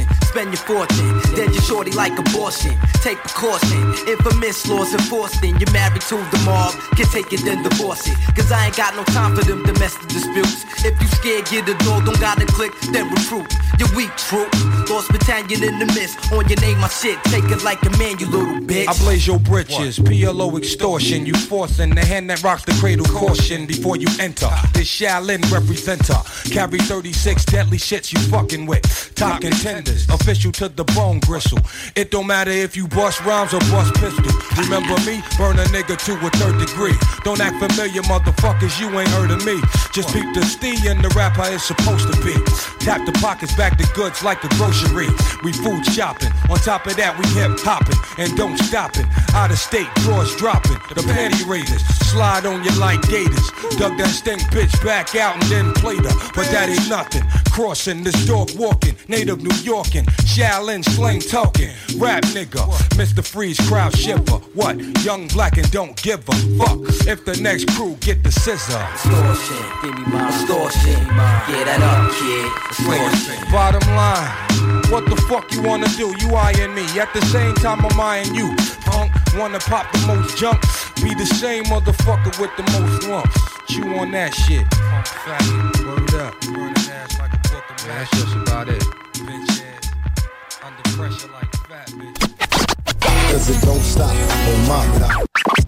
spend your fortune. Dead your shorty like abortion. Take precaution. Infamous laws enforcing. You're married to the mob. Can take it then divorce it. Cause I ain't got no time for them domestic disputes. If you scared, get a door. Don't gotta click, then recruit. You're weak, troop. Lost battalion in the mist. On your name, my shit. Take it like a man, you little bitch. I blaze your britches. PLO extortion. You forcing the hand that rocks the cradle. Caution before you enter. This Shaolin representer. Carry 36 deadly shits you fucking with. Top contenders. Official to the bone gristle. It don't matter if you bust rhymes or bust pistol. Remember me? Burn a nigga to a third degree. Don't act familiar, motherfuckers. You ain't heard of me. Just peep the stee and the rapper is supposed to be. Tap the pockets, back the goods like a grocery. We food shopping. On top of that, we hip hopping and don't stopping. Out of state, drawers dropping. The panty raiders slide on you like gators. Dug that stink bitch back out and then played her. But that ain't nothing. Crossing this dog walking. Native New Yorkin. Shaolin slang talking. Rap nigga. Mr. Freeze crowd shipper. What? Young black and don't give a fuck if the next crew get the scissor. Extortion. Give me my extortion. Get that up, kid. Extortion. Bottom line. What the fuck you wanna do? You eyeing me. At the same time I'm eyeing you. Punk. Wanna pop the most junk. Be the same motherfucker with the most lumps. Chew on that shit. Punk faggot. Word up. Burning ass like a book of that's just about it. Bitch ass. Under pressure like fat bitch. Cause it don't stop. Oh my God.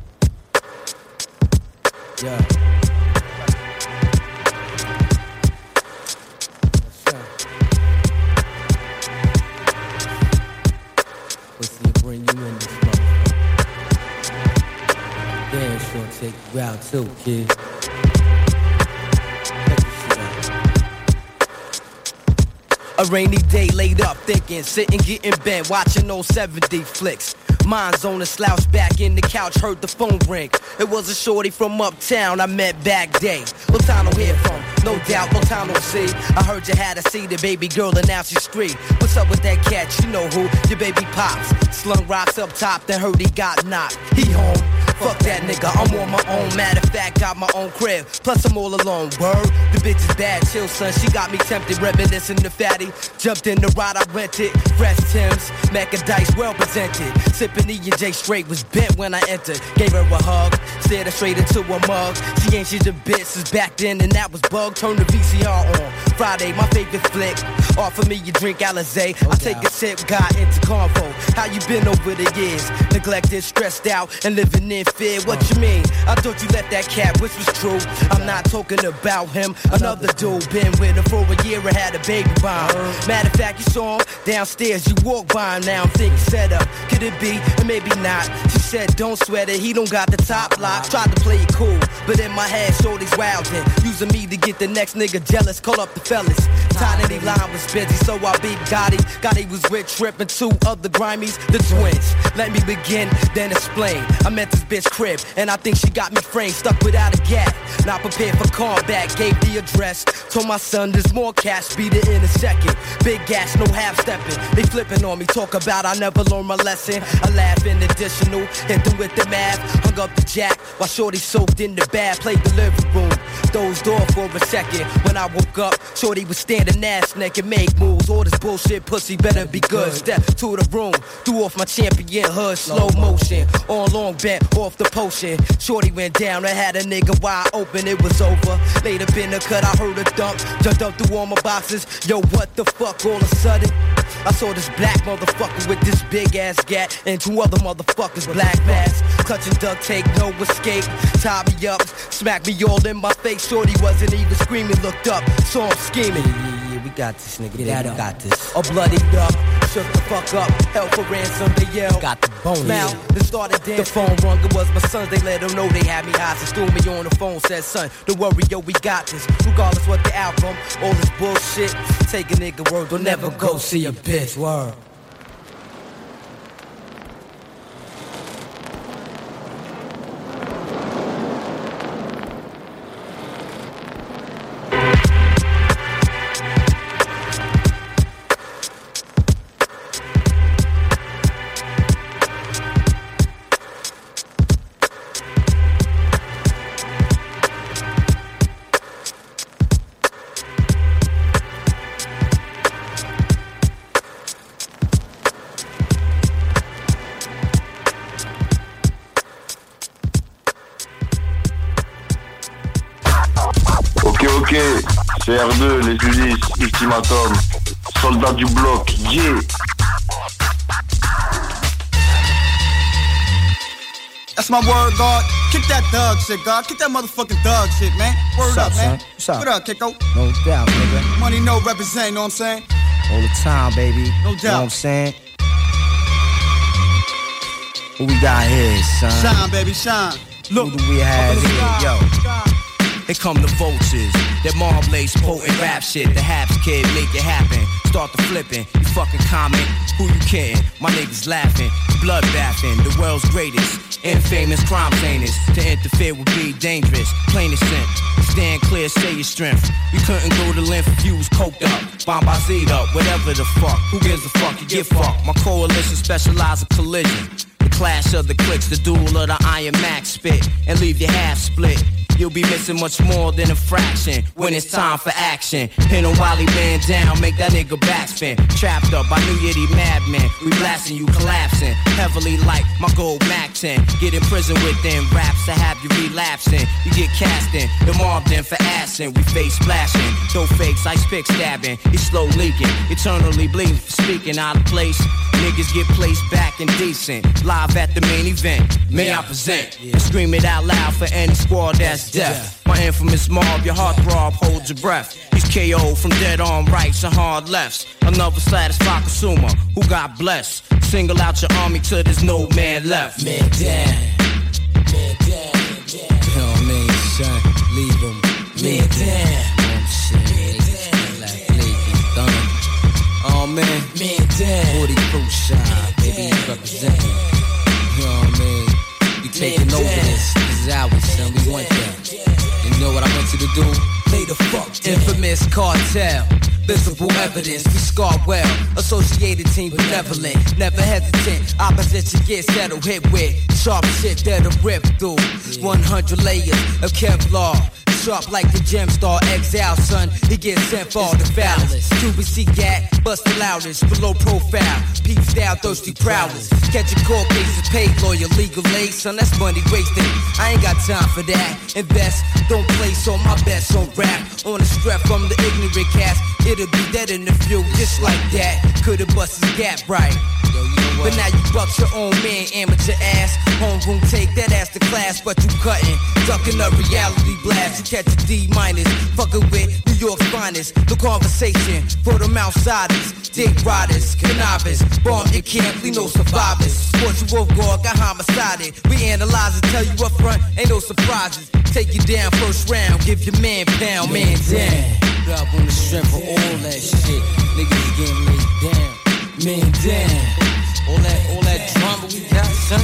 Yeah. Bring you in this motherfucker. Damn, sure take you out too, kid. A rainy day laid up thinking, sitting getting bent, watching those 70 flicks. Mine's on a slouch back in the couch, heard the phone ring. It was a shorty from uptown I met back day. Lotano hear from, no doubt, Lotano see. I heard you had a seated baby girl and now she's street. What's up with that cat? You know who? Your baby pops. Slung rocks up top, then heard he got knocked. He home. Fuck that nigga, I'm on my own. Matter of fact, got my own crib. Plus I'm all alone, word. The bitch is bad, chill son. She got me tempted, reminiscing the fatty. Jumped in the ride, I rented. Fresh Timbs, Mecca Dice, well presented. Sipping E&J straight, was bent when I entered. Gave her a hug, stared her straight into a mug. She ain't she's a bitch since back then, and that was bug. Turn the VCR on. Friday, my favorite flick. Offer me your drink, Alizé. I take a sip, got into convo. How you been over the years? Neglected, stressed out, and living in fear. What you mean? I thought you left that cat, which was true. I'm not talking about him. Another dude been with her for a year and had a baby by him. Matter of fact, you saw him downstairs. You walked by him. Now I'm thinking set up. Could it be? And maybe not. She said, don't sweat it. He don't got the top lock. Tried to play it cool, but in my head, shorty's wildin'. Using me to get the next nigga jealous. Call up the fellas. Tiny line was busy, so I beat Gotti. Gotti was with Trip and two other grimies, the twins. Let me begin, then explain. I met this bitch crib, and I think she got me framed, stuck without a gap. Not prepared for combat, gave the address. Told my son there's more cash, beat it in a second. Big gas, no half stepping. They flipping on me, talk about I never learned my lesson. I laugh in additional, hit them with the math. Hung up the jack while shorty soaked in the bath. Played the living room, dozed off for a second. When I woke up, shorty was standing ass naked, make moves. All this bullshit pussy better be good. Step to the room, threw off my champion hood, slow motion. On long bent off the potion. Shorty went down, I had a nigga wide open, it was over. Laid up in the cut, I heard a thump. Jumped up through all my boxes. Yo, what the fuck all of a sudden? I saw this black motherfucker with this big ass gat and two other motherfuckers black mask. Clutching duct tape, no escape. Tied me up, smacked me all in my face. Shorty wasn't even screaming, looked up, saw him scheming. Yeah, we got this nigga, yeah, we got this. All bloodied up, shook the fuck up, held for ransom, they yelled. Got the bone. Now, they started dancing. The phone rung, it was my sons, they let them know they had me hostage. Threw me on the phone, said son, don't worry, yo, we got this. Regardless what the outcome, all this bullshit. Take a nigga word, don't never go see a bitch. Word. Ok, c'est R2, les Ulysses, Ultimatum, soldat du bloc, yeah. That's my word, God. Kick that thug shit, God. Kick that motherfucking thug shit, man. Word up, man. What's up? What up, Kiko? No doubt, nigga. Money no represent, know what I'm saying? All the time, baby. No You know doubt. what I'm saying? What we got here, son? Shine, baby, shine. Look, who do we have here? Yo. Here come the vultures, that Marblade potent rap shit. The Haps kid make it happen. Start the flipping, you fucking comment. Who you kidding? My niggas laughing, blood bathing. The world's greatest, infamous crime famous. To interfere would be dangerous. Plain and simple. Stand clear, say your strength. You couldn't go to length if you was coked up, bombazed up, whatever the fuck. Who gives a fuck? You get fucked. My coalition specialize in collision. The clash of the clicks, the duel of the Iron Max spit, and leave your half split. You'll be missing much more than a fraction when it's time for action. Pin a Wally man down, make that nigga backspin. Trapped up by New Yiddy madmen, we blasting you collapsing. Heavily like my gold Mac 10. Get in prison with them raps to have you relapsing. You get cast in, the mobbed in for assing. We face splashing, throw fakes, ice pick stabbing. He's slow leaking, eternally bleeding for speaking out of place. Niggas get placed back indecent. Live at the main event, may I present and scream it out loud for any squad that's deaf. My infamous mob, your heart throb, hold your breath. He's KO from dead arm rights and hard lefts. Another satisfied consumer who got blessed. Single out your army till there's no man left. Man down. Man down. You know what I mean, son? Leave him. Man down. Oh man, man down. 40 proof shot, baby, representing. You know what I mean? We taking over this. This is ours, son. We want that. You know what I want you to do? Lay the fuck down. Infamous cartel. Visible evidence, we scar well. Associated team benevolent, never hesitant. Opposition gets settled, hit with sharp shit that'll rip through 100 layers of Kevlar. Sharp like the gem star, exile, son. He gets sent for the foulest. QBC gat, bust the loudest, below profile. Peep style, thirsty prowlers. Catching court cases, paid lawyer, legal aid, son. That's money wasted. I ain't got time for that. Invest, don't place on my best on rap. On the strap from the ignorant cast, it'll be dead in the few, just like that. Could've bust his gap right. But now you buck your own man, amateur ass. Homeroom take that ass to class, but you cutting. Ducking a reality blast. You catch a D-, fucking with New York's finest. The conversation for them outsiders. Dick riders, cannabis. Bomb your camp, we no survivors. Sports you wolf guard, got homicided. We analyze and tell you up front, ain't no surprises. Take you down first round, give your man pound, man down. Up on the strength of all that shit. Niggas getting laid down. Man down. All that drama we got, son.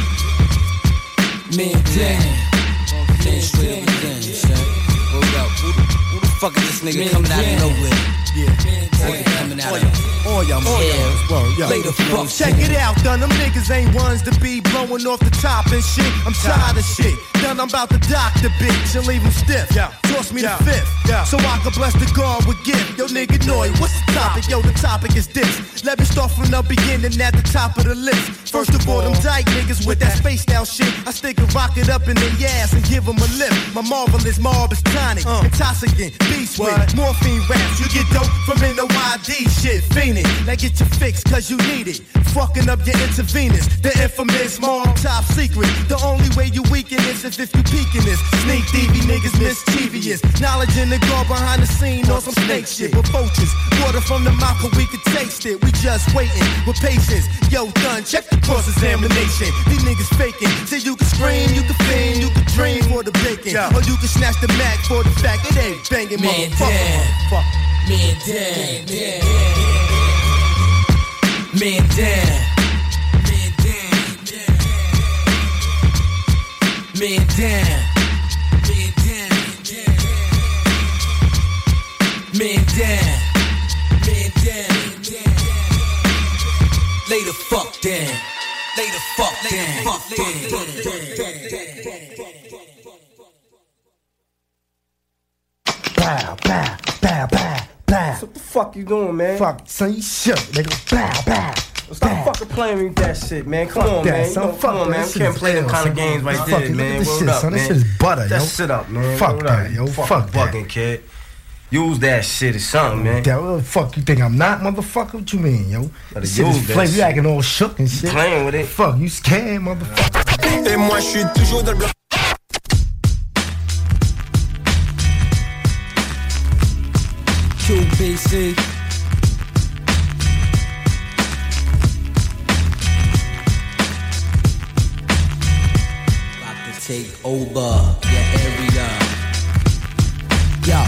Man down. Man straight up and down, son. Hold up. Who the fuck is this nigga coming out of nowhere? Yeah. Coming out of all y'all lay the fuck. Check it out, done. Them niggas ain't ones to be blowing off the top and shit. I'm tired of shit. Done, I'm about to dock the bitch and leave him stiff. Toss me the fifth, so I can bless the God with gift. Yo, nigga, Noy, what's the topic? Yo, the topic is this. Let me start from the beginning at the top of the list. First of all, them dyke niggas with that space now shit. I stick a rocket up in their ass and give them a lift. My marvelous mob is tonic, intoxicant, beast with morphine raps. You get dope from NOID shit, fiending. Now get your fix, cause you need it. Fucking up your intravenous, the infamous mob top secret. The only way you weaken this is if you peeking this. Sneak DV niggas mischievous. Knowledge in the guard behind the scene on some snake shit. With vultures, water from the mouth, but we can taste it. We just waiting with patience. Yo, done, check the cross-examination. These niggas faking. Say you can scream, you can fiend, you can dream for the bacon. Or you can snatch the Mac for the fact it ain't banging, motherfucker. Man down. Man down. Man down. Man down. Man down. Lay the fuck down. Lay the fuck down. Bow, bow, bow, bow, bow. What the fuck you doing, man? Fuck, son, you shook, nigga. Bow, bow. Stop fucking playing with that shit, man. Come on, man. You know, come on, man. We can't play them kind of games like this, man. Word up, man. This shit is butter, yo. That shit up, man. Fuck that, yo. Fuck that. Fucking kid. Use that shit or something, man. What the fuck you think I'm not, motherfucker? What you mean, yo? This shit is flavor. You acting all shook and shit. Playing with it. Fuck, you scared, motherfucker. Et moi, je suis toujours dans le bloc. QBC. About to take over your area. Yo.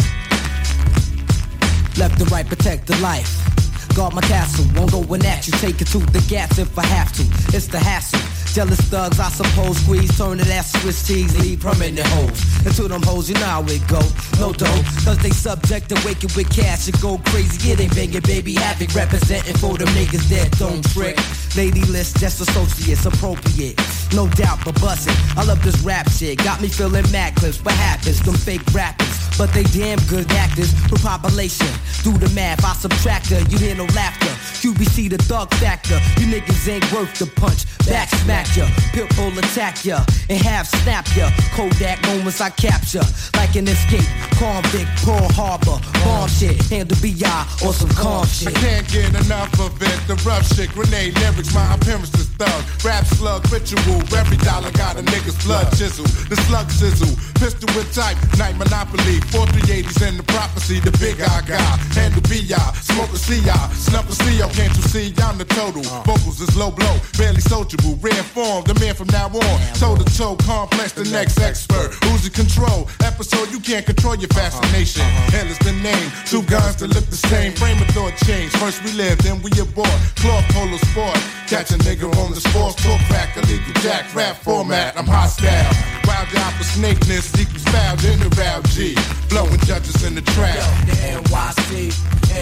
Left and right, protect the life. Guard my castle, won't go in at you. Take it to the gas if I have to. It's the hassle. Jealous thugs, I suppose, squeeze, turn it ass Swiss cheese, leave permanent hoes. And to them hoes, you know how it go. No dough, cause they subject to waking with cash and go crazy. It ain't banging, baby, havoc, representing for the niggas that don't trick. Lady list, just associates, appropriate. No doubt, but bustin'. I love this rap shit, got me feeling mad clips. What happens? Them fake rappers, but they damn good actors. For population, do the math, I subtract her, you hear no laughter. QBC the thug factor, you niggas ain't worth the punch. Back smack ya, Pitbull attack ya, and half snap ya. Kodak moments I capture, like an escape. Convict, Pearl Harbor, bomb shit, handle BI or some calm shit. I can't get enough of it, the rough shit, grenade lyrics, my appearance is thug. Rap slug, ritual, every dollar got a nigga's blood chisel. The slug sizzle, pistol with type, night monopoly. 4380s in the prophecy, the big I got. Handle BI, smoke a CI, snuff a CO, can't you see? I'm the total. Vocals is low blow, barely sociable, rare form, the man from now on. Toe to toe, complex, the next expert. Who's in control? Episode, you can't control your fascination. Hell is the name, two guns that look the same. Frame of thought change, first we live, then we abort. Cloth polo sport, catch a nigga on the sports talk crack, illegal jack, rap format, I'm hostile. Wild out for snakeness, equals foul in the round G. Blowing judges in the trap. The NYC,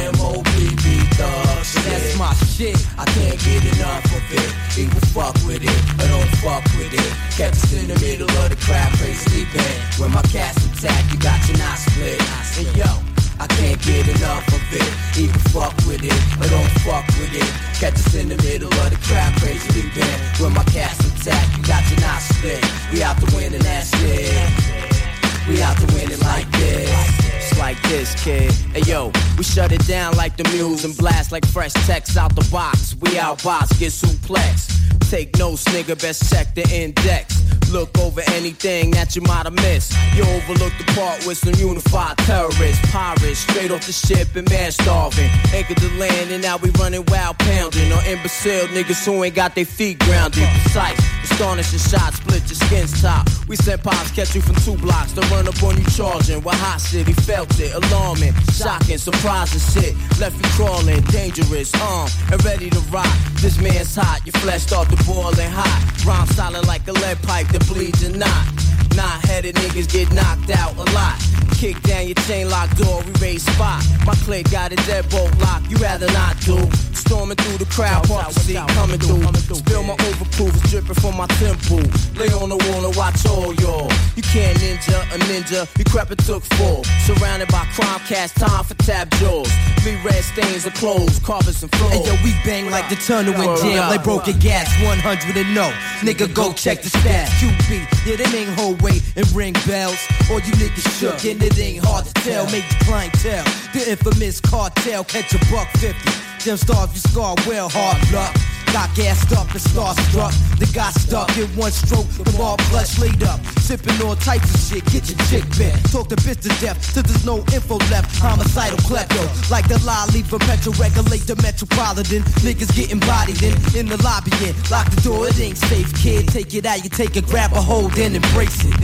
MOBB thug shit. That's my shit, I can't get enough of it. Either fuck with it, or don't fuck with it. Catch us in the middle of the crowd, crazy sleeping. When my cats attack, you got your knot split. And yo, I can't get enough of it. Either fuck with it, or don't fuck with it. Catch us in the middle of the crowd, crazy sleeping. When my cats attack, you got your knot split. We out to win and that's it. We out to win it like this. It's like this, kid. Hey yo, we shut it down like the Muse and blast like fresh text out the box. We outbox, get suplex. Take notes, nigga, best check the index. Look over anything that you might have missed. You overlooked the part with some unified terrorists. Pirates, straight off the ship and man starving. Anchored the land and now we running wild pounding. Or imbecile niggas who ain't got their feet grounded. Precise, astonishing shots, split your skin's top. We sent pops, catch you from 2 blocks. To run up on you charging. With hot shit, he felt it. Alarming, shocking, surprising shit. Left you crawling, dangerous, armed and ready to rock. This man's hot, your flesh start to boiling hot. Rhyme solid like a lead pipe that bleeds and not. Knot-headed niggas get knocked out a lot. Kick down your chain lock door, we raise spot. My clique got a deadbolt lock, you rather not do. Storming through the crowd, park the seat coming through. Spill my overproof, it's dripping from my temple. Lay on the wall and watch all y'all. You can't a ninja, you crap it took 4. Surrounded by crime cats, time for tap jaws. Leave red stains of clothes, carpets and floors. And yo, we bang like the tunnel in jam, like broken gas, 100 and no. Nigga, go check the stats. QB, yeah, them ain't whole weight and ring bells. All you niggas shook and it ain't hard to tell. Make the clientele, the infamous cartel, catch a $150. Them starve you scar well, hard luck. Got gassed up and starstruck. They got stuck in one stroke. The ball clutch laid up. Sipping all types of shit. Get your chick bent. Talk the bitch to death till there's no info left. Homicidal klepto. Like the lie, leave for Metro. Regulate the metropolitan. Niggas getting bodied in the lobby. Lock the door, it ain't safe, kid. Take it out, you take it, grab a hold, then embrace it. The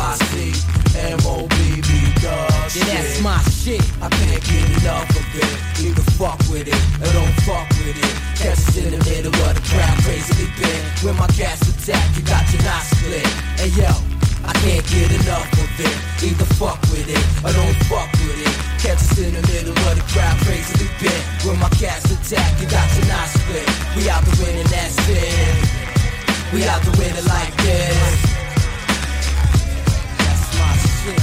NYC, MOBB dog shit. Yeah, that's my shit. I can't get enough of it. Either fuck with it or don't fuck with it. Catch us in the middle of the crowd, crazily bent. When my cats attack, you got your knot split. Hey yo, I can't get enough of it. Either fuck with it or don't fuck with it. Catch us in the middle of the crowd, crazily bent. When my cats attack, you got your knot split. We out to win and that's it. We out to win it like this. That's my shit.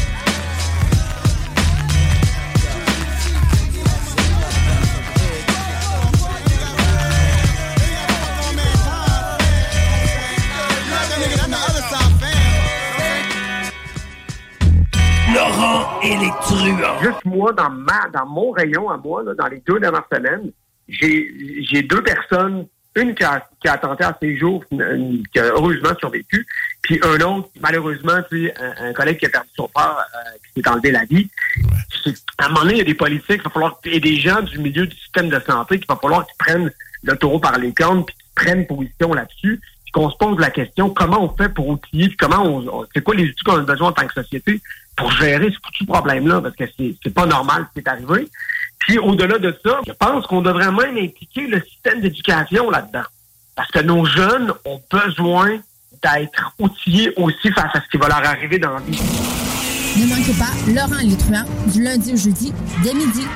et les truands. Juste moi, dans mon rayon à moi, là, dans les 2 dernières semaines, j'ai 2 personnes, une qui a tenté à ses jours, qui a heureusement survécu, puis un autre, malheureusement, tu sais, un collègue qui a perdu son père, qui s'est enlevé la vie. À un moment donné, il y a des politiques, il va falloir et des gens du milieu du système de santé qu'il va falloir qu'ils prennent le taureau par les cornes, puis qu'ils prennent position là-dessus, puis qu'on se pose la question, comment on fait pour outiller, puis comment c'est quoi les outils qu'on a besoin en tant que société pour gérer ce foutu problème-là, parce que c'est pas normal ce qui est arrivé. Puis au-delà de ça, je pense qu'on devrait même impliquer le système d'éducation là-dedans. Parce que nos jeunes ont besoin d'être outillés aussi face à ce qui va leur arriver dans la vie. Ne manquez pas Laurent et les truands, du lundi au jeudi, dès midi.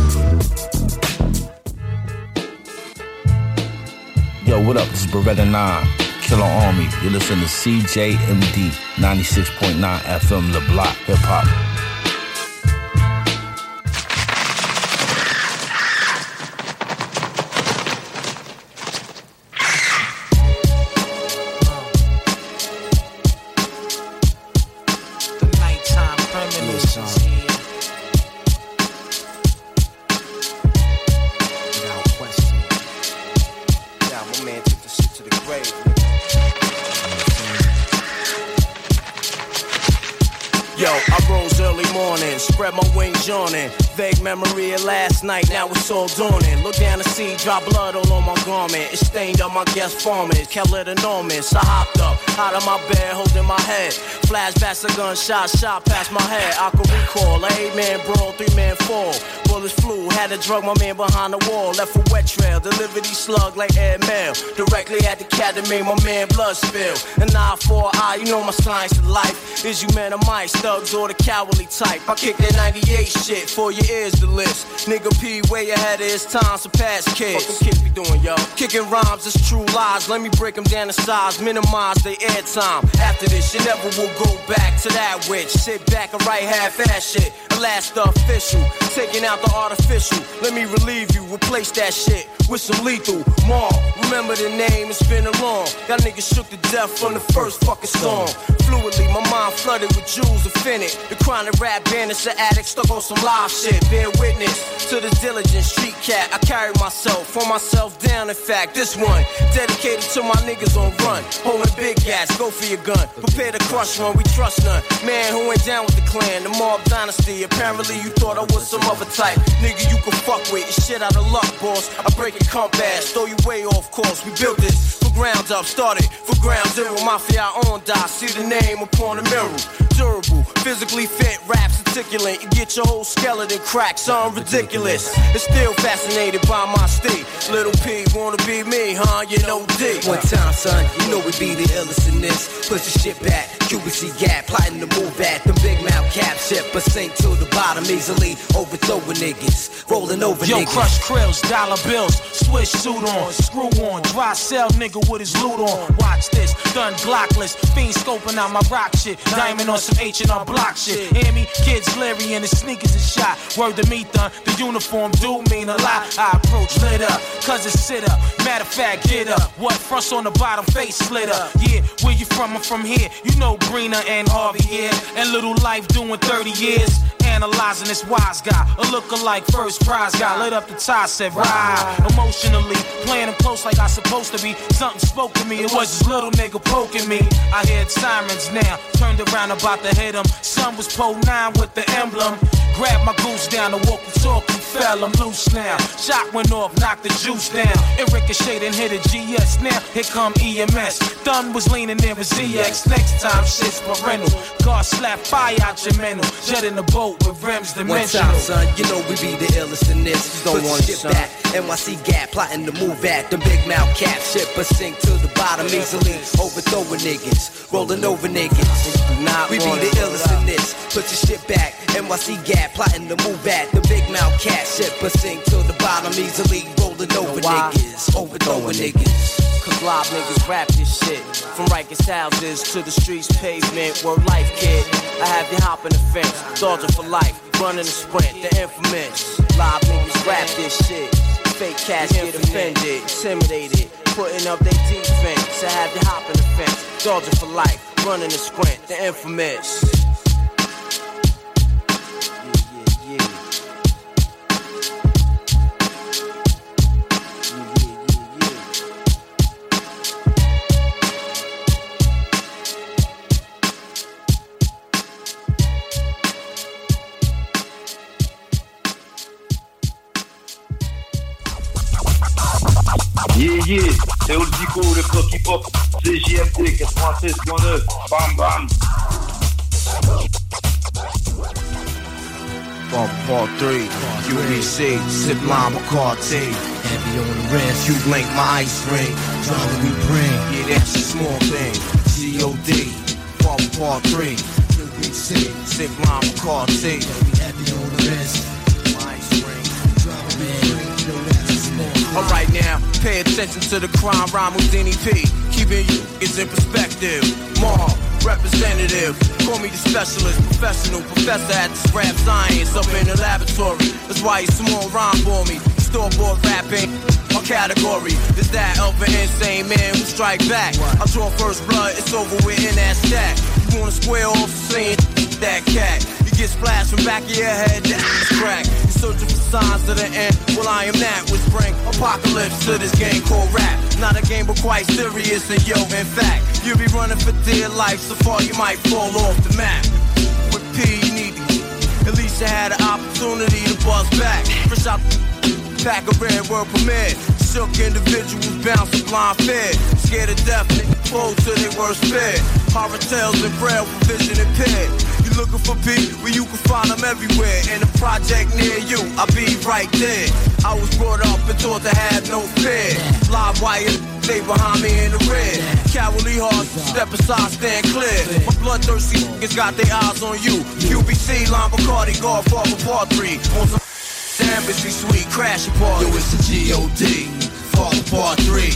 Yo, what up? This is Beretta 9, Killer Army. You listen to CJMD 96.9 FM, Le Block, Hip Hop. Spread my wings yawning. Vague memory of last night, now it's all dawning. Look down the sea, drop blood all on my garment. It stained up my guest farmers, kept it enormous. I hopped up, out of my bed, holding my head. Flashbacks, a gunshot shot past my head. I could recall, a 8-man brawl, 3-man fall. Bullets flew, had to drug my man behind the wall. Left a wet trail, delivered these slug like airmail. Directly at the cat that made my man blood spill. An eye for an eye, you know my science of life. Is you men or mice, thugs or the cowardly type. I kick that 98 shit, for your ears the list. Nigga P way ahead of his time, surpass kids. What them kids be doing, yo? Kicking rhymes, it's true lies. Let me break them down to size, minimize their airtime. After this, you never will go back to that witch. Sit back and write half-ass shit. The last official, taking out the artificial. Let me relieve you, replace that shit with some lethal. Mark, remember the name, it's been a long. Y'all niggas shook to death from the first fucking song. Fluidly, my mind flooded with jewels infinite. The chronic rap bandits, the addict stuck on some live shit. Bear witness to this diligent street cat. I carry myself, for myself down. In fact, this one dedicated to my niggas on run. Holding big gas, go for your gun. Prepare to crush one, we trust none. Man who ain't down with the clan, the mob dynasty. Apparently you thought I was some other type. Nigga you can fuck with, it's shit out of luck, boss. I break your compass, throw you way off course. We built this for ground up, started for ground zero. Mafia on die, see the name upon the mirror. Durable, physically fit, raps articulate. You get your whole skeleton cracked, something ridiculous. It's still fascinated by my state. Little P wanna be me, huh? You know D. One time, son, you know we be the illest in this. Push the shit back, QBC gap, plotting to move back. The big mouth cap ship, but sink to the bottom easily. Overthrowing niggas, rolling over Yo, niggas. crush krills, dollar bills, switch suit on, screw on, dry cell nigga with his loot on. Watch this, done glockless, fiend scoping out my rock shit. Diamond on some H&R block shit. Hear me? Kids Larry and his sneakers is shot. Word to me, thun, the uniform do mean a lot. I approach lit up, cause it's sit up. Matter of fact, get up. What fronts on the bottom, face split up. Yeah, where you from? I'm from here. You know Greener and Harvey here. And Little Life doing 30 years. Analyzing this wise guy, a lookalike first prize guy. Lit up the tie, said ride. Emotionally, playing him close like I supposed to be. Something spoke to me, it was this little nigga poking me. I heard sirens now, turned around about to hit him. Son was Pole 9 with the emblem. Grabbed my goose down, the walkie-talkie fell, I'm loose now. Shot went off, knocked the juice down. It ricocheted and hit a GS. Now, here come EMS. Thun was leaning in with ZX. Next time, shit's parental. God slap fire out your mental. Jet in the boat with rims dimensional. One time, son, you know we be the illest in this. Don't Put want shit it, son. back. NYC gap, plotting to move at. The big mouth cap ship, but sink to the bottom easily. Overthrowing niggas, rolling over niggas. We be the illest in this. Put your shit back. NYC gap, plotting to move at. The big mouth cat ship, but sink to the bottom easily. Rolling over niggas, overthrowing niggas. Cause live niggas rap this shit. From Rikers houses to the streets pavement. Word life, kid. I have you hopping the fence. Dodging for life, running the sprint, the infamous. Live niggas rap this shit. Fake cats get offended, intimidated, putting up their defense. I have you hopping the fence. Dodging for life, running the sprint, the infamous. Yeah, c'est Old Zico, le bloc hip-hop, CJMD 96.9, bam bam. Part 3, UBC, Sip Lime Bacardi. Heavy on the wrist, you blink my ice ring. Drama we bring, yeah, that's a small thing. COD, Part 3, UBC, Sip Lime Bacardi. Heavy on the wrist, my ice ring. Drama we bring, yo, that's a small thing. Alright now, pay attention to the crime rhyme with Denny P. Keeping you is in perspective. More representative, call me the specialist, professional professor at this rap science up in the laboratory. That's why you small rhyme for me. Store-bought rapping, my category is that of an insane man who strike back. I draw first blood, it's over with in that stack. You wanna square off saying that cat? You get splashed from back of your head, that's crack. You're searching for signs of the end. Well, I am that which bring apocalypse to this game called rap. Not a game, but quite serious. And yo, in fact, you'll be running for dear life. So far, you might fall off the map. With P, you need to. At least you had an opportunity to buzz back. Fresh out pack of red word permit. Shook individuals bounce a blind fear. Scared of death, nigga, close to their worst fear. Horror tales and braille for vision impaired. You looking for P? Well, you can find them everywhere. In a project near you, I'll be right there. I was brought up and taught to have no fear. Live wire, stay behind me in the rear. Cowardly hearts, step aside, stand clear. My bloodthirsty niggas got their eyes on you. QBC, Lime Bacardi, Godfather Part 3. On some Embassy Suite, crash party. Yo, it's the G.O.D. Father Part 3.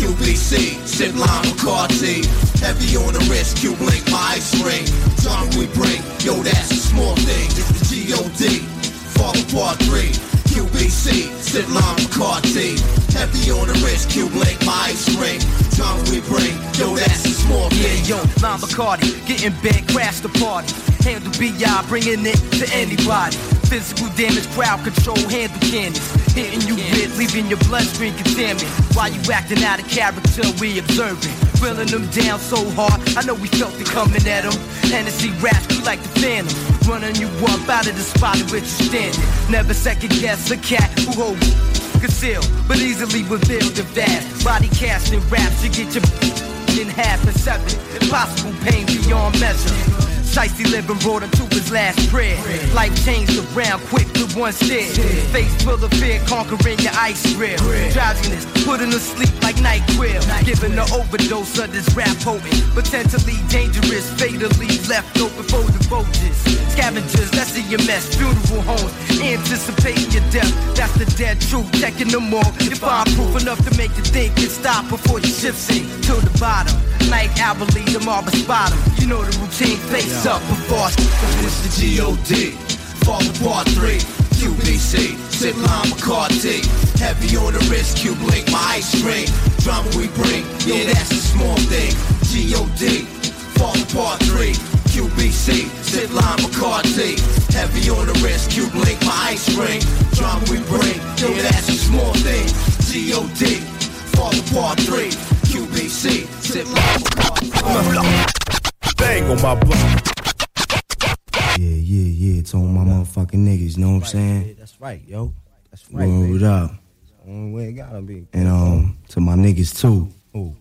QBC, Sip Lime Bacardi. Heavy on the wrist, Q-Blink, my ice ring. Drama we bring, yo, that's a small thing. It's the G.O.D. Father Part 3. QBC, Sip Lime Bacardi. Heavy on the wrist, Q-Blink, my ice ring. Drama we bring, yo, that's a small thing. Yeah, yo, Lime Bacardi, getting big, crash the party. Handle B.I., bringing it to anybody. Physical damage, crowd control, handle cannons. Hitting you with, leaving your bloodstream contaminated. While you acting out of character, we observing. Drilling them down so hard, I know we felt it coming at them. Hennessy raps, you like the phantom. Running you up out of the spot in which you standing. Never second guess a cat who holds concealed, but easily revealed and vast. Body casting raps, you get your in half and seven. Impossible pain beyond measure. Shicey living brought him to his last prayer. Life changed around quick with one stare. Face full of fear, conquering your ice grill. Drowsiness, putting to sleep like NyQuil. Giving an overdose of this rap potent. Potentially dangerous, fatally left open for the vultures. Scavengers, that's in your mess. Funeral homes, anticipating your death. That's the dead truth, checking them all. You find proof enough to make you think and stop before you shift sink to the bottom. Like hourly, the marble spot 'em. You know the routine, face up before it's the G.O.D. Father Part 3. QBC, Sip Lime Bacardi. Heavy on the wrist, Q-Blink, my ice ring. Drama we bring, yeah, that's a small thing. G.O.D. Father Part 3. QBC, Sip Lime Bacardi. Heavy on the wrist, Q-Blink, my ice ring. Drama we bring, yeah, that's a small thing. G.O.D. Father Part 3. QBC, Sip Lime Bacardi. Bang on my block. Yeah, it's on my motherfucking niggas, you know what I'm saying? That's right, yo. That's right, Word up. Only way it gotta be. And to my niggas too. Ooh.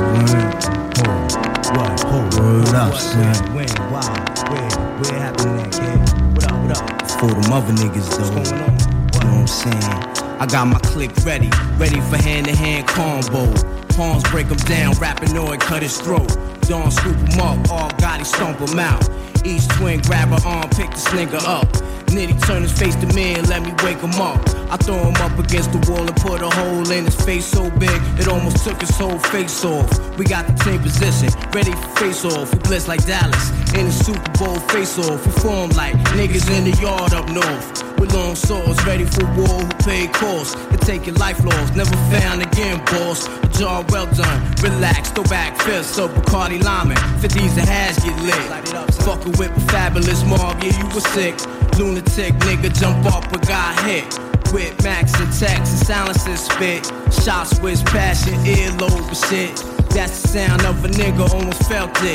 Word up, son. When, why, where happened that, kid? What up? For them other niggas though. What's going on? You know what I'm saying? I got my click ready for hand-to-hand combo. Palms break him down, Rapinoid cut his throat. Dawn scoop him up, all Gotti stomp him out. Each twin grab her arm, pick this nigga up. Nitty turn his face to me and let me wake him up. I throw him up against the wall and put a hole in his face so big it almost took his whole face off. We got the same position, ready for face off. We blitz like Dallas in the Super Bowl face off. We form like niggas in the yard up north. With long swords, ready for war, who pay costs. They take your life lost, never found again, boss. A job well done, relax, throw back fists up Bacardi Lyman. 50s the hash get lit. Fuckin' with a fabulous mob, yeah, you was sick. Lunatic nigga jump up but got hit. With Max and Tex and silences spit. Shots with passion, earlobe and shit. That's the sound of a nigga, almost felt it.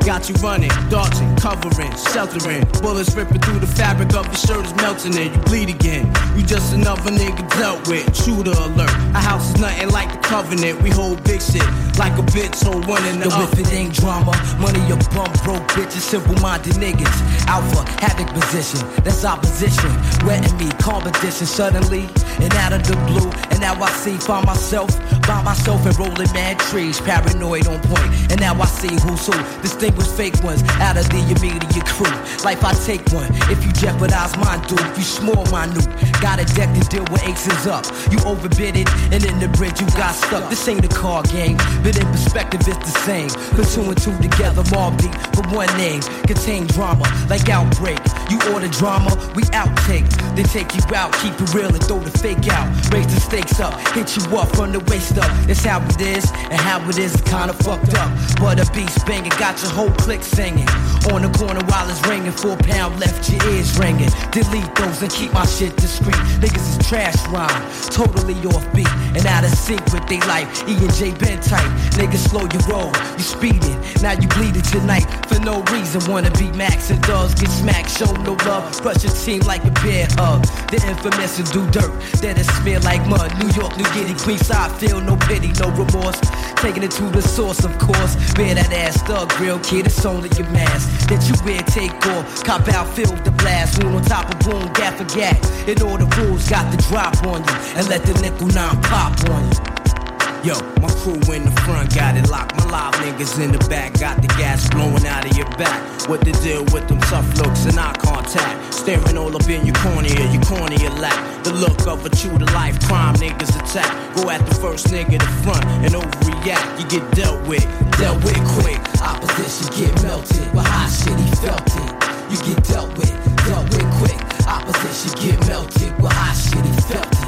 got you running, dodging, covering, sheltering. Bullets ripping through the fabric of your shirt is melting it. You bleed again. You just another nigga dealt with. Shooter alert. Our house is nothing like the Covenant. We hold big shit like a bitch, so one in the Yo, if it ain't drama, money your bum broke bitches, simple-minded niggas. Alpha, havoc position, that's opposition. Wetting me, competition suddenly and out of the blue. And now I see, find myself by myself and rolling mad trees, paranoid on point. And now I see who's who, distinguished fake ones out of the immediate crew. Life I take one, if you jeopardize mine, dude, you small minute. Got a deck to deal with aces up. You overbid it, and in the bridge you got stuck. This ain't a card game, but in perspective it's the same. Put two and two together, Mobb Deep, but one name. Contain drama, like Outbreak. You order drama, we outtake. They take you out, keep it real and throw the fake out. Raise the stakes up, hit you up from the waist up. It's how it is, and how it is kinda fucked up. But a beast banging, got your whole clique singing. On the corner while it's ringing, 4 pound left your ears ringing. Delete those and keep my shit discreet. Niggas is trash rhyme, totally off beat and out of sync with they life. E&J been tight, niggas slow your roll, you speeding. Now you bleeding tonight for no reason. Wanna be Max and dogs get smacked, show no love. Brush your team like a bear hug. The infamous and do dirt, that is smear like mud. New York, New Guinea, Queenside, feel no pity, no remorse. Taking it to the source, of course. Wear that ass thug real kid, it's only your mask that you wear, take off. Cop out, feel the blast. Wound on top of boom, gap for gap. And all the rules got the drop on you. And let the nickel 9 pop on you. Yo, my crew in the front got it locked. My live niggas in the back got the gas blowing out of your back. What the deal with them tough looks and eye contact? Staring all up in your cornea lap. The look of a true to life crime niggas attack. Go at the first nigga to front and overreact. You get dealt with quick. Opposition get melted, but hot shit he felt it. You get dealt with quick. Opposition get melted, but hot shit he felt it.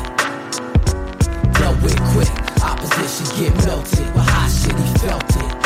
Dealt with quick. Opposition get melted, but hot shit he felt it.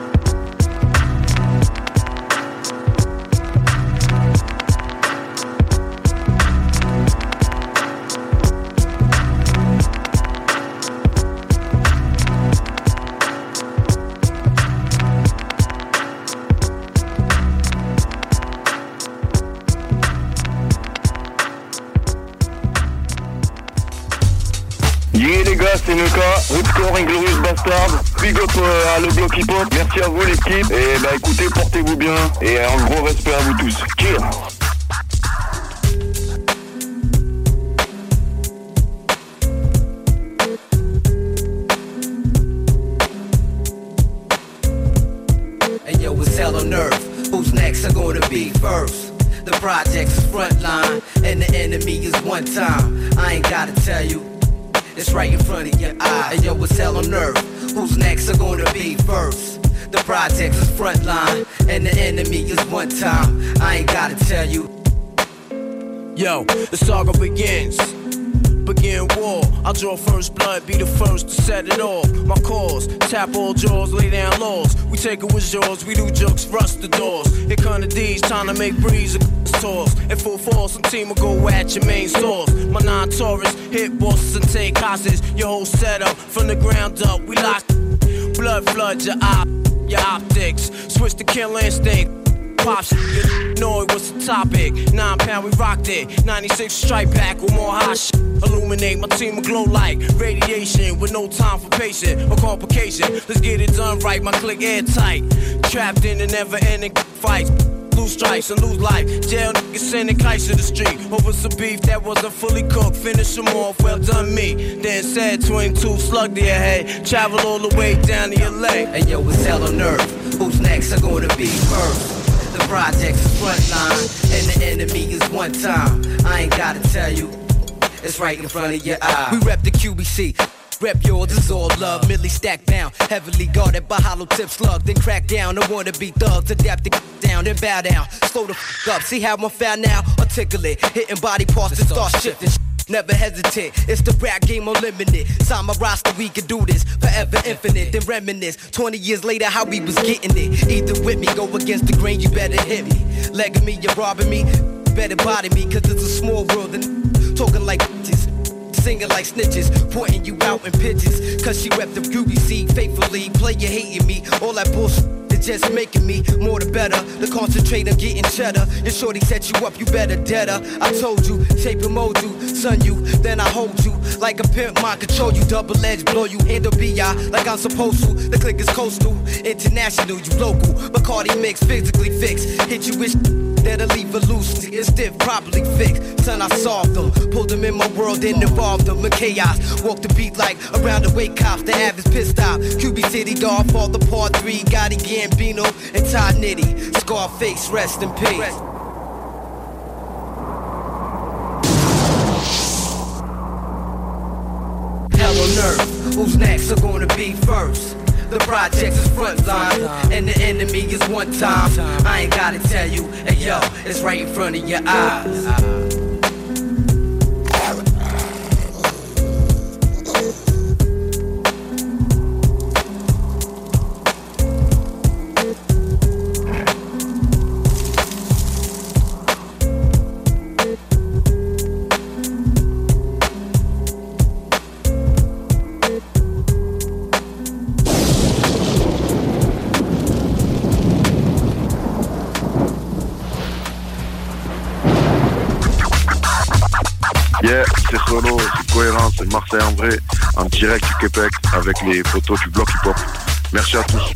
Yeah les gars, c'est Nuka, Ripcore, Inglorious Bastard, big up à le bloc hip hop, merci à vous l'équipe, et bah écoutez, portez-vous bien, et un gros respect à vous tous. Cheers. Hey yo, it's hell on earth, who's next are gonna be first? The project's frontline, and the enemy is one time. I ain't gotta tell you, it's right in front of your eye. And yo, it's hell on earth, who's next are gonna be first? The project is frontline, and the enemy is one time. I ain't gotta tell you. Yo, the saga begins. Begin war, I'll draw first blood, be the first to set it off. My cause, tap all jaws, lay down laws. We take it with yours, we do jokes, rust the doors. Here come the D's, trying to make breeze toss. In full force, some team will go at your main source. My non-Taurus, hit bosses and take hostages. Your whole setup, from the ground up, we lock. Blood flood your optics. Switch the killer instinct. Pop shit, you know it was the topic. 9 pound, we rocked it. 96 strike back with more hot shit. Illuminate, my team will glow like radiation with no time for patient or complication. Let's get it done right, my click airtight. Trapped in the never-ending fights. Lose stripes and lose life. Jail niggas sending kites to the street over some beef that wasn't fully cooked. Finish them off, well done me. Then said 22 slug to your head. Travel all the way down to your leg. Hey yo, it's hell on earth. Who's next are gonna be first? The project's frontline, and the enemy is one time. I ain't gotta tell you, it's right in front of your eye. We rep the QBC. Rep yours, it's all love. Millie stacked down, heavily guarded by hollow tip slug. Then crack down, I wanna be thugs. Adapt the down, then bow down. Slow the up, see how I'm found now? Articulate, hitting body parts to start shifting. Never hesitate, it's the rap game unlimited. Sign my roster, we can do this forever infinite. Then reminisce, 20 years later, how we was getting it. Either with me, go against the grain, you better hit me. Legging me, you're robbing me, better body me, cause it's a small world and talking like bitches. Singing like snitches, pointing you out in pitches. Cause she rep the QBC faithfully. Player hating me, all that bullshit is are just making me more the better. To concentrate on getting cheddar. Your shorty set you up, you better dead her. I told you, shape and mold you, son you, then I hold you. Like a pimp, mind control you, double edge, blow you, handle B.I. like I'm supposed to. The click is coastal, international, you local. Bacardi mix, physically fixed. Hit you with that'll leave a loose, it's stiff, properly fixed. Son, I solved them, pulled them in my world and involved them in chaos. Walk the beat like around the wake cops, the average pissed off. QB City, dog, fall the part 3, Gotti Gambino and Todd Nitty. Scarface, rest in peace. Hell on earth, who's next are gonna be first? The project is front line, and the enemy is one time. I ain't gotta tell you, hey yo, it's right in front of your eyes. Yeah, c'est Solo, c'est cohérent, c'est Marseille en vrai, en direct du Québec avec les photos du bloc hip-hop. Merci à tous.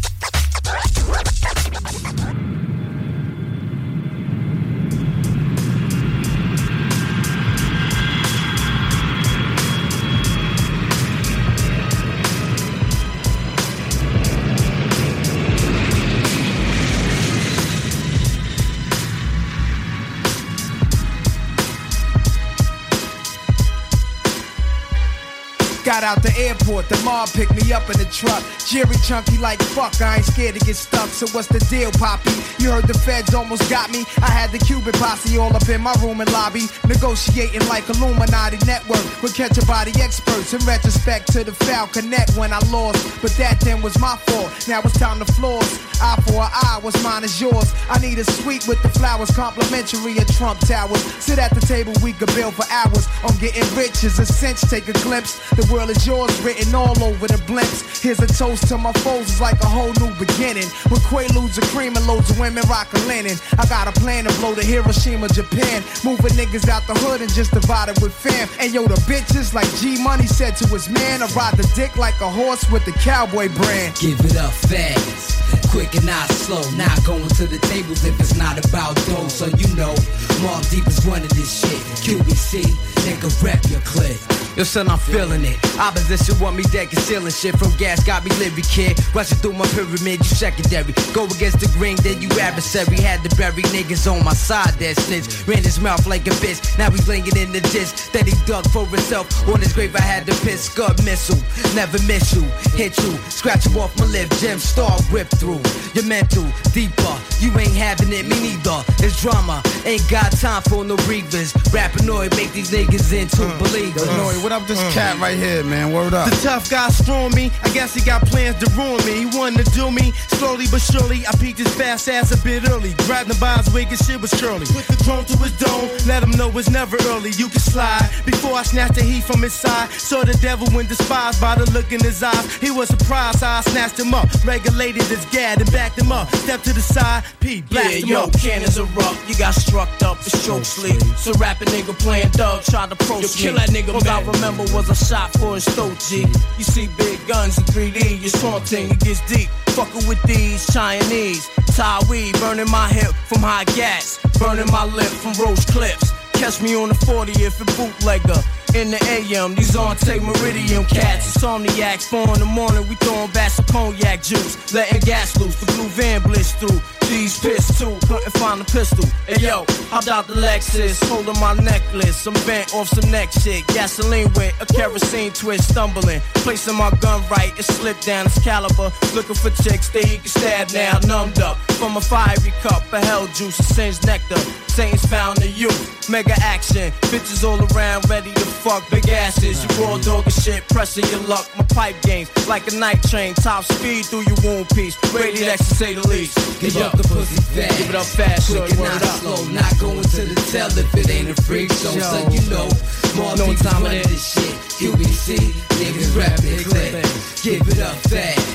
Got out the airport, the mob picked me up in the truck. Jerry chunky like fuck, I ain't scared to get stuck. So what's the deal, Poppy? You heard the feds almost got me. I had the Cuban posse all up in my room and lobby, negotiating like Illuminati network with catch a body experts. In retrospect to the foul connect when I lost, but that then was my fault. Now it's time to floss. Eye for an eye, what's mine is yours. I need a suite with the flowers, complimentary at Trump Towers. Sit at the table, we could build for hours. On getting rich is a cinch, take a glimpse. The world is yours, written all over the blimps. Here's a toast to my foes, it's like a whole new beginning. With Quaaludes and cream and loads of women rockin' linen. I got a plan to blow the Hiroshima, Japan. Moving niggas out the hood and just divide it with fam. And yo, the bitches like G Money said to his man, I ride the dick like a horse with the cowboy brand. Give it up fast, quick and not slow. Not going to the tables if it's not about dough. So you know, Mob Deep is running this shit. QBC, nigga rep your clip. Yo son, I'm feeling it. Opposition want me dead concealing shit. From gas got me living, kid. Rushing through my pyramid, you secondary. Go against the green, then you adversary. Had to bury niggas on my side that snitch. Ran his mouth like a bitch. Now he's laying in the ditch that he dug for himself. On his grave I had to piss. Scud missile, never miss you. Hit you, scratch you off my lip. Gem star whip through. Your mental, deeper. You ain't having it, me neither. It's drama, ain't got time for no breathers. Rappanoid make these niggas into believers. What up, this cat right here, man? Word up. The tough guy strong me. I guess he got plans to ruin me. He wanted to do me slowly but surely. I peeked his fast ass a bit early. Grabbed him by his wig and shit was curly. Put the chrome to his dome. Let him know it's never early. You can slide. Before I snatched the heat from his side. Saw the devil when despised by the look in his eyes. He was surprised how I snatched him up. Regulated his gad and backed him up. Stepped to the side. P blasted him up. Cannons erupt. You got struck up. It's choke sleep. So rapping nigga playing Doug tried to approach me. Kill that nigga, man. Remember was a shot for his throat, G. You see big guns in 3D, you're taunting, it gets deep. Fucking with these Chinese. Thai weed, burning my hip from high gas. Burning my lip from Roach Clips. Catch me on the 40th and bootlegger. In the AM, these on take Meridian cats. Insomniacs, 4 in the morning, we throwing back some cognac juice. Letting gas loose, the blue van blitz through. These pissed too, couldn't find a pistol. Hey yo, hopped out the Lexus, holding my necklace. I'm bent off some neck shit. Gasoline with a kerosene twist, stumbling. Placing my gun right, it slipped down its caliber. Looking for chicks that he can stab now, numbed up. From a fiery cup, a hell juice, a singed nectar. Saints found the youth, mega action. Bitches all around, ready to fuck big asses. You raw dog and shit, pressing your luck. My pipe games, like a night train. Top speed through your wound piece. Rated X to say the least. Give up the pussy fast. Give it up fast, quick and not slow. Not going to the tell if it ain't a freak show. So you know, more no time of this shit. QBC, niggas rapping clip. Give it up fast.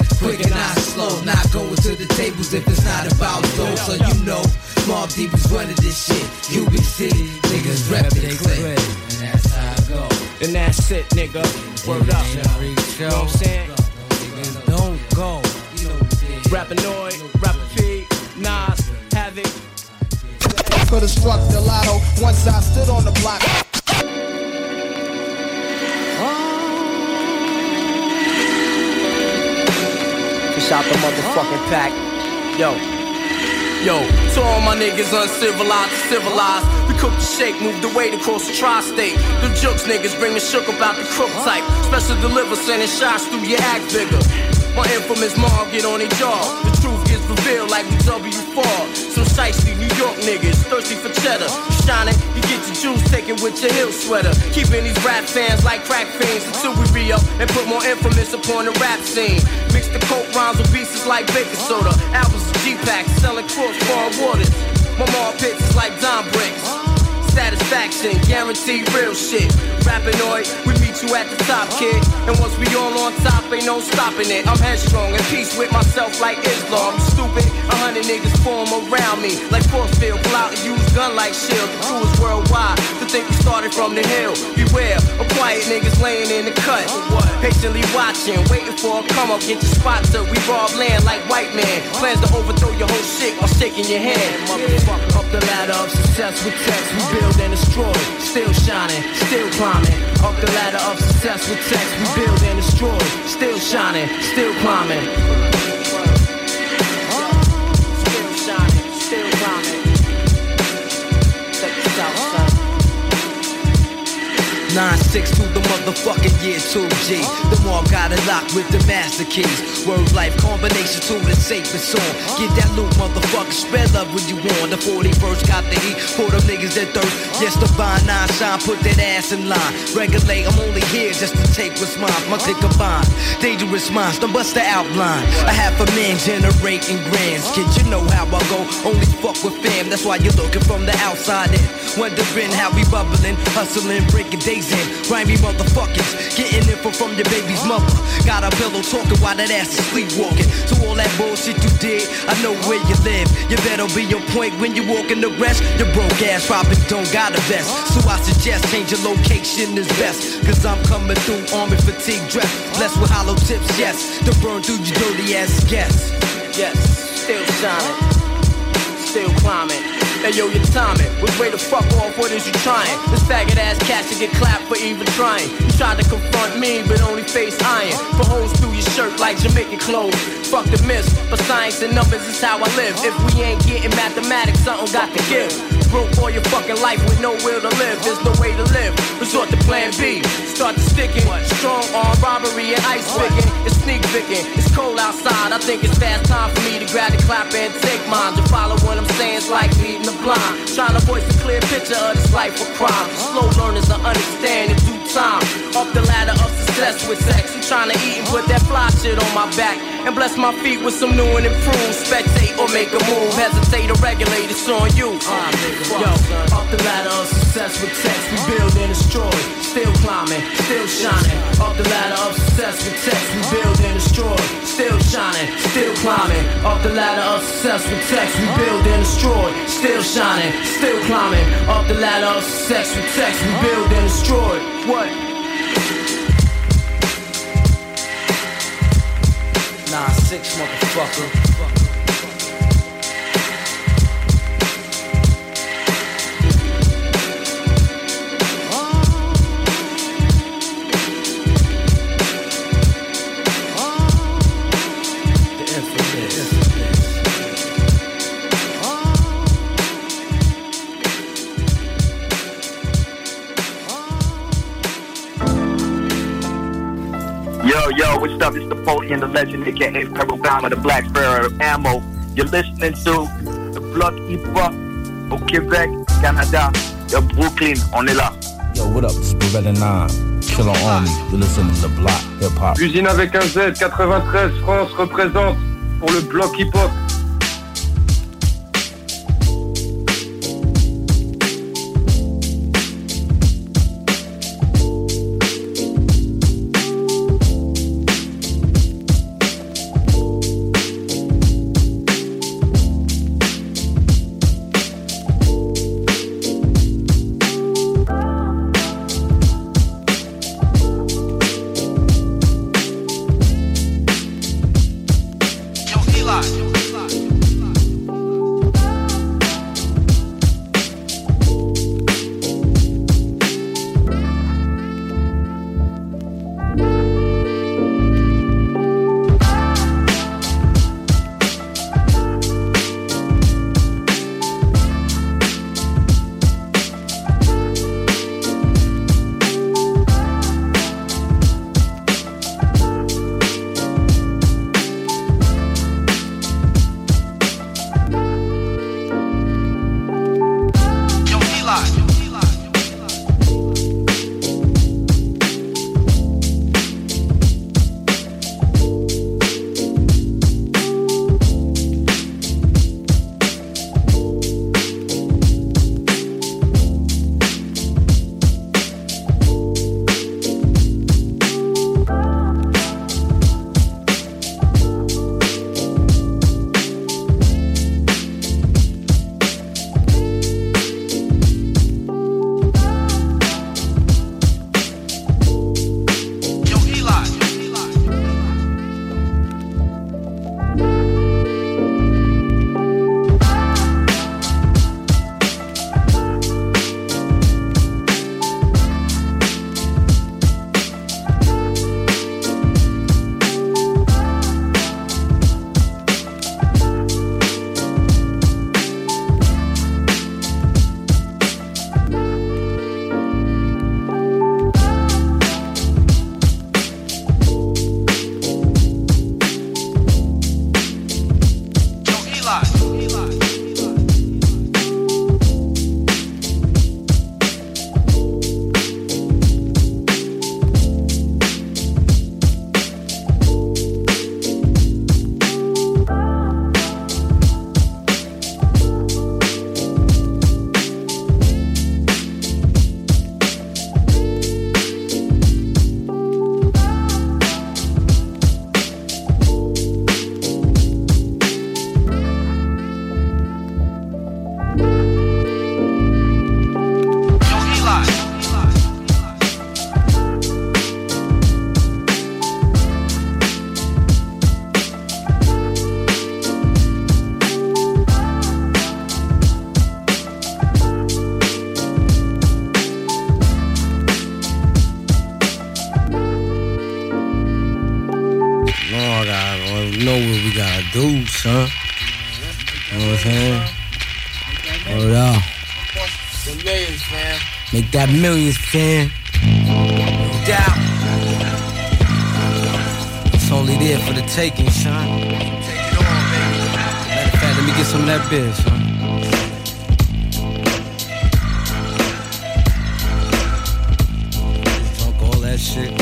quick and not slow. Not going to the tables if it's not about those. So you know, Mob Deep is running this shit. Cubic City, niggas reppin' they click. And that's how I go. And that's it, nigga. Word up. You know what I'm saying? Niggas don't go. Rappanoid, Rapper P, Nas, Havoc. Could've struck the lotto once I stood on the block. Fish out the motherfucking pack. Yo, to all my niggas uncivilized, civilized. We cook the shake, move the weight across the tri-state. The jokes niggas bring the shook about the crook type. Special deliver, sending shots through your act bigger. My infamous mom get on their jaw. The truth gets revealed like we W4. Some shiesty New York niggas thirsty for cheddar. You shining, you get your juice taken with your heel sweater. Keeping these rap fans like crack fiends until we re-up and put more infamous upon the rap scene. Mix the coke rhymes with pieces like baking soda. Albums of G-Packs selling cross-bar waters. My mom pits is like Don Bricks. Satisfaction, guaranteed real shit. Rappanoid, we meet you at the top, kid. And once we all on top, ain't no stopping it. I'm headstrong, in peace with myself like Islam. I'm stupid, 100 niggas form around me. Like Forcefield, pull out and use gun like shield. The crew is worldwide, to think we started from the hill. Beware, of quiet niggas laying in the cut. Patiently watching, waiting for a come up, get your spot till we rob land like white man. Plans to overthrow your whole shit while shaking your hand. Motherfucker, up the ladder of success with text, we build and destroy. Still shining, still climbing. Up the ladder of success with text, we build and destroy. Still shining, still climbing. Still shining, still climbing. Check this out, son. 9-6 to the motherfucking year 2G. The mob got it locked with the master keys. Word life combination to the safest song. Get that loot, motherfucker, spread love when you want. The 41st got the heat for them niggas that thirst. Yes, the Vine 9 shine, put that ass in line. Regulate, I'm only here just to take what's mine. My click combined, dangerous minds, don't bust the outline. I have a man generating grands. Kid, you know how I go, only fuck with fam. That's why you're looking from the outside in. Wondering how we bubbling, hustling, breaking days in. Grimy motherfuckers, getting info from your baby's mother. Got a pillow talking while that ass is sleepwalking. To all that bullshit you did, I know where you live. You better be on point when you walk in the rest. Your broke ass probably don't got a vest. So I suggest change your location is best. Cause I'm coming through army fatigue dress. Blessed with hollow tips, yes. To burn through your dirty ass guess. Yes, still shining, still climbing. Hey yo, your timing was way to fuck off, what is you trying? This faggot ass cat should get clapped for even trying. You tried to confront me, but only face iron. For holes through your shirt like Jamaican clothes. Fuck the myths, but science and numbers is how I live. If we ain't getting mathematics, something got to give. Broke all your fucking life with no will to live. There's no way to live. Resort to plan B. Start to sticking. Strong arm robbery and ice picking. It's sneak picking. It's cold outside. I think it's fast time for me to grab the clap and take mine. To follow what I'm saying is like leading the blind. Trying to voice a clear picture of this life of crime. Slow learners to understand in due time. Up the ladder of success with sex. I'm trying to eat and put that fly shit on my back. And bless my feet with some new and improved. Spectate or make a move. Hesitate or regulate, it's on you. Yo, up the ladder of success with text. We build and destroy. Still climbing, still shining. Up the ladder of success with text. We build and destroy. Still shining, still climbing. Up the ladder of success with text. We build and destroy. Still shining, still climbing. Up the ladder of success with text. We build and destroy. What? 9-6, motherfucker. Yo, what's up? It's the Napoleon, the legend, aka Ferrobama, the Black Sparrow Ammo. You're listening to the Block Hip Hop au Québec, Canada, de Brooklyn. On est là. Yo, what up? It's Beretta 9, Killer Army. You're listening to the Block Hip Hop. Usine avec un Z, 93 France représente pour le Block Hip Hop. son. You know what I'm saying? Hold on. The millions, man. Make that millions, fam. No doubt. It's only there for the taking, son. Take it on, baby. Matter of fact, let me get some of that beer, son. Drunk all that shit.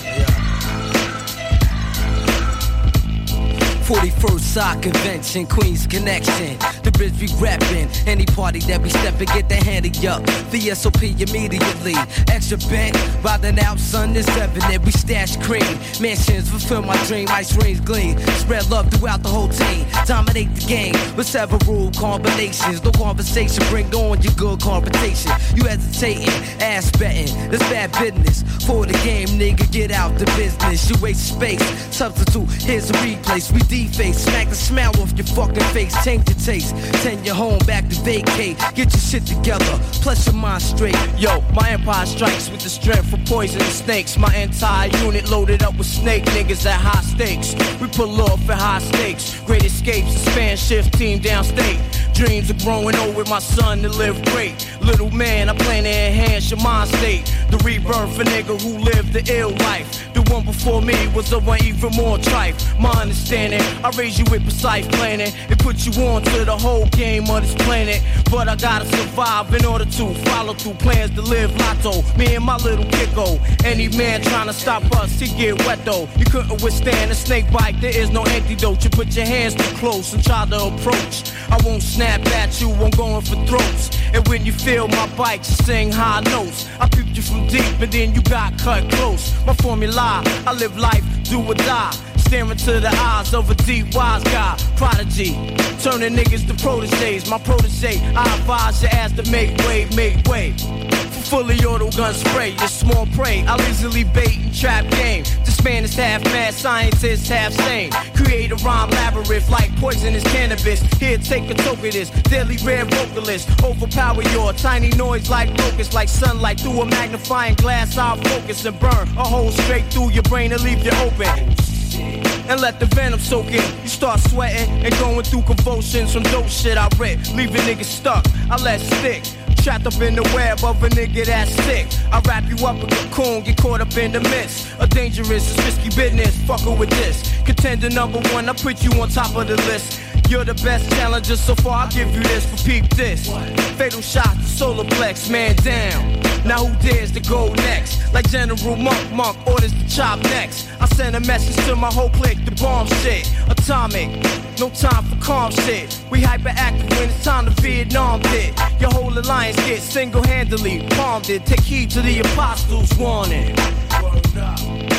41st Sock Convention, Queens Connection. The bridge we reppin'. Any party that we steppin', get the handy up. The SOP immediately. Extra bent, riding out, sun is revenant. We stash cream. Mansions fulfill my dream. Ice rings gleam. Spread love throughout the whole team. Dominate the game with several combinations. No conversation, bring on your good conversation. You hesitating, ass betting. That's bad business. For the game, nigga, get out the business. You waste space. Substitute, here's a replace. We deface, smack the smile off your fucking face. Change your taste. Send your home back to vacate. Get your shit together, plus your mind straight. Yo, my empire strikes with the strength of poisonous snakes. My entire unit loaded up with snake niggas at high stakes. We pull off at high stakes. Great escapes, span shift team downstate. Dreams of growing old with my son to live great. Little man, I plan to enhance your mind state. The rebirth a nigga who lived the ill life. The one before me was the one even more trife. My understanding, I raise you with precise planning. It put you on to the whole game of this planet. But I gotta survive in order to follow through plans to live lotto. Me and my little kicko. Any man trying to stop us, he get wet though. You couldn't withstand a snake bite, there is no antidote. You put your hands too close and try to approach. I won't snap at you, I'm going for throats. And when you feel my bite, you sing high notes. I peeped you from deep and then you got cut close. My formula, I live life, do or die. Staring to the eyes of a deep wise guy, prodigy, turning niggas to proteges. My protege, I advise your ass to make way, make way. For fully auto gun spray, your small prey. I'll easily bait and trap game. This man is half mad, scientist half sane. Create a rhyme labyrinth like poisonous cannabis. Here, take a toke of this, deadly rare vocalist. Overpower your tiny noise like locust, like sunlight through a magnifying glass. I'll focus and burn a hole straight through your brain and leave you open. And let the venom soak in. You start sweating and going through convulsions from dope shit I rip. Leave a nigga stuck, I let stick. Trapped up in the web of a nigga that's sick. I wrap you up a cocoon, get caught up in the midst. A dangerous, risky business, fuckin' with this. Contender number one, I put you on top of the list. You're the best challenger so far, I'll give you this, but peep this. Fatal shot to solar plex, man down. Now who dares to go next? Like General Monk orders to chop next. I send a message to my whole clique, the bomb shit. Atomic, no time for calm shit. We hyperactive when it's time to Vietnam it. Your whole alliance gets single-handedly palmed it. Take heed to the apostles' warning. Word up.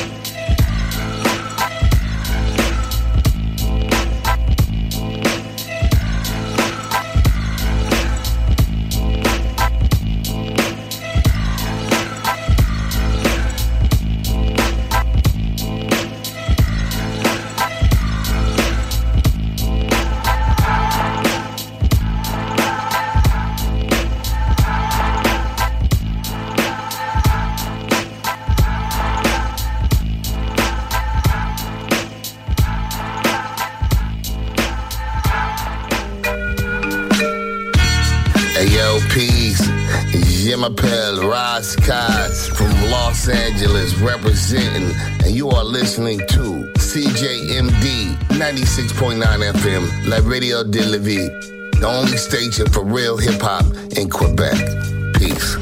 Je m'appelle Roz Kaz from Los Angeles representing, and you are listening to CJMD 96.9 FM, La Radio de la Vie, the only station for real hip-hop in Quebec. Peace.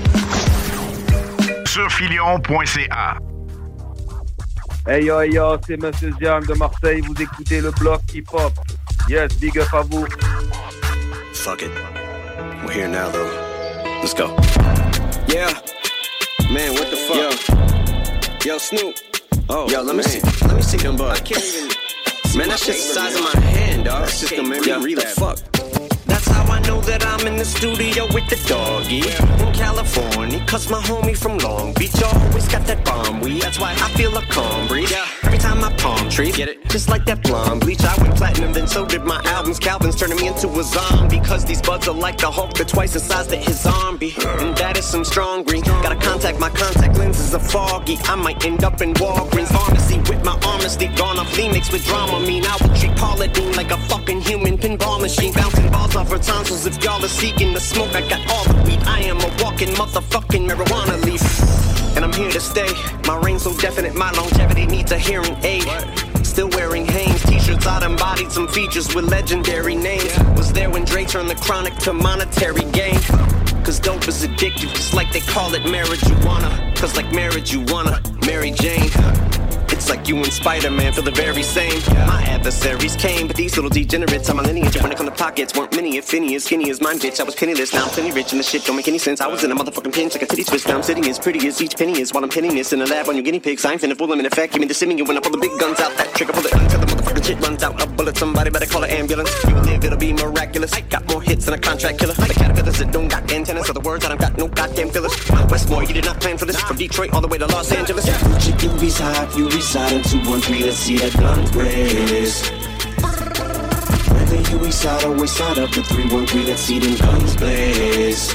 Surfilion.ca. Hey yo, c'est Monsieur Zian de Marseille, vous écoutez le bloc hip-hop. Yes, big up à vous. Fuck it. We're here now though. Let's go. Yeah. Man, what the fuck? Yo, Snoop. Oh, yo, let me see them bugs. I can't even. Man, that shit's the size of my hand, dog. That shit's gonna make me read that. Fuck. That's how I know that I'm I'm in the studio with the doggy in California, cause my homie from Long Beach always got that bomb weed. That's why I feel a calm breeze every time I palm tree. Get it? Just like that blonde bleach. I went platinum, then so did my albums. Calvin's turning me into a zombie, cause these buds are like the Hulk, they're twice the size that his zombie. And that is some strong green. Gotta contact, my contact lenses are foggy. I might end up in Walgreens pharmacy with my honesty gone off Lee mixed with drama. Mean I would treat Paula Deen like a fucking human pinball machine, bouncing balls off her tonsils. If y'all are seeking the smoke, I got all the weed. I am a walking motherfucking marijuana leaf, and I'm here to stay. My reign's so definite, my longevity needs a hearing aid. Still wearing Hanes t-shirts, I embodied some features with legendary names. Was there when Dre turned the chronic to monetary gain. Cause dope is addictive, just like they call it marijuana. Cause like marriage, you wanna Mary Jane. It's like you and Spider-Man feel the very same. My adversaries came, but these little degenerates on my lineage. When it come to pockets, weren't many, if any, as skinny as mine, bitch. I was penniless, now I'm plenty rich, and the shit don't make any sense. I was in a motherfucking pinch like a titty twist. Now I'm sitting as pretty as each penny is while I'm pinning this in the lab on your guinea pigs. I ain't finna fool them in effect. Give me the simming when I pull the big guns out. That trigger pull it until the motherfucking shit runs out. A bullet, somebody better call an ambulance. You will live, it'll be miraculous. I got more hits than a contract killer. The caterpillars that don't got antennas, so the words that I've got no goddamn fillers. Westmore, you did not plan for this. From Detroit all the way to Los Angeles. You reside in 213. Let's see that gun blaze. Whether you east side or west side of the 313, let's see them guns blaze.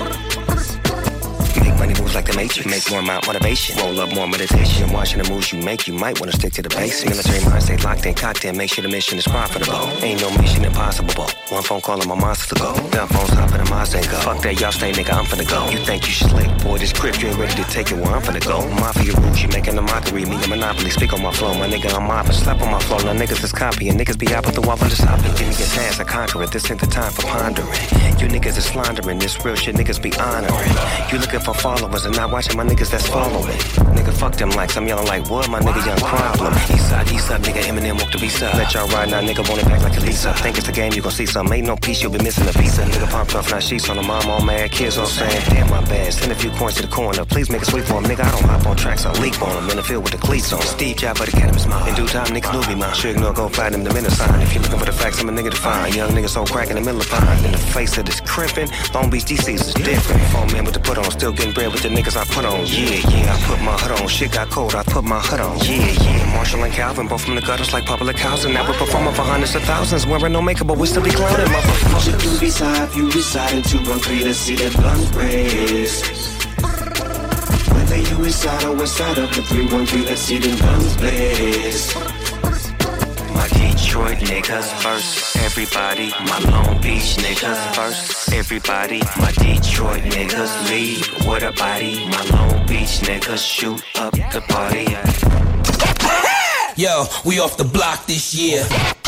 Make money moves like the Matrix. Make more motivation. Roll up more meditation. Watching the moves you make, you might want to stick to the basics. Military mind stay locked in, cocked in. Make sure the mission is profitable. Ain't no mission impossible. One phone call and my monster to go. Gun phones hop in the Mazda and go. Fuck that, y'all stay, nigga, I'm finna go. You think you slick, boy, this grip, you ain't ready to take it where I'm finna go. Mafia rules, you making a mockery. Me a monopoly, speak on my flow. My nigga, I'm mopping, slap on my flow. Now niggas is copying. Niggas be out with the wall and just hopping. Give me a task, I conquer it. This ain't the time for pondering. You niggas is slandering. This real shit, niggas be honoring. You looking for followers and not watching my niggas that's following. Nigga, fuck them likes, I'm yelling like what? My nigga, young problem. East side, nigga, Eminem walk the beast up. Let y'all ride now, nigga, want it back like a Lisa. Think it's the game, you gon' see something. Ain't no piece, you'll be missing a piece. Nigga pumped up, now sheets on the mom, all mad. Kids all saying, damn, my bad. Send a few coins to the corner. Please make a sweep for him, nigga. I don't hop on tracks, I leap on him. In the field with the cleats on. Steve Jobs, but the cannabis mine. In due time, niggas knew me mine. Sure ignore, go find him the minute sign. If you're looking for the facts, I'm a nigga to find. Young nigga so crack in the middle of pine. In the face of this crimpin', Long Beach DC's is different. 4 men with the put on, still getting bread with the niggas I put on. Yeah, I put my hood on. Shit got cold, I put my hood on. Yeah, Marshall and Calvin, both from the gutters like public housing. Now we're performing for hundreds of thousands, wearing no makeup, but we still be clowning, motherfuckers. You reside in 213, let's see that guns blaze. Whether you reside or west side of the 313, let's see them guns blaze. My Detroit niggas first, everybody. My Long Beach niggas first, everybody. My Detroit niggas lead with a body. My Long Beach niggas shoot up the party. Yo, we off the block this year.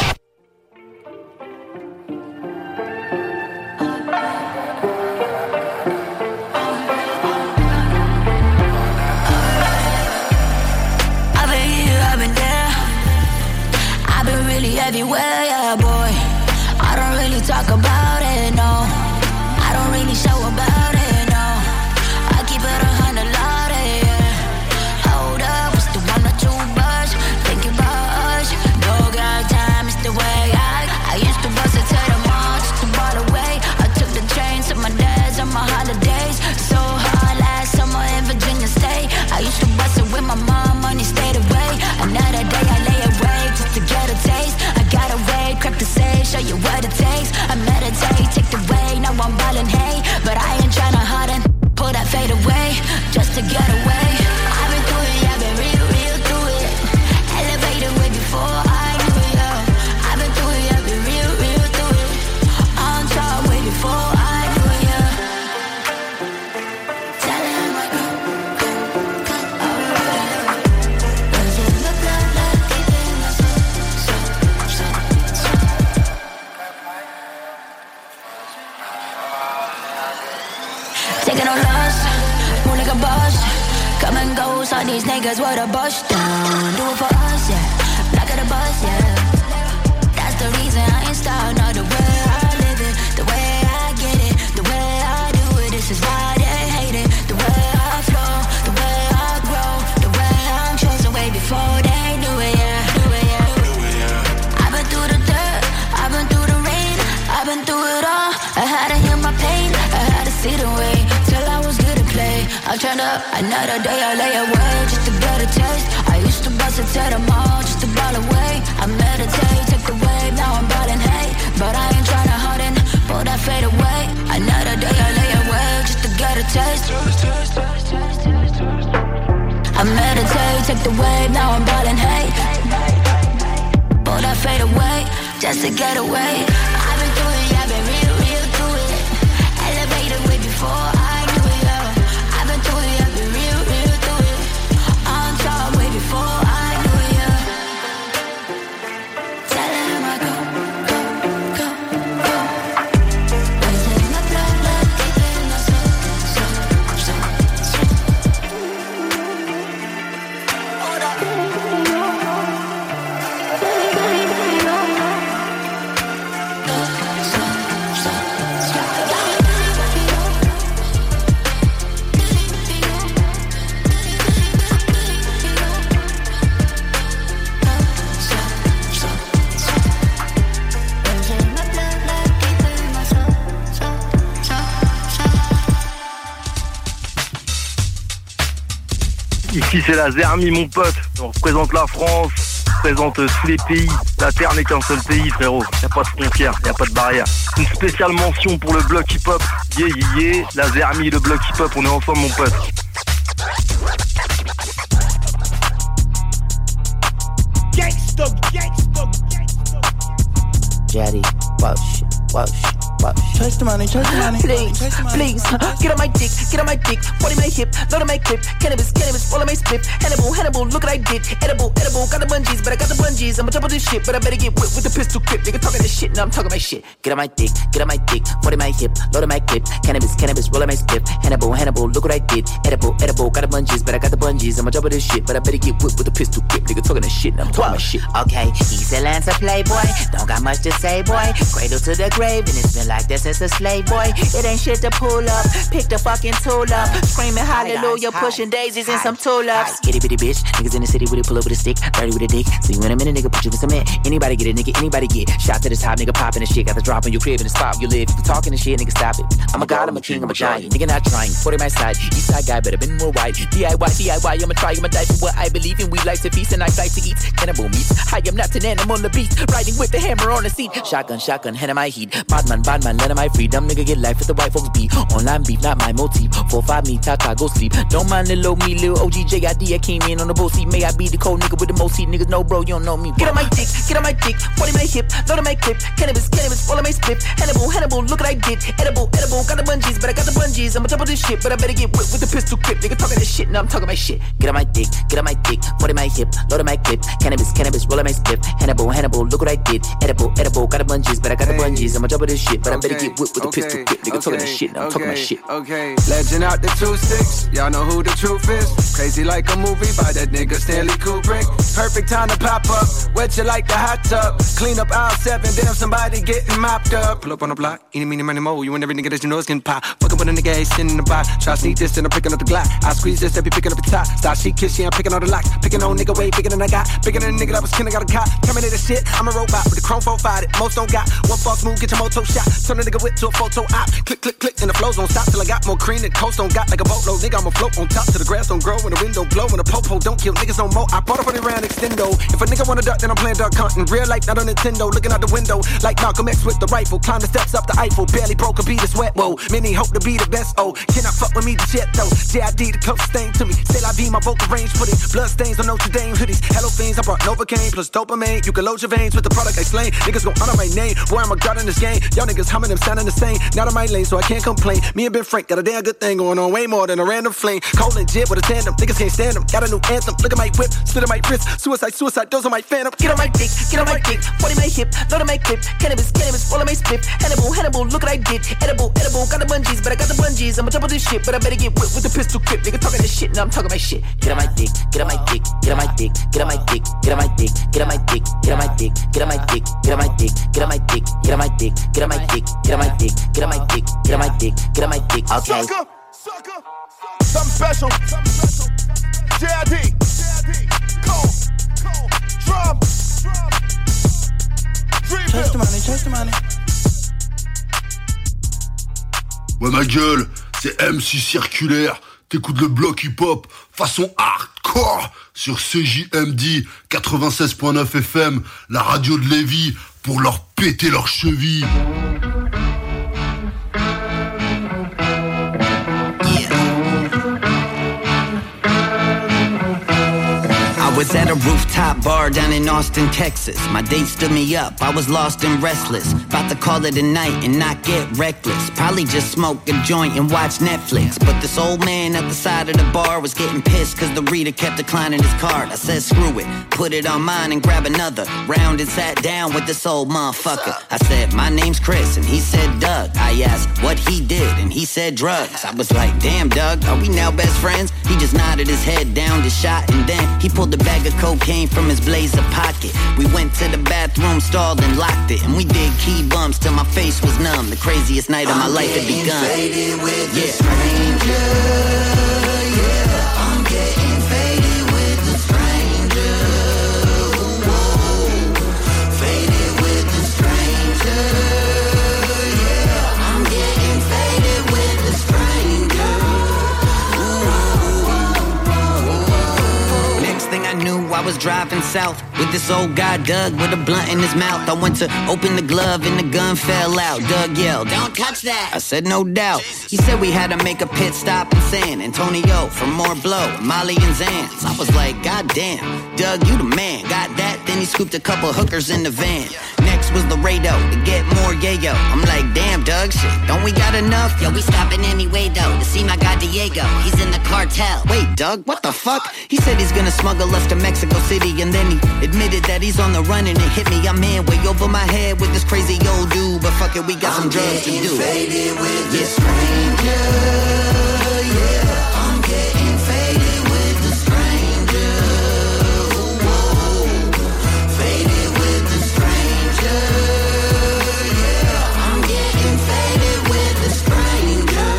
Everywhere, yeah, boy. I don't really talk about it, no. I don't really show about it, no. I keep it 100 loaded, yeah. Hold up, it's the 1 or 2 bus. Think about us. No got time, it's the way I used to bust it to the mall just to ball away. I took the train to my dad's on my holidays. So hard last summer in Virginia State. I used to bust it with my mom, money stayed away. Another day I lay awake just to get a taste. Got away, crack the safe, show you what it takes. I meditate, take the way, now I'm ballin', hey. But I ain't tryna harden, pull that fade away, just to get away. I've been through it, I've been real through it. Elevated way before I knew it, yeah. I've been through it, I've been real through it. On top way before I knew it, yeah. Tell him I go, alright. Does it look like deep in my soul? Taking no loss, move like a boss. Come and goes, all these niggas with a bust down. Do it for us, yeah. Black of the bus, yeah. That's the reason I ain't starting all the way I live it, the way I get it, the way I do it. This is why they hate it. The way I flow, the way I grow, the way I'm chosen way before they do it, yeah. Do it, yeah. I've been through the dirt, I've been through the rain, I've been through it all. I had to heal my pain. didn't wait till I was good to play. I turned up another day, I lay away just to get a taste. I used to bust it to the mall just to ball away. I meditate, take the wave, now I'm ballin' hate. But I ain't tryna harden, pull that fade away. Another day I lay away just to get a taste. I meditate, take the wave, now I'm ballin' hate. Pull that fade away just to get away. I've been through it, I've been real through it. Elevated way before I knew it, yeah. I've been through it, I've been real through it. On top way before I knew it, yeah. Tell him I go. It's in my blood, deep in my soul. Hold up. Ici c'est la Zermie mon pote, on représente la France, on représente tous les pays, la terre n'est qu'un seul pays frérot, y a pas de frontières, y a pas de barrière. Une spéciale mention pour le bloc hip-hop, yeah, la Zermie, le bloc hip-hop, on est ensemble mon pote. Jaddy, Walsh. Chase the money. Please, get on my dick, 40 my hip, load of my clip, cannabis, all of my split, Hannibal, look what I did, edible, got the bungees, but I got the bungees, I'ma double this shit, but I better get whipped with the pistol grip, nigga talking this shit, now I'm talking my shit. Get on my dick, 40 my hip, load of my clip, cannabis, all of my split, Hannibal, look what I did, edible, got the bungees, but I got the bungees, I'ma double this shit, but I better get whipped with the pistol grip, nigga talking this shit, now I'm talking my shit. Okay, he's a Lancer playboy, don't got much to say, boy, cradle to the grave, and it's been like this since a slave boy. It ain't shit to pull up, pick the fucking tool up, screaming hallelujah, pushing daisies and some tulips. Itty bitty bitch, niggas in the city with it, pull up with a stick, 30 with a dick. See you in a minute, nigga, put you in cement. Anybody get it, nigga, anybody get shot to the top, nigga, popping the shit, got the drop on your crib in the spot you live. If you talking the shit, nigga, stop it. I'm a god, I'm a king, I'm a giant, nigga, not trying. 40 my side, east side guy, better been more white. DIY, I'ma try, I'ma die for what I believe in. We like to feast and I like to eat cannibal meat. I am not an animal on the beat, riding with the hammer on the seat. Shotgun, hand in my heat. Badman, let my freedom, nigga, get life with the white folks beat. Online beef, not my motif. 4-5 me, Tata, go sleep. Don't mind little me, little OG JID. I came in on the boat seat. May I be the cold nigga with the most heat. Niggas know, bro, you don't know me. Get on my dick, 40 my hip, load of my clip, cannabis, all of my split. Hannibal, look what I did, edible, got the bungees, but I got the bungees. I'ma double this shit, but I better get whipped with the pistol grip. Nigga talking this shit, now I'm talking my shit. Get on my dick, 40 my hip, load of my clip, cannabis, all of my split. Hannibal, look what I did, edible, got the bungees, but I got the bungees. I'ma double this shit, but I better get whipped with the pistol grip. Nigga talking this shit, now I'm talking my shit. Okay, legend out the 2-6, y'all know who the truth is. Crazy like a movie by that nigga Stanley Kubrick. Perfect time to pop up, wet you like the hot tub. Clean up aisle 7, damn somebody getting mopped up. Pull up on the block, eeny, meeny, money, mo. You and every nigga that you know is getting pop. Fucking with a nigga, ain't sitting in the box. Try to sneak this, then I'm picking up the Glock. I squeeze this, they be picking up the top. Stop, she kiss, she, I'm picking all the locks. Picking on nigga way bigger than I got. Bigger than a nigga that was killing, got a cop. Terminator shit, I'm a robot with the chrome 4-5 that most don't got. One false move, get your moto shot. Turn a nigga whip to a photo op. Click, and the flows don't stop till I got more cream than Coast don't got like a boatload. Nigga, I'ma float on top till the grass don't grow and the window blow and the popo don't kill niggas no more. I bought a 40 round extendo. If a nigga wanna duck, then I'm playing duck hunting. Real life, not on Nintendo. Looking out the window like Malcolm X with the rifle. Climb the steps up the Eiffel. Barely broke a beat, it's wet, whoa. Many hope to be the best, oh. Cannot fuck with me, the jet though. JID, the closest thing to me. Say I be my vocal range, put it. Blood stains on Notre Dame hoodies. Hello fiends, I brought Novocaine plus dopamine. You can load your veins with the product I slain. Niggas gon' honor my name. Boy, I'm a god in this game. Y'all niggas humming them sounding the same. Not on my lane, so I can't complain. Me and Ben Frank got a damn good thing going on. Way more than a random flame. Cold and jib with a tandem. Niggas can't stand them. Got a new anthem. Look at my whip. Slit on my wrist. Suicide. Those are my phantom. Get on my dick. 40 my hip. Load of my clip. Cannabis, all of my split. Hannibal, look what I did. Edible, got the bungees, but I got the bungees. I'ma double this shit, but I better get whipped with the pistol grip. Nigga talking this shit, now I'm talking my shit. Get on my dick. Get on my dick. Get on my dick. Get on my dick. Get on my dick. Get on my dick. Get on my dick. Get on my dick. Get on my dick. Get on my dick. Get on my dick. Get on my dick. Get on my dick. Get on my dick. Get on my dick. Get on my dick. Okay. Sucker. Something special. JID. Cold. Drum. Chase the money. Ouais ma gueule, c'est MC Circulaire. T'écoutes le bloc hip-hop façon hardcore sur CJMD 96.9 FM, la radio de Lévis, pour leur péter leurs chevilles. I was at a rooftop bar down in Austin, Texas. My date stood me up, I was lost and restless. About to call it a night and not get reckless. Probably just smoke a joint and watch Netflix. But this old man at the side of the bar was getting pissed cause the reader kept declining his card. I said screw it, put it on mine and grab another round and sat down with this old motherfucker. I said my name's Chris and he said Doug. I asked what he did and he said drugs. I was like damn Doug, are we now best friends? He just nodded his head down the shot and then he pulled the bag of cocaine from his blazer pocket. We went to the bathroom stall and locked it. And we did key bumps till my face was numb. The craziest night of my life had begun. Faded with the stranger, yeah. I'm getting faded with the stranger. Whoa. Faded with the stranger, yeah. I'm getting faded with the stranger. Next thing I knew, I was driving south with this old guy Doug with a blunt in his mouth. I went to open the glove and the gun fell out. Doug yelled, "Don't touch that!" I said, "No doubt." He said we had to make a pit stop in San Antonio for more blow, Molly and Zans. I was like, God damn, Doug, you the man. Got that? Then he scooped a couple hookers in the van. Next was Laredo to get more yayo. I'm like, damn, Doug, shit, don't we got enough? Yo, we stopping anyway though to see my guy Diego. He's in the cartel. Wait, Doug, what the fuck? He said he's gonna smuggle us to Mexico City, and then he admitted that he's on the run and it hit me. I'm in way over my head with this crazy old dude, but fuck it, we got some drugs to do. Faded with the stranger, yeah. I'm getting faded with the stranger. Whoa. Faded with the stranger, yeah. I'm getting faded with the stranger.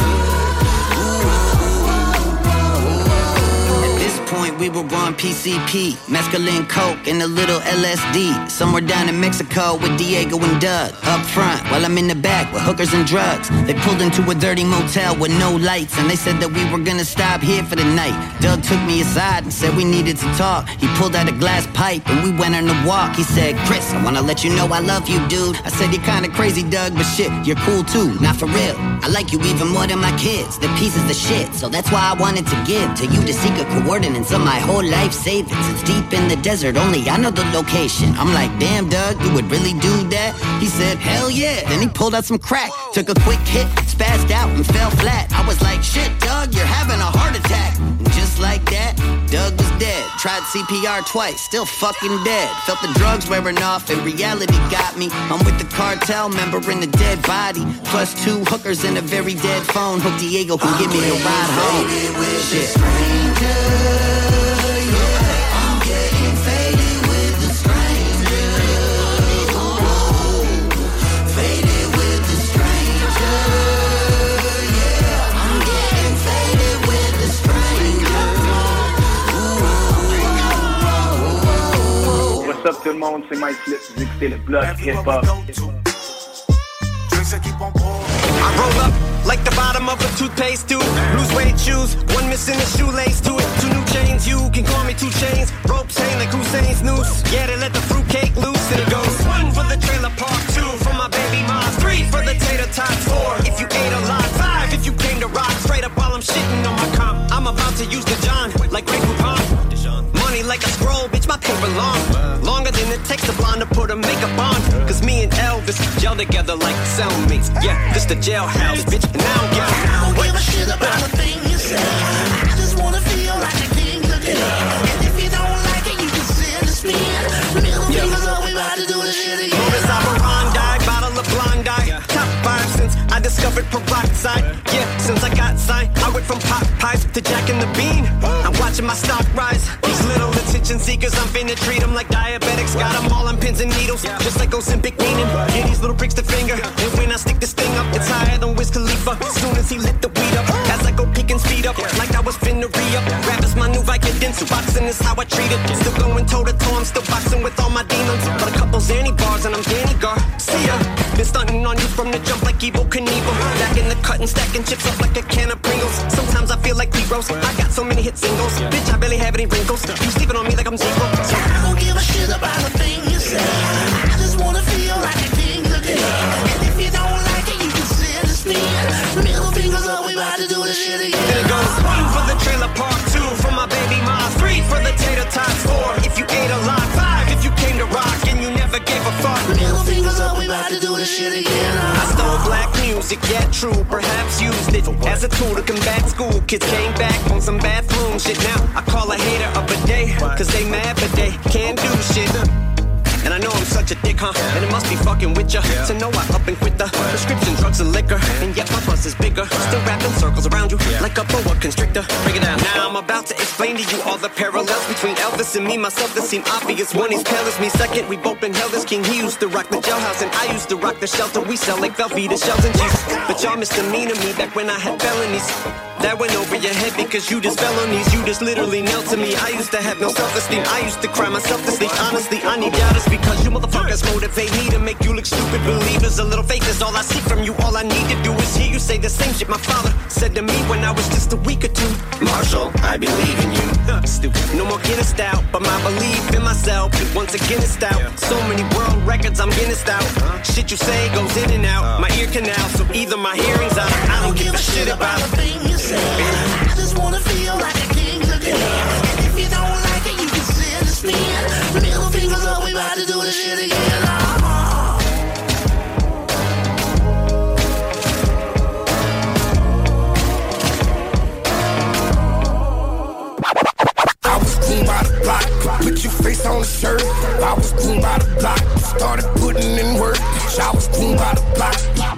At this point, we were on PCP, mescaline, coke, and a little LSD. Somewhere down in Mexico with Diego and Doug. Up front, while I'm in the back with hookers and drugs. They pulled into a dirty motel with no lights, and they said that we were gonna stop here for the night. Doug took me aside and said we needed to talk. He pulled out a glass pipe and we went on a walk. He said, Chris, I wanna let you know I love you, dude. I said, you're kinda crazy, Doug, but shit, you're cool too, not for real. I like you even more than my kids. The pieces of shit, so that's why I wanted to give to you the secret coordinates of my whole life savings. It's deep in the desert, only I know the location. I'm like, damn, Doug, you would really do that? He said, hell yeah. Then he pulled out some crack, took a quick hit, spazzed out and fell flat. I was like, shit, Doug, you're having a heart attack. And just like that, Doug was dead. Tried CPR twice, still fucking dead. Felt the drugs wearing off and reality got me. I'm with the cartel member in a dead body, plus 2 hookers and a very dead phone. Hope Diego can give me a ride home. Shit. What's up tout le monde, c'est Mike Flip, vous écoutez le bloc hip-hop. I roll up like the bottom of a toothpaste tube. Blue suede shoes, one missing a shoelace to it. 2 new chains, you can call me 2 chains. Ropes hang like Hussein's noose. Yeah, they let the fruitcake loose and it goes 1 for the trailer park, 2 for my baby mom, 3 for the tater tots, 4 if you ate a lot, 5 if you came to rock. Straight up while I'm shitting on my comp. I'm about to use the John like Grey Poupon. Money like a scroll, bitch, my paper long. Longer than it takes a blonde to put a makeup on. Cause me and Elvis gel together like cellmates. Yeah, this the jailhouse, bitch, and I don't give a shit about a thing you say. I just wanna feel like a king again. And if you don't like it, you can send a spin. Middle fingers up, we about to do this shit again. Modus operandi, bottle of Blondie. Top 5 since I discovered peroxide. Yeah, since I got signed, I went from pot pies to Jack and the Bean. I'm watching my stock rise. These little attention seekers, I'm finna treat them like diabetics. Got them all on pins and needles, just like Ozempic meaning. Yeah, these little pricks the finger. And when I stick this thing up, it's higher than Wiz Khalifa. As soon as he lit the weed up, as I go peek and speed up, like I was finna re-up. Rap is my new Vicodin, so boxing is how I treat it. Still going toe to toe, I'm still boxing with all my demons. But a couple Zanny bars and I'm Danny Gar. See ya. Been stunting on you from the jump like Evel Knievel. Back in the cut and stacking chips up like a can of Pringles. Sometimes I feel like D-Rose. I got so many hit singles. Bitch, I barely have any wrinkles. You sleeping on me like I'm zero. I don't give a shit about a thing you say. I just wanna feel like a king again. And if you don't like it, you can send a spin. Middle fingers up, we about to do this shit again. Then it goes 1 for the trailer park, 2 for my baby mom, 3 for the tater tots, 4 if you ate a lot, 5 if you came to rock and you never gave a fuck. Middle fingers up, we about to do this shit again. I stole black music, yeah true, perhaps used it as a tool to combat school. Kids came back on some bathroom shit. Now I call a hater up a day, cause they mad but they can't do shit. And I know I'm such a dick, huh? And it must be fucking with ya to know I up and quit the prescription drugs and liquor. And yet my bus is bigger, still wrapping circles around you like a boa constrictor. Break it down. Now I'm about to explain to you all the parallels between Elvis and me, myself that seem obvious. One, he's pale as me. Second, we both been held as king. He used to rock the jailhouse and I used to rock the shelter. We sell like Velveeta shells and cheese. But y'all misdemeanor me back when I had felonies. That went over your head because you just fell on these. You just literally knelt to me. I used to have no self-esteem. I used to cry myself to sleep. Honestly, I need doubters because you motherfuckers motivate me to make you look stupid. Believers, a little fake is all I see from you. All I need to do is hear you say the same shit my father said to me when I was just a week or two. Marshall, I believe in you. Stupid. No more Guinness out, but my belief in myself once again is stout. So many world records I'm Guinness out. Shit you say goes in and out my ear canal. So either my hearing's out. I don't give a shit about a thing you say. I just wanna feel like a king again. And if you don't like it, you can send a spin. Middle fingers up, we about to do this shit again. I was groomed by the block, put your face on the shirt. I was groomed by the block, started putting in work. I was groomed by the block.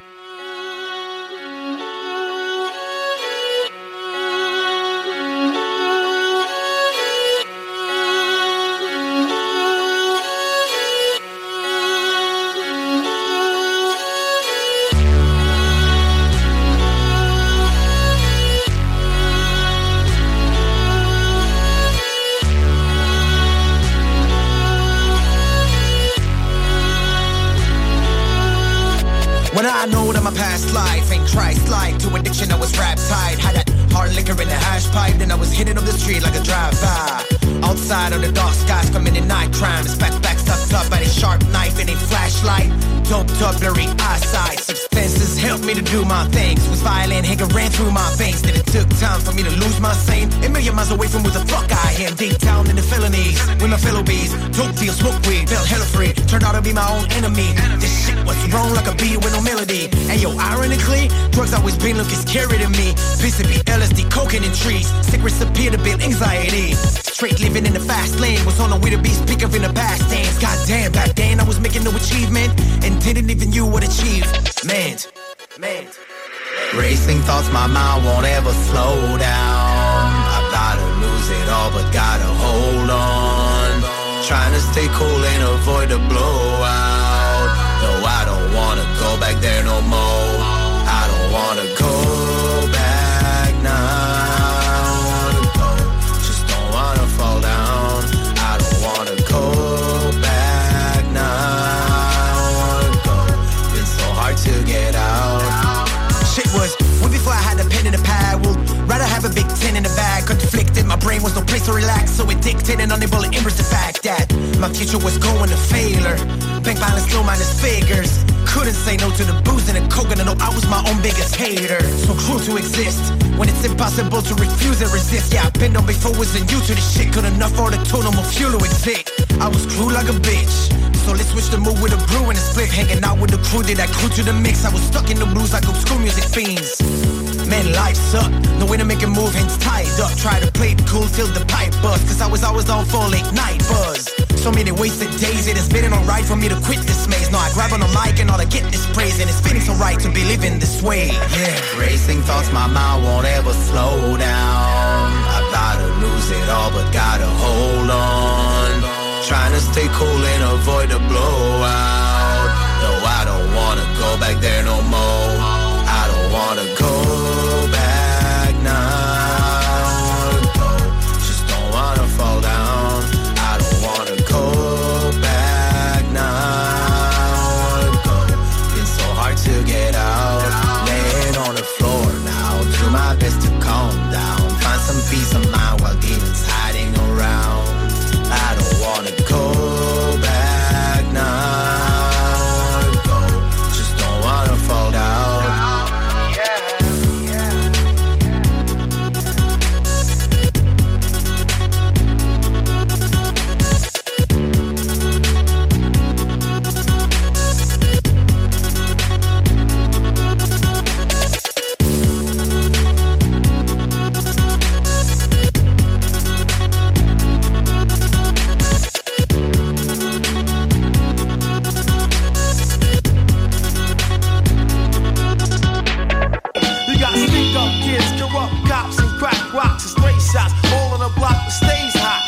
When I know that my past life ain't Christ-like. To addiction I was rap-tied. Had that hard liquor in the hash pipe. Then I was hitting up the street like a drive-by. Outside of the dark skies committing night crimes. Back sucked up by a sharp knife and a flashlight. Doped up blurry eyesight. Substances helped me to do my things. Was violent, anger ran through my veins. Then it took time for me to lose my sane. A million miles away from where the fuck I am. Deep down in the felonies with my fellow bees. Dope deal, smoke weed, felt hella free. Turned out to be my own enemy. This shit was wrong like a beat with no melody. And yo, ironically, drugs always been looking scary to me. PCP, LSD, cocaine and trees. Cigarettes appear to build anxiety. Straight living in the fast lane. Was on the way to be speaker in the past tense. Goddamn, back then I was making no achievement. And didn't even you what achieve. Man. Racing thoughts, my mind won't ever slow down. I gotta lose it all, but gotta hold on. Trying to stay cool and avoid the blowout. No, I don't wanna go back there no more. I don't wanna go back now. Just don't wanna fall down. I don't wanna go back now. Been so hard to get out. Shit was way before I had the pen in the pad. Would rather have a big 10 in the bag. Conflicted, my brain was no place to relax. So addicted and unable to embrace the fact that my future was going to failure. Bank balance low minus figures. Couldn't say no to the booze and the coke, and I know I was my own biggest hater. So cruel to exist when it's impossible to refuse and resist. Yeah, I've been on before, wasn't used to this shit. Couldn't afford a total more fuel to exist. I was cruel like a bitch. So let's switch the mood with a brew and a split. Hanging out with the crew, did I crew to the mix. I was stuck in the blues like school music fiends. Man, life sucked. No way to make a move, hands tied up. Try to play it cool till the pipe bust. Cause I was always on for late night buzz. So many wasted days, it has been alright for me to quit this maze. Now I grab on the mic and all I get is praise. And it's feeling so right to be living this way. Yeah. Racing thoughts, my mind won't ever slow down. I gotta lose it all, but gotta hold on. Trying to stay cool and avoid the blowout. No, I don't wanna go back there no more. I don't wanna go back now. Just don't wanna fall down. I don't wanna go back now. Been so kids, corrupt cops, and crack rocks and stray shots. All on the block that stays hot.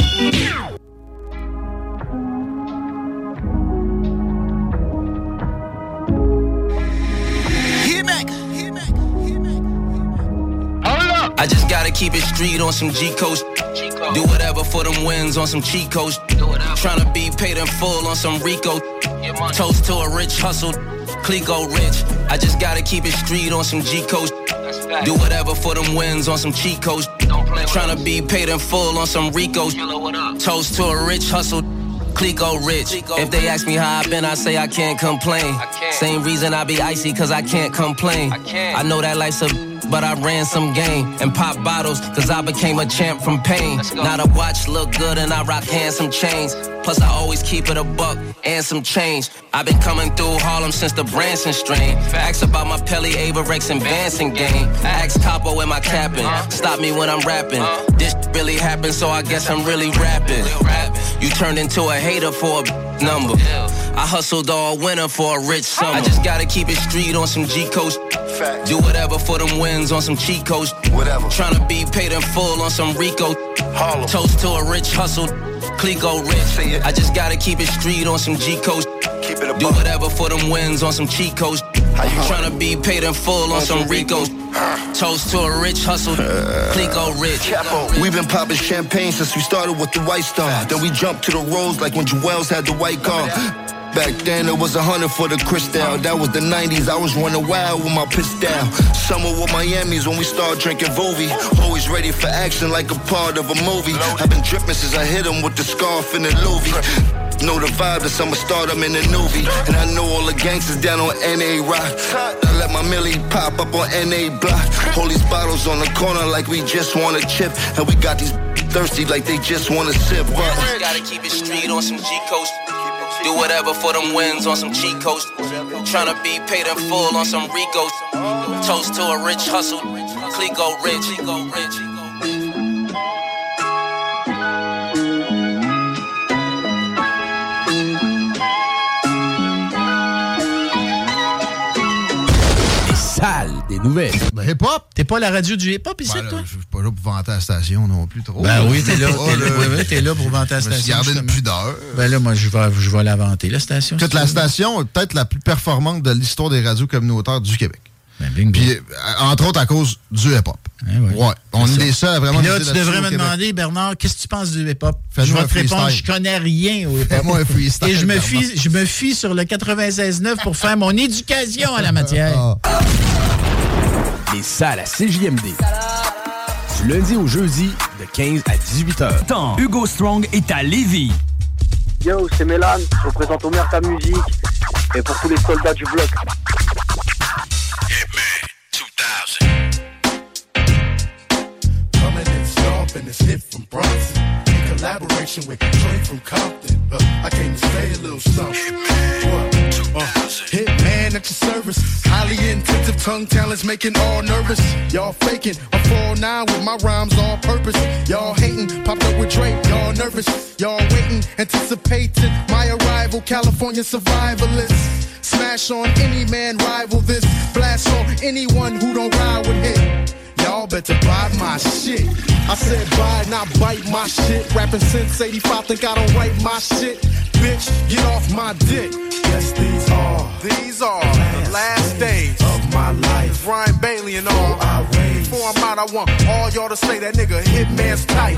I just gotta keep it street on some G coast. Do whatever for them wins on some cheat coast. Tryna be paid in full on some Rico. Toast to a rich hustle, Clico rich. I just gotta keep it street on some G coast. Do whatever for them wins on some cheat coast. Tryna be paid in full on some Ricos. Toast to a rich hustle, Clico rich. If they ask me how I been, I say I can't complain. Same reason I be icy, cause I can't complain. I know that life's a but I ran some game and pop bottles, cause I became a champ from pain. Now the watch look good and I rock handsome chains. Plus I always keep it a buck and some change. I've been coming through Harlem since the Branson strain. Ask about my Pelly, Averex, and Vanson game. Ask Capo in my capping. Stop me when I'm rapping. This really happened, so I guess I'm really rapping. You turned into a hater for a number. I hustled all winter for a rich summer. I just gotta keep it street on some G coast. Do whatever for them wins on some cheat coast. Tryna be paid in full on some Rico. Toast to a rich hustle, Clico rich. I just gotta keep it street on some G coast. Do whatever for them wins on some cheat coast. Tryna be paid in full on some Ricos. Toast to a rich hustle, Clico rich. We've been popping champagne since we started with the White Star. Then we jumped to the Rose like when Jewels had the white car. Back then it was 100 for the Cristal. That was the 90s, I was running wild with my pistol. Summer with Miami's when we started drinking Vovi. Always ready for action like a part of a movie. I've been dripping since I hit him with the scarf and the Louis. Know the vibe, the summer start, I'm in the Nuvi. And I know all the gangsters down on NA Rock. I let my Millie pop up on NA Block. Hold these bottles on the corner like we just want a chip. And we got these thirsty like they just want to sip. Just gotta keep it street on some G coast. Do whatever for them wins on some cheat coast. Tryna be paid in full on some Ricos. Toast to a rich hustle, Clico rich. Des nouvelles. Ben, hip-hop. T'es pas la radio du hip-hop ici, toi? Je suis pas là pour vanter la station non plus trop. Ben oui, t'es là. T'es là pour vanter la station. Je garder une pudeur. Ben là, moi, je vais la vanter, la station. Écoute, la station est peut-être la plus performante de l'histoire des radios communautaires du Québec. Ben, bingo. Puis, entre autres, à cause du hip-hop. Ouais. On est des seuls à vraiment... Puis là, tu devrais me demander, Bernard, qu'est-ce que tu penses du hip-hop? Je vais te répondre, je connais rien au hip-hop. Fais-moi un freestyle. Et je me fie sur le 96.9 pour faire mon éducation à la matière. Les salles à CJMD. Du lundi au jeudi, de 15 à 18 heures. Temps. Hugo Strong est à Lévis. Yo, c'est Mélan. Je représente Omerta Music. Et pour tous les soldats du bloc. Coming in sharp and it's hit from Bronson. In collaboration with Trey from Compton. I came to say a little something. Hitman at your service. Highly intensive tongue talents making all nervous. Y'all faking. I'm 4'9" with my rhymes all purpose. Y'all hating. Popped up with Drake. Y'all nervous. Y'all waiting. Anticipating my arrival. California survivalist. Smash on any man, rival this. Blast on anyone who don't ride with hit. Y'all better buy my shit. I said buy, not bite my shit. Rapping since 85, think I don't write my shit. Bitch, get off my dick. Yes, these are the last days of my life. Ryan Bailey and all. Before I'm out, I want all y'all to say that nigga Hitman's tight.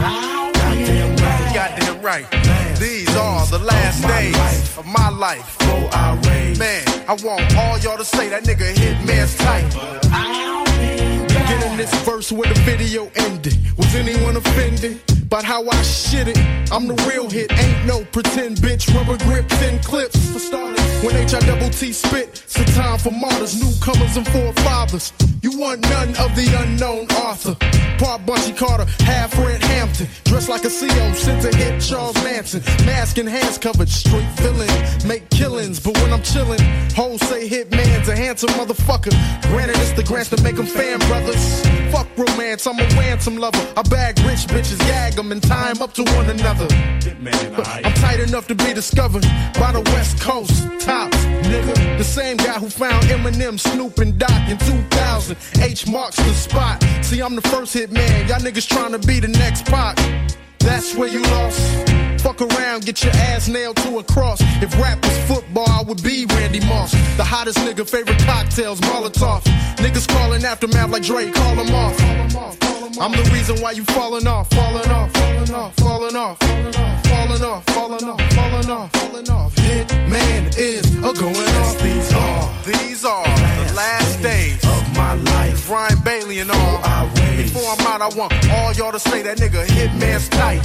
Goddamn right. These are the last days of my life. Man, I want all y'all to say that nigga Hitman's tight. Getting this verse where the video ended. Was anyone offended about how I shit it? I'm the real hit, ain't no pretend bitch. Rubber grip, 10 clips for starters. When H-I-double-T spit, it's a time for martyrs, newcomers and forefathers. You want none of the unknown author. Part Bunchy Carter, half Fred Hampton. Dressed like a CO, sent to hit Charles Manson. Mask and hands covered, straight villain. Make killings, but when I'm chillin', hoes say Hitman's a handsome motherfucker. Granted, it's the grants to make them fan brothers. Fuck romance. chance, I'm a ransom lover. I bag rich bitches, gag them, and tie them up to one another. I'm tight enough to be discovered by the West Coast. Tops, nigga. The same guy who found Eminem, Snoop, and Doc in 2000. H marks the spot. See, I'm the first hit man. Y'all niggas trying to be the next Pac. That's where you lost. Fuck around, get your ass nailed to a cross. If rap was football, I would be Randy Moss. The hottest nigga, favorite cocktails, Molotov. Niggas calling Aftermath like Drake, call them off. I'm the reason why you falling off, falling off, falling off, falling off, falling off, falling off, falling off, falling off. Hitman is a going off. These are the last days of my life. Ryan Bailey and all. Before I'm out, I want all y'all to say that nigga Hitman's tight.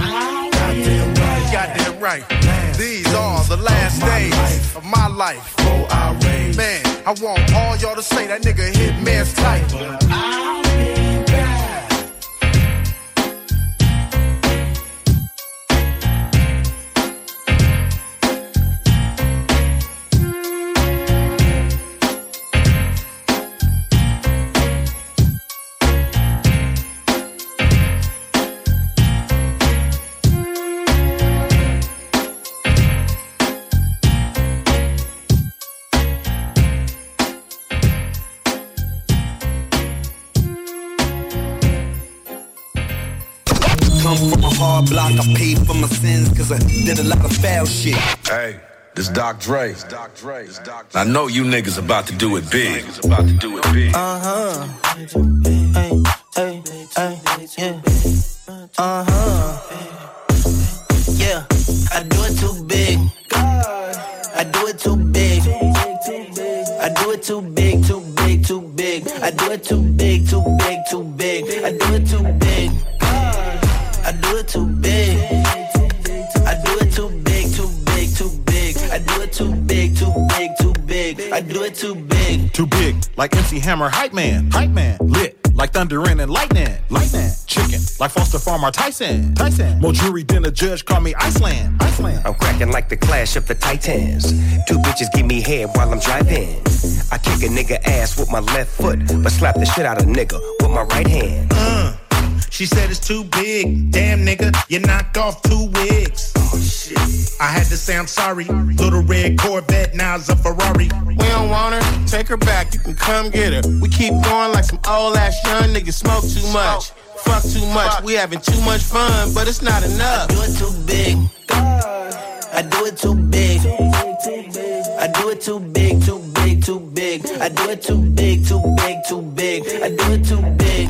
Goddamn right. These are the last days of my life. Man, I want all y'all to say that nigga Hitman's tight. Hard block, I paid for my sins cause I did a lot of foul shit. Hey, this Doc Dre. I know you niggas about to do it big. Uh-huh. Hey, hey, hey, yeah. Uh-huh. Yeah, I do it too big. I do it too big. I do it too big, too big, too big. I do it too big, too big, too big. I do it too big. I do it too big. I do it too big, too big, too big. I do it too big, too big, too big. I do it too big. Too big, like MC Hammer, hype man. Lit, like thunder and lightning. Chicken, like Foster Farmer, Tyson. More jury than a judge, call me Iceland. I'm cracking like the Clash of the Titans. Two bitches give me head while I'm driving. I kick a nigga ass with my left foot, but slap the shit out of nigga with my right hand. She said it's too big. Damn, nigga, you knocked off 2 wigs. Oh, shit. I had to say I'm sorry. Little red Corvette, now it's a Ferrari. We don't want her, take her back, you can come get her. We keep going like some old ass young niggas smoke too much. Fuck too much, we having too much fun, but it's not enough. I do it too big. I do it too big. I do it too big, too big, too big. I do it too big, too big, too big. I do it too big.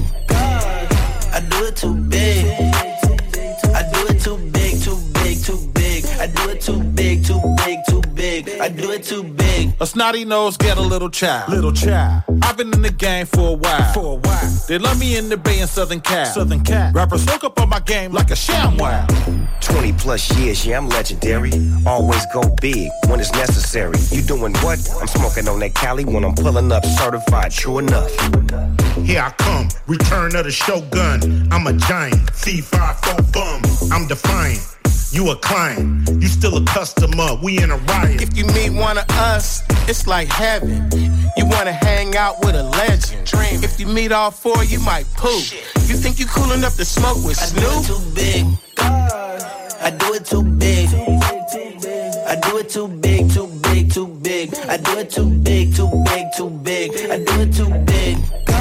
I do it too big. I do it too big, too big, too big. I do it too big, too big, too big. I do it too big. A snotty nose get a little child. I've been in the game for a while. They love me in the Bay and Southern Cal. Rappers hook up on my game like a sham wow. 20 plus years, yeah, I'm legendary. Always go big when it's necessary. You doing what? I'm smoking on that Cali when I'm pulling up certified, true enough. Here I come, return of the Shogun. I'm a giant, C5 bum. I'm defiant. You a client, you still a customer, we in a riot. If you meet one of us, it's like heaven. You wanna hang out with a legend. If you meet all 4, you might poop. You think you cool enough to smoke with Snoop? I do it too big. I do it too big. I do it too big, too big, too big. I do it too big, too big, too big. I do it too big.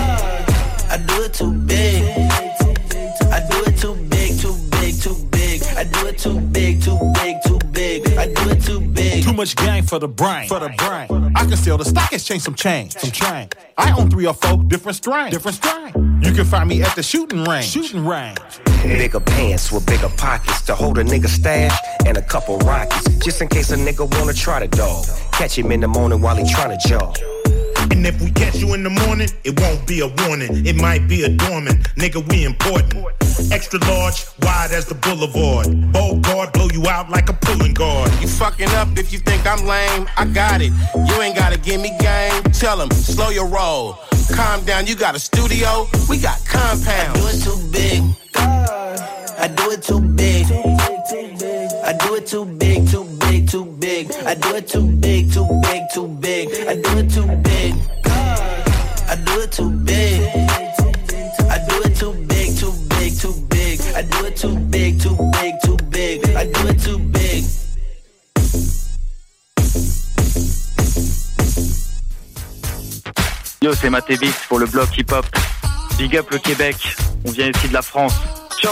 I do it too big. I do it too big, too big, too big. I do it too big, too big, too big. I do it too big. Too much gang for the brain. I can sell the stock exchange some change. I own 3 or 4 different strains. You can find me at the shooting range. Bigger pants with bigger pockets to hold a nigga stash and a couple rockets. Just in case a nigga wanna try the dog. Catch him in the morning while he tryna jog. And if we catch you in the morning, it won't be a warning. It might be a dormant. Nigga, we important. Extra large, wide as the boulevard. Bold guard, blow you out like a pulling guard. You fucking up if you think I'm lame. I got it. You ain't gotta give me game. Tell him, slow your roll. Calm down, you got a studio. We got compounds. I do it too big. I do it too big. I do it too big, too big, too big. I do it too big, too big, too big. I do it too big. I do it too big. I do it c'est Matébix pour le bloc hip-hop. Big up le Québec, on vient ici de la France. Ciao.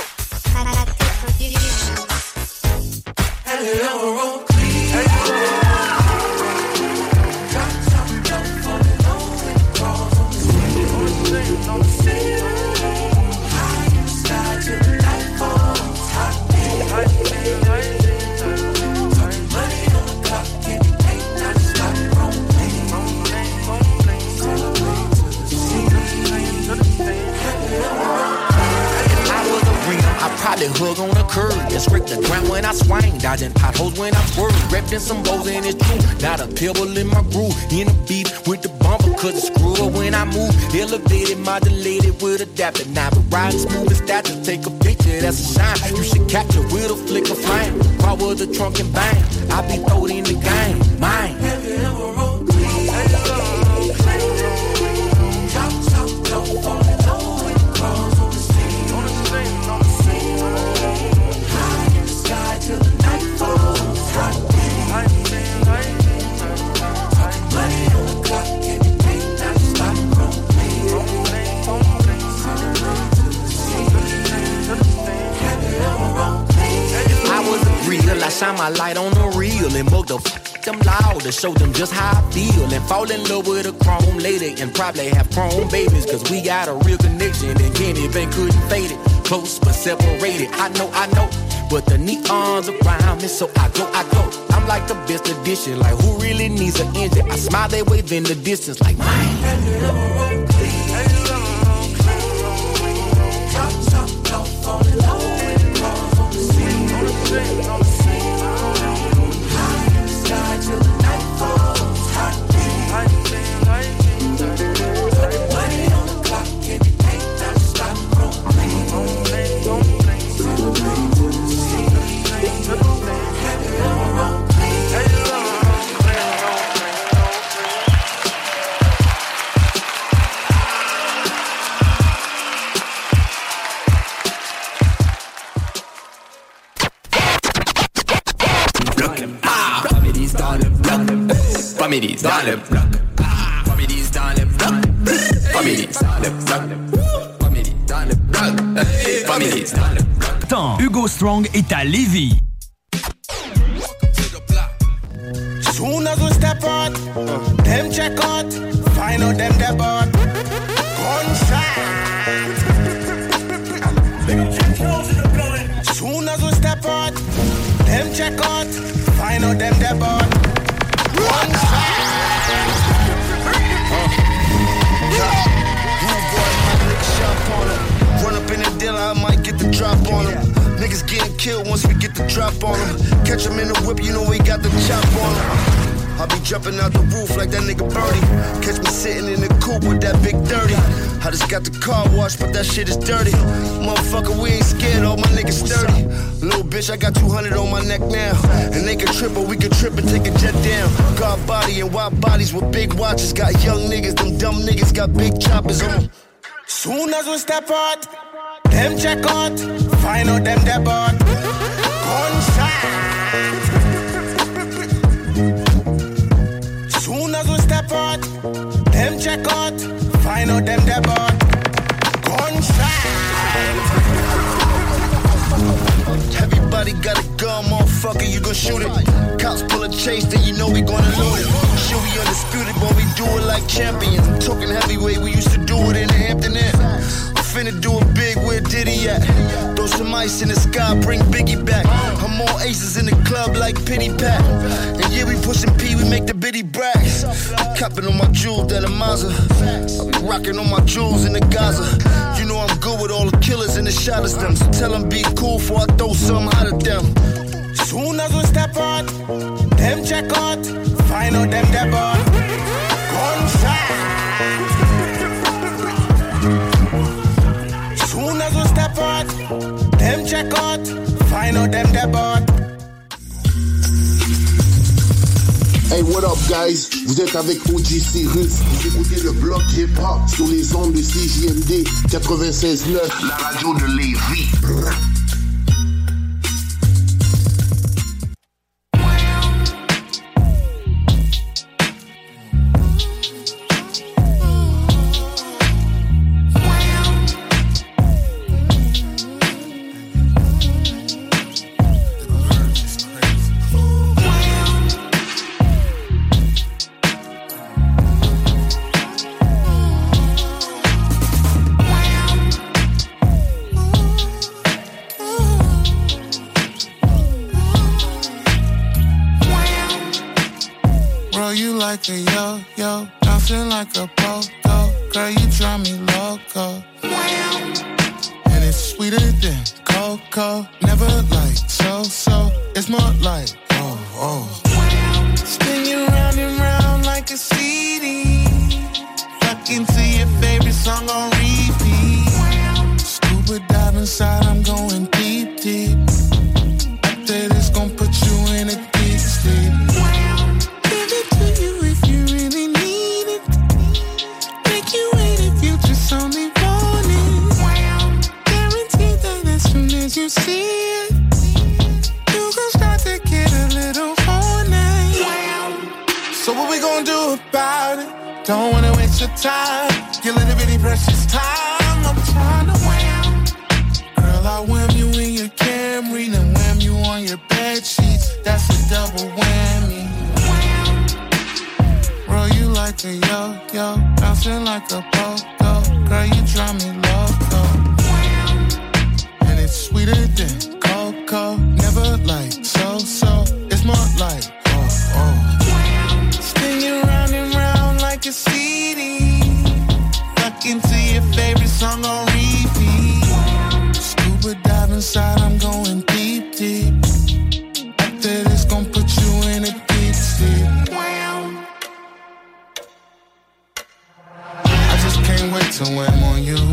Probably hug on the curb and scrape the ground when I swing, dodging potholes when I swerve, repping some bows and it's true. Not a pebble in my groove, in a beat with the bumper, cause it's screw up when I move. Elevated, modulated with adapter. Now but riding smooth as that to take a picture, that's a shine. You should capture with a flick of flame. Power the trunk and bang, I be throwed in the game, mine. Have you ever rolled clean? Chop, don't fall in love with the cross on the scene. Till the night falls, hot money on the clock, and you can't not stop I was a real, I shine my light on the real and both them loud to show them just how I feel and fall in love with a chrome lady and probably have chrome babies, cause we got a real connection and Kenny Bank couldn't fade it. Close but separated, I know. But the neons around me, so I go. I'm like the best edition, like who really needs an engine? I smile, they wave in the distance, like mine. Don't fall in love with the cross on the scene. High in the sky till the night falls. Hot money on the clock, and you can't not stop Families dans le bloc. Families dans le bloc. Families dans le bloc. Families dans le bloc. Families dans le bloc. Temps, Hugo Strong est à Lévis. Soon as we step out, them check out, find out them dead out. Gunshot. Soon as we step out, them check out, find out them dead out. Run up in the dealer, I might get the drop on him. Niggas getting killed once we get the drop on him. Catch him in the whip, you know we got the chop on him. I be jumping out the roof like that nigga Birdie. Catch me sitting in the coupe with that big 30. I just got the car washed, but that shit is dirty. Motherfucker, we ain't scared, all my niggas sturdy. Little bitch, I got 200 on my neck now. And they can trip, or we can trip and take a jet down. God body and wild bodies with big watches. Got young niggas, them dumb niggas got big choppers on them. Soon as we step out, them check out, find out them dead out. Gunshot. Soon as we step out, them check out, find out them dead out. Gunshot. Everybody got a gun, motherfucker, you gon' shoot it. Cops pull a chase, then you know we gonna loot it. Shit, we undisputed, but we do it like champions. I'm talking heavyweight, we used to do it in the Hampton Inn. Finna do it big, where Diddy at? Throw some ice in the sky, bring Biggie back. I'm more aces in the club like Pity Pat. And yeah, we pushing P, we make the bitty brags. I'm copping on my jewels, that a Mazda. I be rocking on my jewels in the Gaza. You know I'm good with all the killers and the shotters them. So tell them be cool before I throw something hot at them. Soon as we step out, them check out, find out them dead out. Gunshot. Soon as we step out, them check out, find out them dead out. Hey, what up, guys? Vous êtes avec OG Cyrus. Vous écoutez le bloc hip-hop sur les ondes de CJMD 96.9, la radio de Lévis. like a yo-yo, bouncing like a pogo. Girl, you drive me loco. And it's sweeter than cocoa. Never like so. It's more like oh. Spin you round and round like a CD. Fuck into your favorite song on repeat. Scuba dive inside, I'm going deep. After this, gon' put you in a deep sleep. Give it to you if you really need it. Make you wait if you just only want it. Guarantee that as soon as you see it, you gon' start to get a little horny. So what we gon' do about it? Don't wanna waste your time, your little bitty precious time. I'm trying to wham. Girl, I wham you in your Camry, then wham you on your bed sheets. That's a double whammy. Roll you like a yo-yo, bouncing like a pogo. Girl, you drive me loco. And it's sweeter than cocoa. Never like so. It's more like oh. Spin you round and round like a CD. Fuck into your favorite song on repeat. Scuba dive inside, I'm going deep. After this, gon' put you in a deep sleep. I just can't wait to wham on you.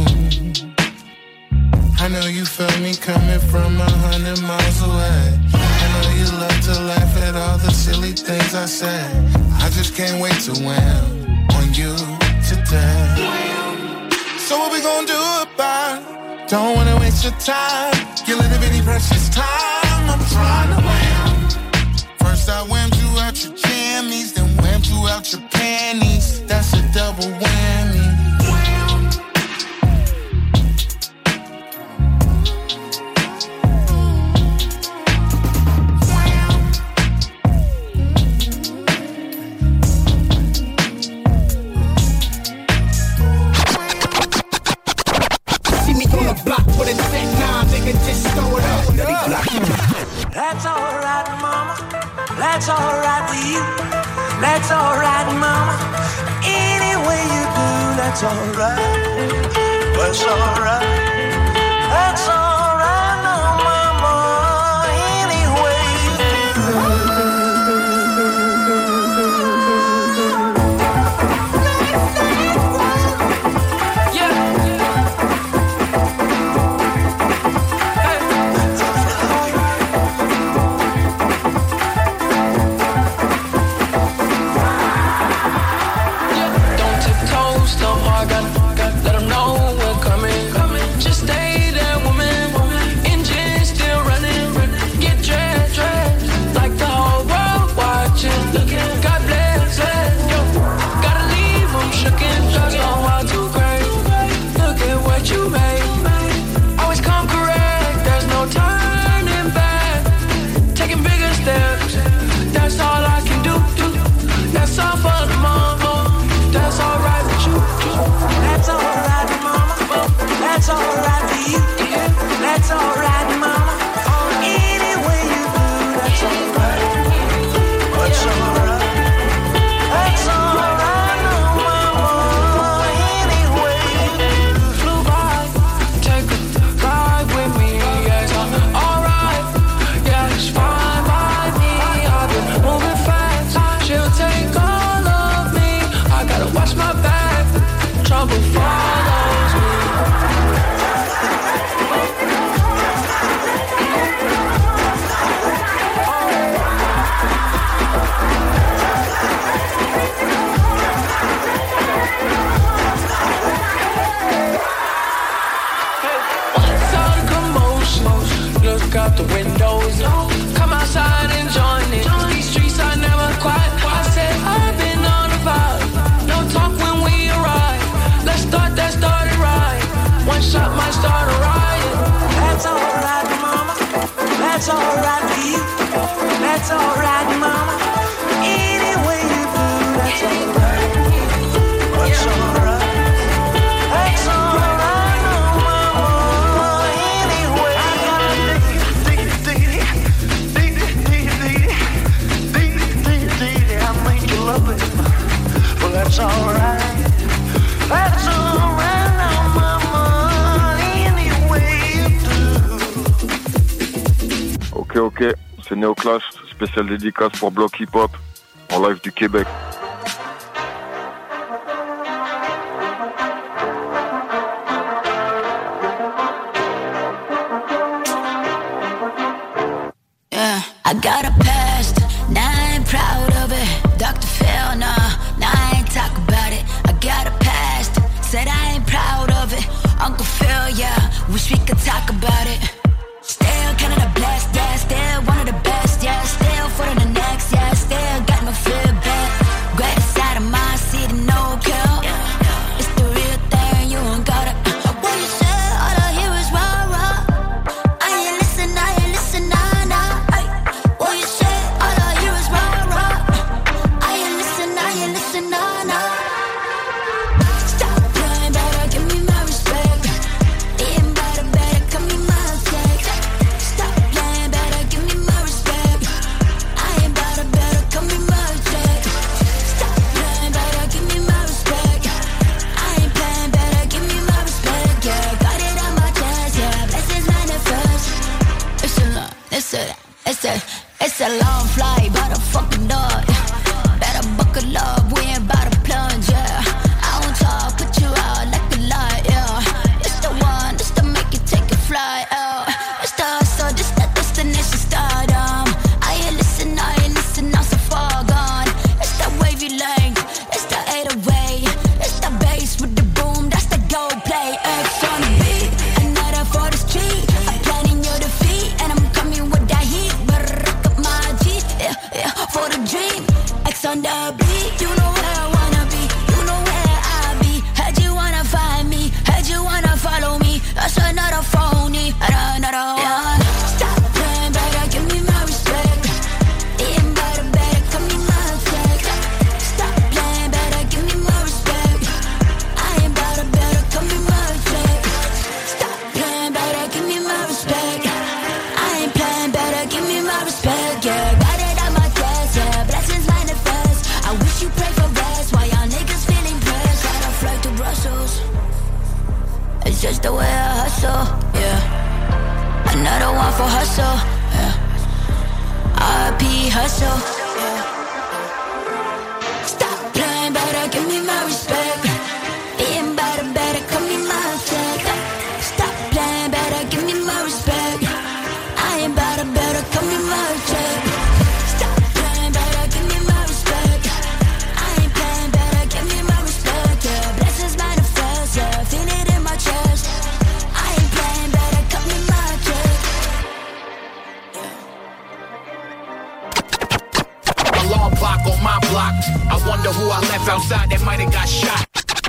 I know you feel me coming from 100 miles away. I know you love to laugh at all the silly things I said. I just can't wait to wham on you today. So what we gon' do about it? Don't wanna waste your time, your little bitty precious time. I'm trying to wham. First I whammed you out your jammies, then whammed you out your panties. That's a double whammy. That's alright, mama. That's alright with you. That's alright, mama. Any way you do, that's alright. That's alright. That's alright, no, mama. Any way you do. That's alright with you. That's alright, mama. Any way you do, that's alright. That's alright. That's alright, no, mama. Any way you do. Flew by, take a ride with me. Yeah, it's alright. Yeah, it's fine by me. I've been moving fast. She'll take all of me. I gotta watch my back. Trouble follows me. Look out the windows, come outside and join it. These streets are never quiet. I said I've been on the vibe. No talk when we arrive. Let's start that started right. One shot might start a riot. That's alright, mama. That's alright with you. That's alright, mama. Any way you do, that's alright. That's alright. That's alright, no, mama. Anyway, I make you love it. Ok, c'est Neoclash, spécial dédicace pour Bloc Hip Hop, en live du Québec. I got a past, now I ain't proud of it. Dr. Phil, nah, now I ain't talk about it. I got a past, said I ain't proud of it. Uncle Phil, yeah, wish we could talk about it. Still kind of the best, yeah, still one of the best, yeah. Still foot on the next, yeah, still got no feedback. Greatest side of my city, no kill. It's the real thing, you ain't got it. What you say, all I hear is rah, rah. I ain't listen, nah, nah. What you say, all I hear is rah, rah. I ain't listen, nah, nah. Stop playing, better give me my respect. Being better, come me my check. Stop playing, better give me my respect. I ain't better, come me my check. Stop playing, better give me my respect. I ain't playing, better give me my respect. Yeah, got it on my chest, yeah. Blessings manifest. It's a long flight, by the fucking door. Better buckle up, we ain't about to plunge, yeah. I won't talk, put you out like a light, yeah. It's the one, this to make you take a flight, yeah. It's the hustle, this the destination stardom. I ain't listen, I'm so far gone. It's that wavy length, it's the 808. It's the bass with the boom, that's the gold play. X on the beat, another for the street. I'm planning your defeat, and I'm coming with that heat. Yeah, for the dream. X on the beat, you know where I wanna be, you know where I be. Heard you wanna find me, heard you wanna follow me. That's another phony, another one. Stop playing, better give me my respect. Being better, come me my check. Stop playing, better give me my respect. I ain't better, come me my check. Stop playing, better give me my respect. I ain't playing, better give me my respect, yeah. Blessings manifest. I wish you pray for rest. Why y'all niggas feeling pressed? Gotta fly to Brussels. It's just the way I hustle, yeah. Another one for hustle, yeah. RP hustle, yeah. Stop playing, better give me my respect. Being better, come me my check. Stop playing, better give me my respect. I ain't better, come me my check. On my block, I wonder who I left outside that might have got shot.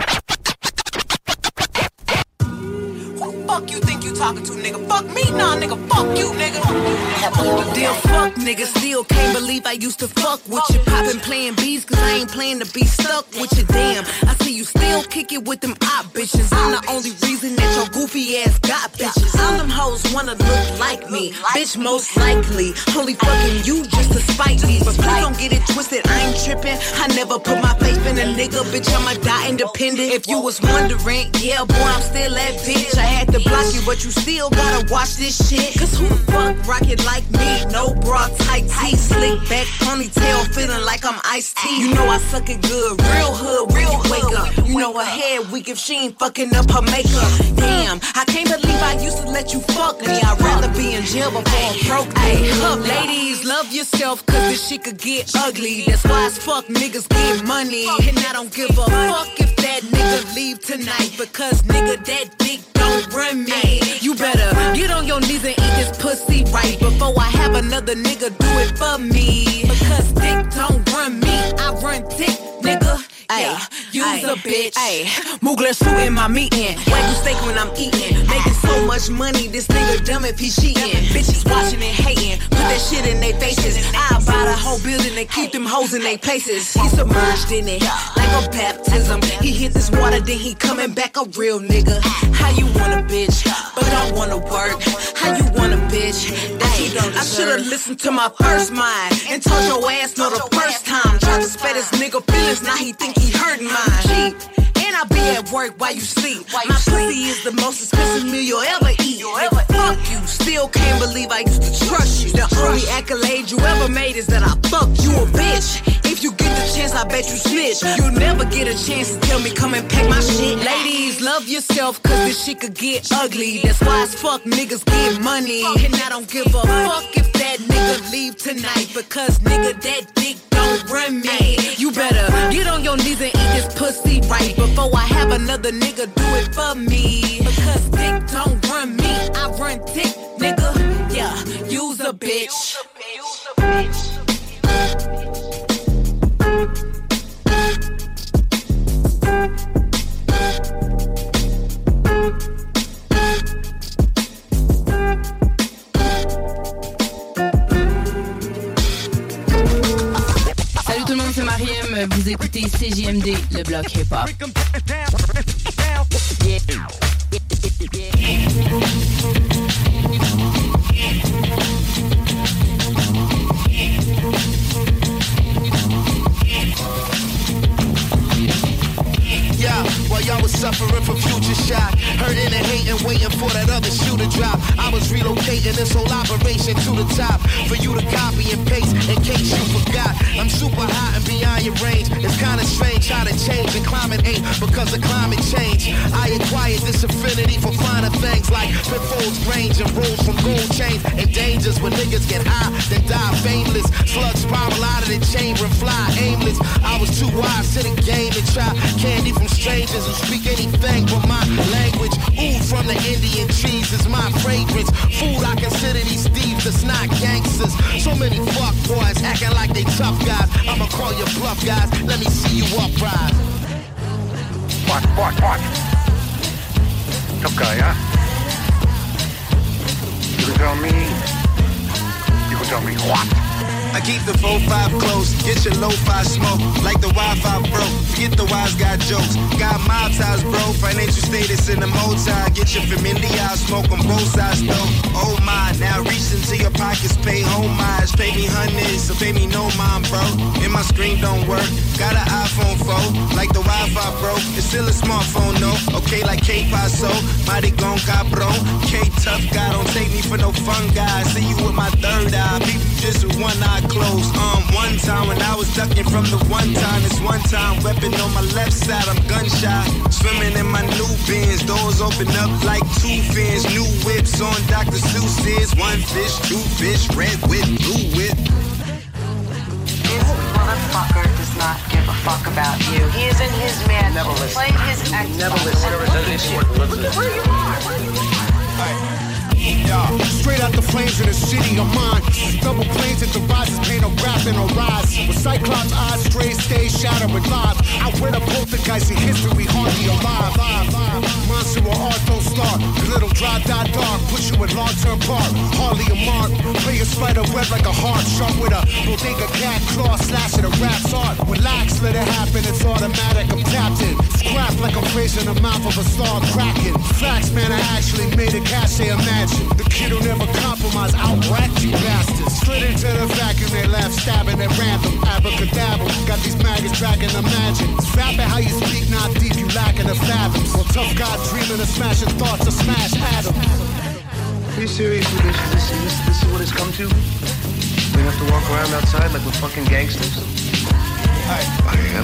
Who fuck you think you talking to, nigga? Fuck me, nah, nigga. Fuck you, nigga. Damn, fuck, nigga. Still can't believe I used to fuck with you. Poppin' playing beats, cause I ain't playing to be stuck with you. Damn, I see you still kick it with them op bitches. I'm the only reason that your goofy ass got bitches. All them hoes wanna look like me, bitch, most likely. Only fucking you just to spite me. But please don't get it twisted, I ain't trippin'. I never put my faith in a nigga, bitch, I'ma die independent. If you was wondering, yeah, boy, I'm still that bitch. I had to block you, but you still gotta watch this shit. Cause who the fuck rockin' like me? No bra, tight tee, slick back, ponytail, feeling like I'm iced tea. You know I suck it good, real hood, when you wake up. You know her hair weak if she ain't fucking up her makeup. Damn, I can't believe I used to let you fuck me. I'd rather be in jail before I broke me. Ladies, love yourself, cause this shit could get ugly. That's why as fuck niggas get money. And I don't give a fuck if that nigga leave tonight, because nigga, that dick don't run me. You better get on your knees and eat this pussy right before I have another nigga do it for me. Because dick don't run me, I run dick, nigga. Yeah, you's a bitch. Mugler suit in my meeting. Wagyu steak when I'm eating. Making so much money, this nigga dumb if he cheating. Bitches watching and hating. Put that shit in their faces. I buy the whole building and keep them hoes in their places. He submerged in it like a baptism. He hit this water, then he coming back a real nigga. How you want a bitch, but don't wanna work? How you want a bitch that you don't deserve? I should've listened to my first mind and told your ass no the first time. Tried to spare this nigga feelings, now he think he hurting mine. Cheap. And I be at work while you sleep. My pussy is the most expensive meal you'll ever eat. Fuck you, still can't believe I used to trust you. The accolade you ever made is that I fucked you a bitch. If you get the chance, I bet you snitch. You'll never get a chance to tell me come and pack my shit. Ladies, love yourself, cause this shit could get ugly. That's why as fuck niggas get money. And I don't give a fuck if that nigga leave tonight, because nigga, that dick don't run me. You better get on your knees and eat this pussy right before I have another nigga do it for me. Because dick don't run me, I run dick, nigga. Yeah, you's a bitch. Salut tout le monde, c'est Mariem. Vous écoutez CJMD, le bloc hip-hop. Yeah, while y'all was suffering from future shock, hurting and hating, waiting for that other shoe to drop, I was relocating this whole operation to the top for you to copy and paste in case you forgot. I'm super hot and beyond your range. It's kinda strange how to change and climate ain't because of climate change. I acquired this affinity for finer things like pitfalls, range, and rules from gold chains and dangers when niggas get high, then die fameless. Slugs spiral out of the chamber and fly aimless. I was too wise to the game to try candy from strangers who speak anything but my language. Ooh, from the Indian trees is my fragrance. Food, I consider these thieves that's not gangsters. So many fuck boys acting like they tough guys. I'ma call you bluff guys. Let me see you uprise. What? Tough guy, huh? You can tell me what? I keep the 4-5 close, get your lo-fi smoke. Like the Wi-Fi broke, forget the wise guy jokes. Got mob ties, bro, financial status in the multi. Get your familiar, smoke on both sides, though. Oh my, now reach into your pockets, pay homage. Pay me hundreds, so pay me no mind, bro. And my screen don't work, got an iPhone 4. Like the Wi-Fi broke, it's still a smartphone, no. Okay, like K-Paso, mighty gon' cabron. K-Tough guy, don't take me for no fun guy. See you with my third eye, people just with one eye closed. One time when I was ducking from the one time, this one time weapon on my left side, I'm gunshot. Swimming in my new bins, doors open up like two fins. New whips on Dr. Seuss's. One fish, two fish, red whip, blue whip. This motherfucker does not give a fuck about you. He is in his man. Never listen. Playing his Xbox. Never listen. Look where you are. Yeah. Straight out the flames in the city of mine. Double planes at the rises, paint a rap and a rise. With Cyclops eyes, straight stage, shattering live. I wear the poltergeist in history, hardly alive. Monster or art don't start. Little dry, die dark, put you in long-term park. Hardly a mark. Play a spider web like a heart, sharp with a bodega cat claw, slashing a rap's art. Relax, let it happen, it's automatic, I'm tapped in. Scrap like a phrase in the mouth of a star cracking. Facts, man, I actually made a cache, they imagine. The kid who never compromise, out-racked you bastards. Slid into the vacuum, they laugh, stabbing at random. Abracadabra, got these maggots dragging imagine. Rapping how you speak, not deep, you lacking the fathoms. Well, tough guy dreaming of smashing thoughts to smash atoms. Are you serious with this? This is what it's come to? We have to walk around outside like we're fucking gangsters? I am.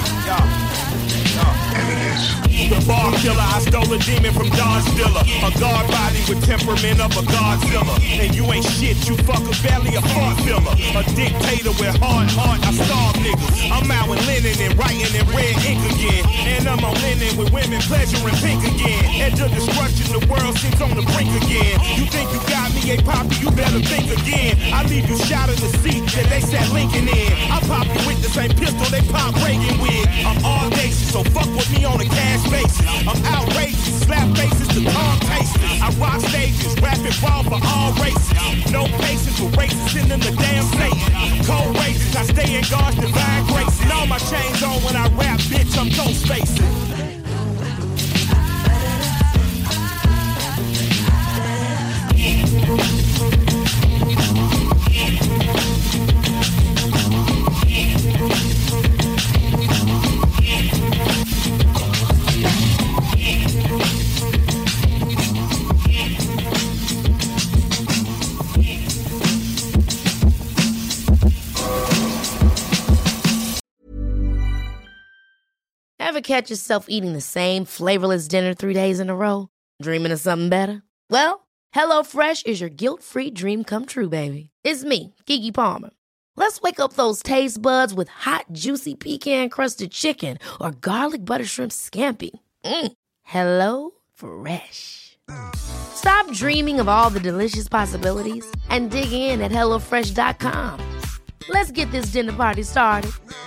And it is. The bar killer, I stole a demon from Don Stiller. A guard body with temperament of a Godzilla. And you ain't shit, you fuck a belly, a fart filler. A dictator with hard heart, I starve niggas. I'm out with linen and writing in red ink again. And I'm on linen with women pleasuring pink again. Edge of destruction, the world seems on the brink again. You think you got me, hey poppy, you better think again. I leave you shot in the seat that they sat Lincoln in. I pop you with the same pistol they pop Reagan with. I'm all bases, so fuck with me on a cash basis. I'm outrageous, slap faces to calm tasters. I rock stages, rap and ball for all races. No patience for racists sending the damn Satan. Cold rages, I stay in God's divine grace. And all my chains on when I rap, bitch, I'm ghost facing. Ever catch yourself eating the same flavorless dinner 3 days in a row? Dreaming of something better? Well, HelloFresh is your guilt-free dream come true, baby. It's me, Keke Palmer. Let's wake up those taste buds with hot, juicy pecan-crusted chicken or garlic butter shrimp scampi. HelloFresh. Stop dreaming of all the delicious possibilities and dig in at HelloFresh.com. Let's get this dinner party started.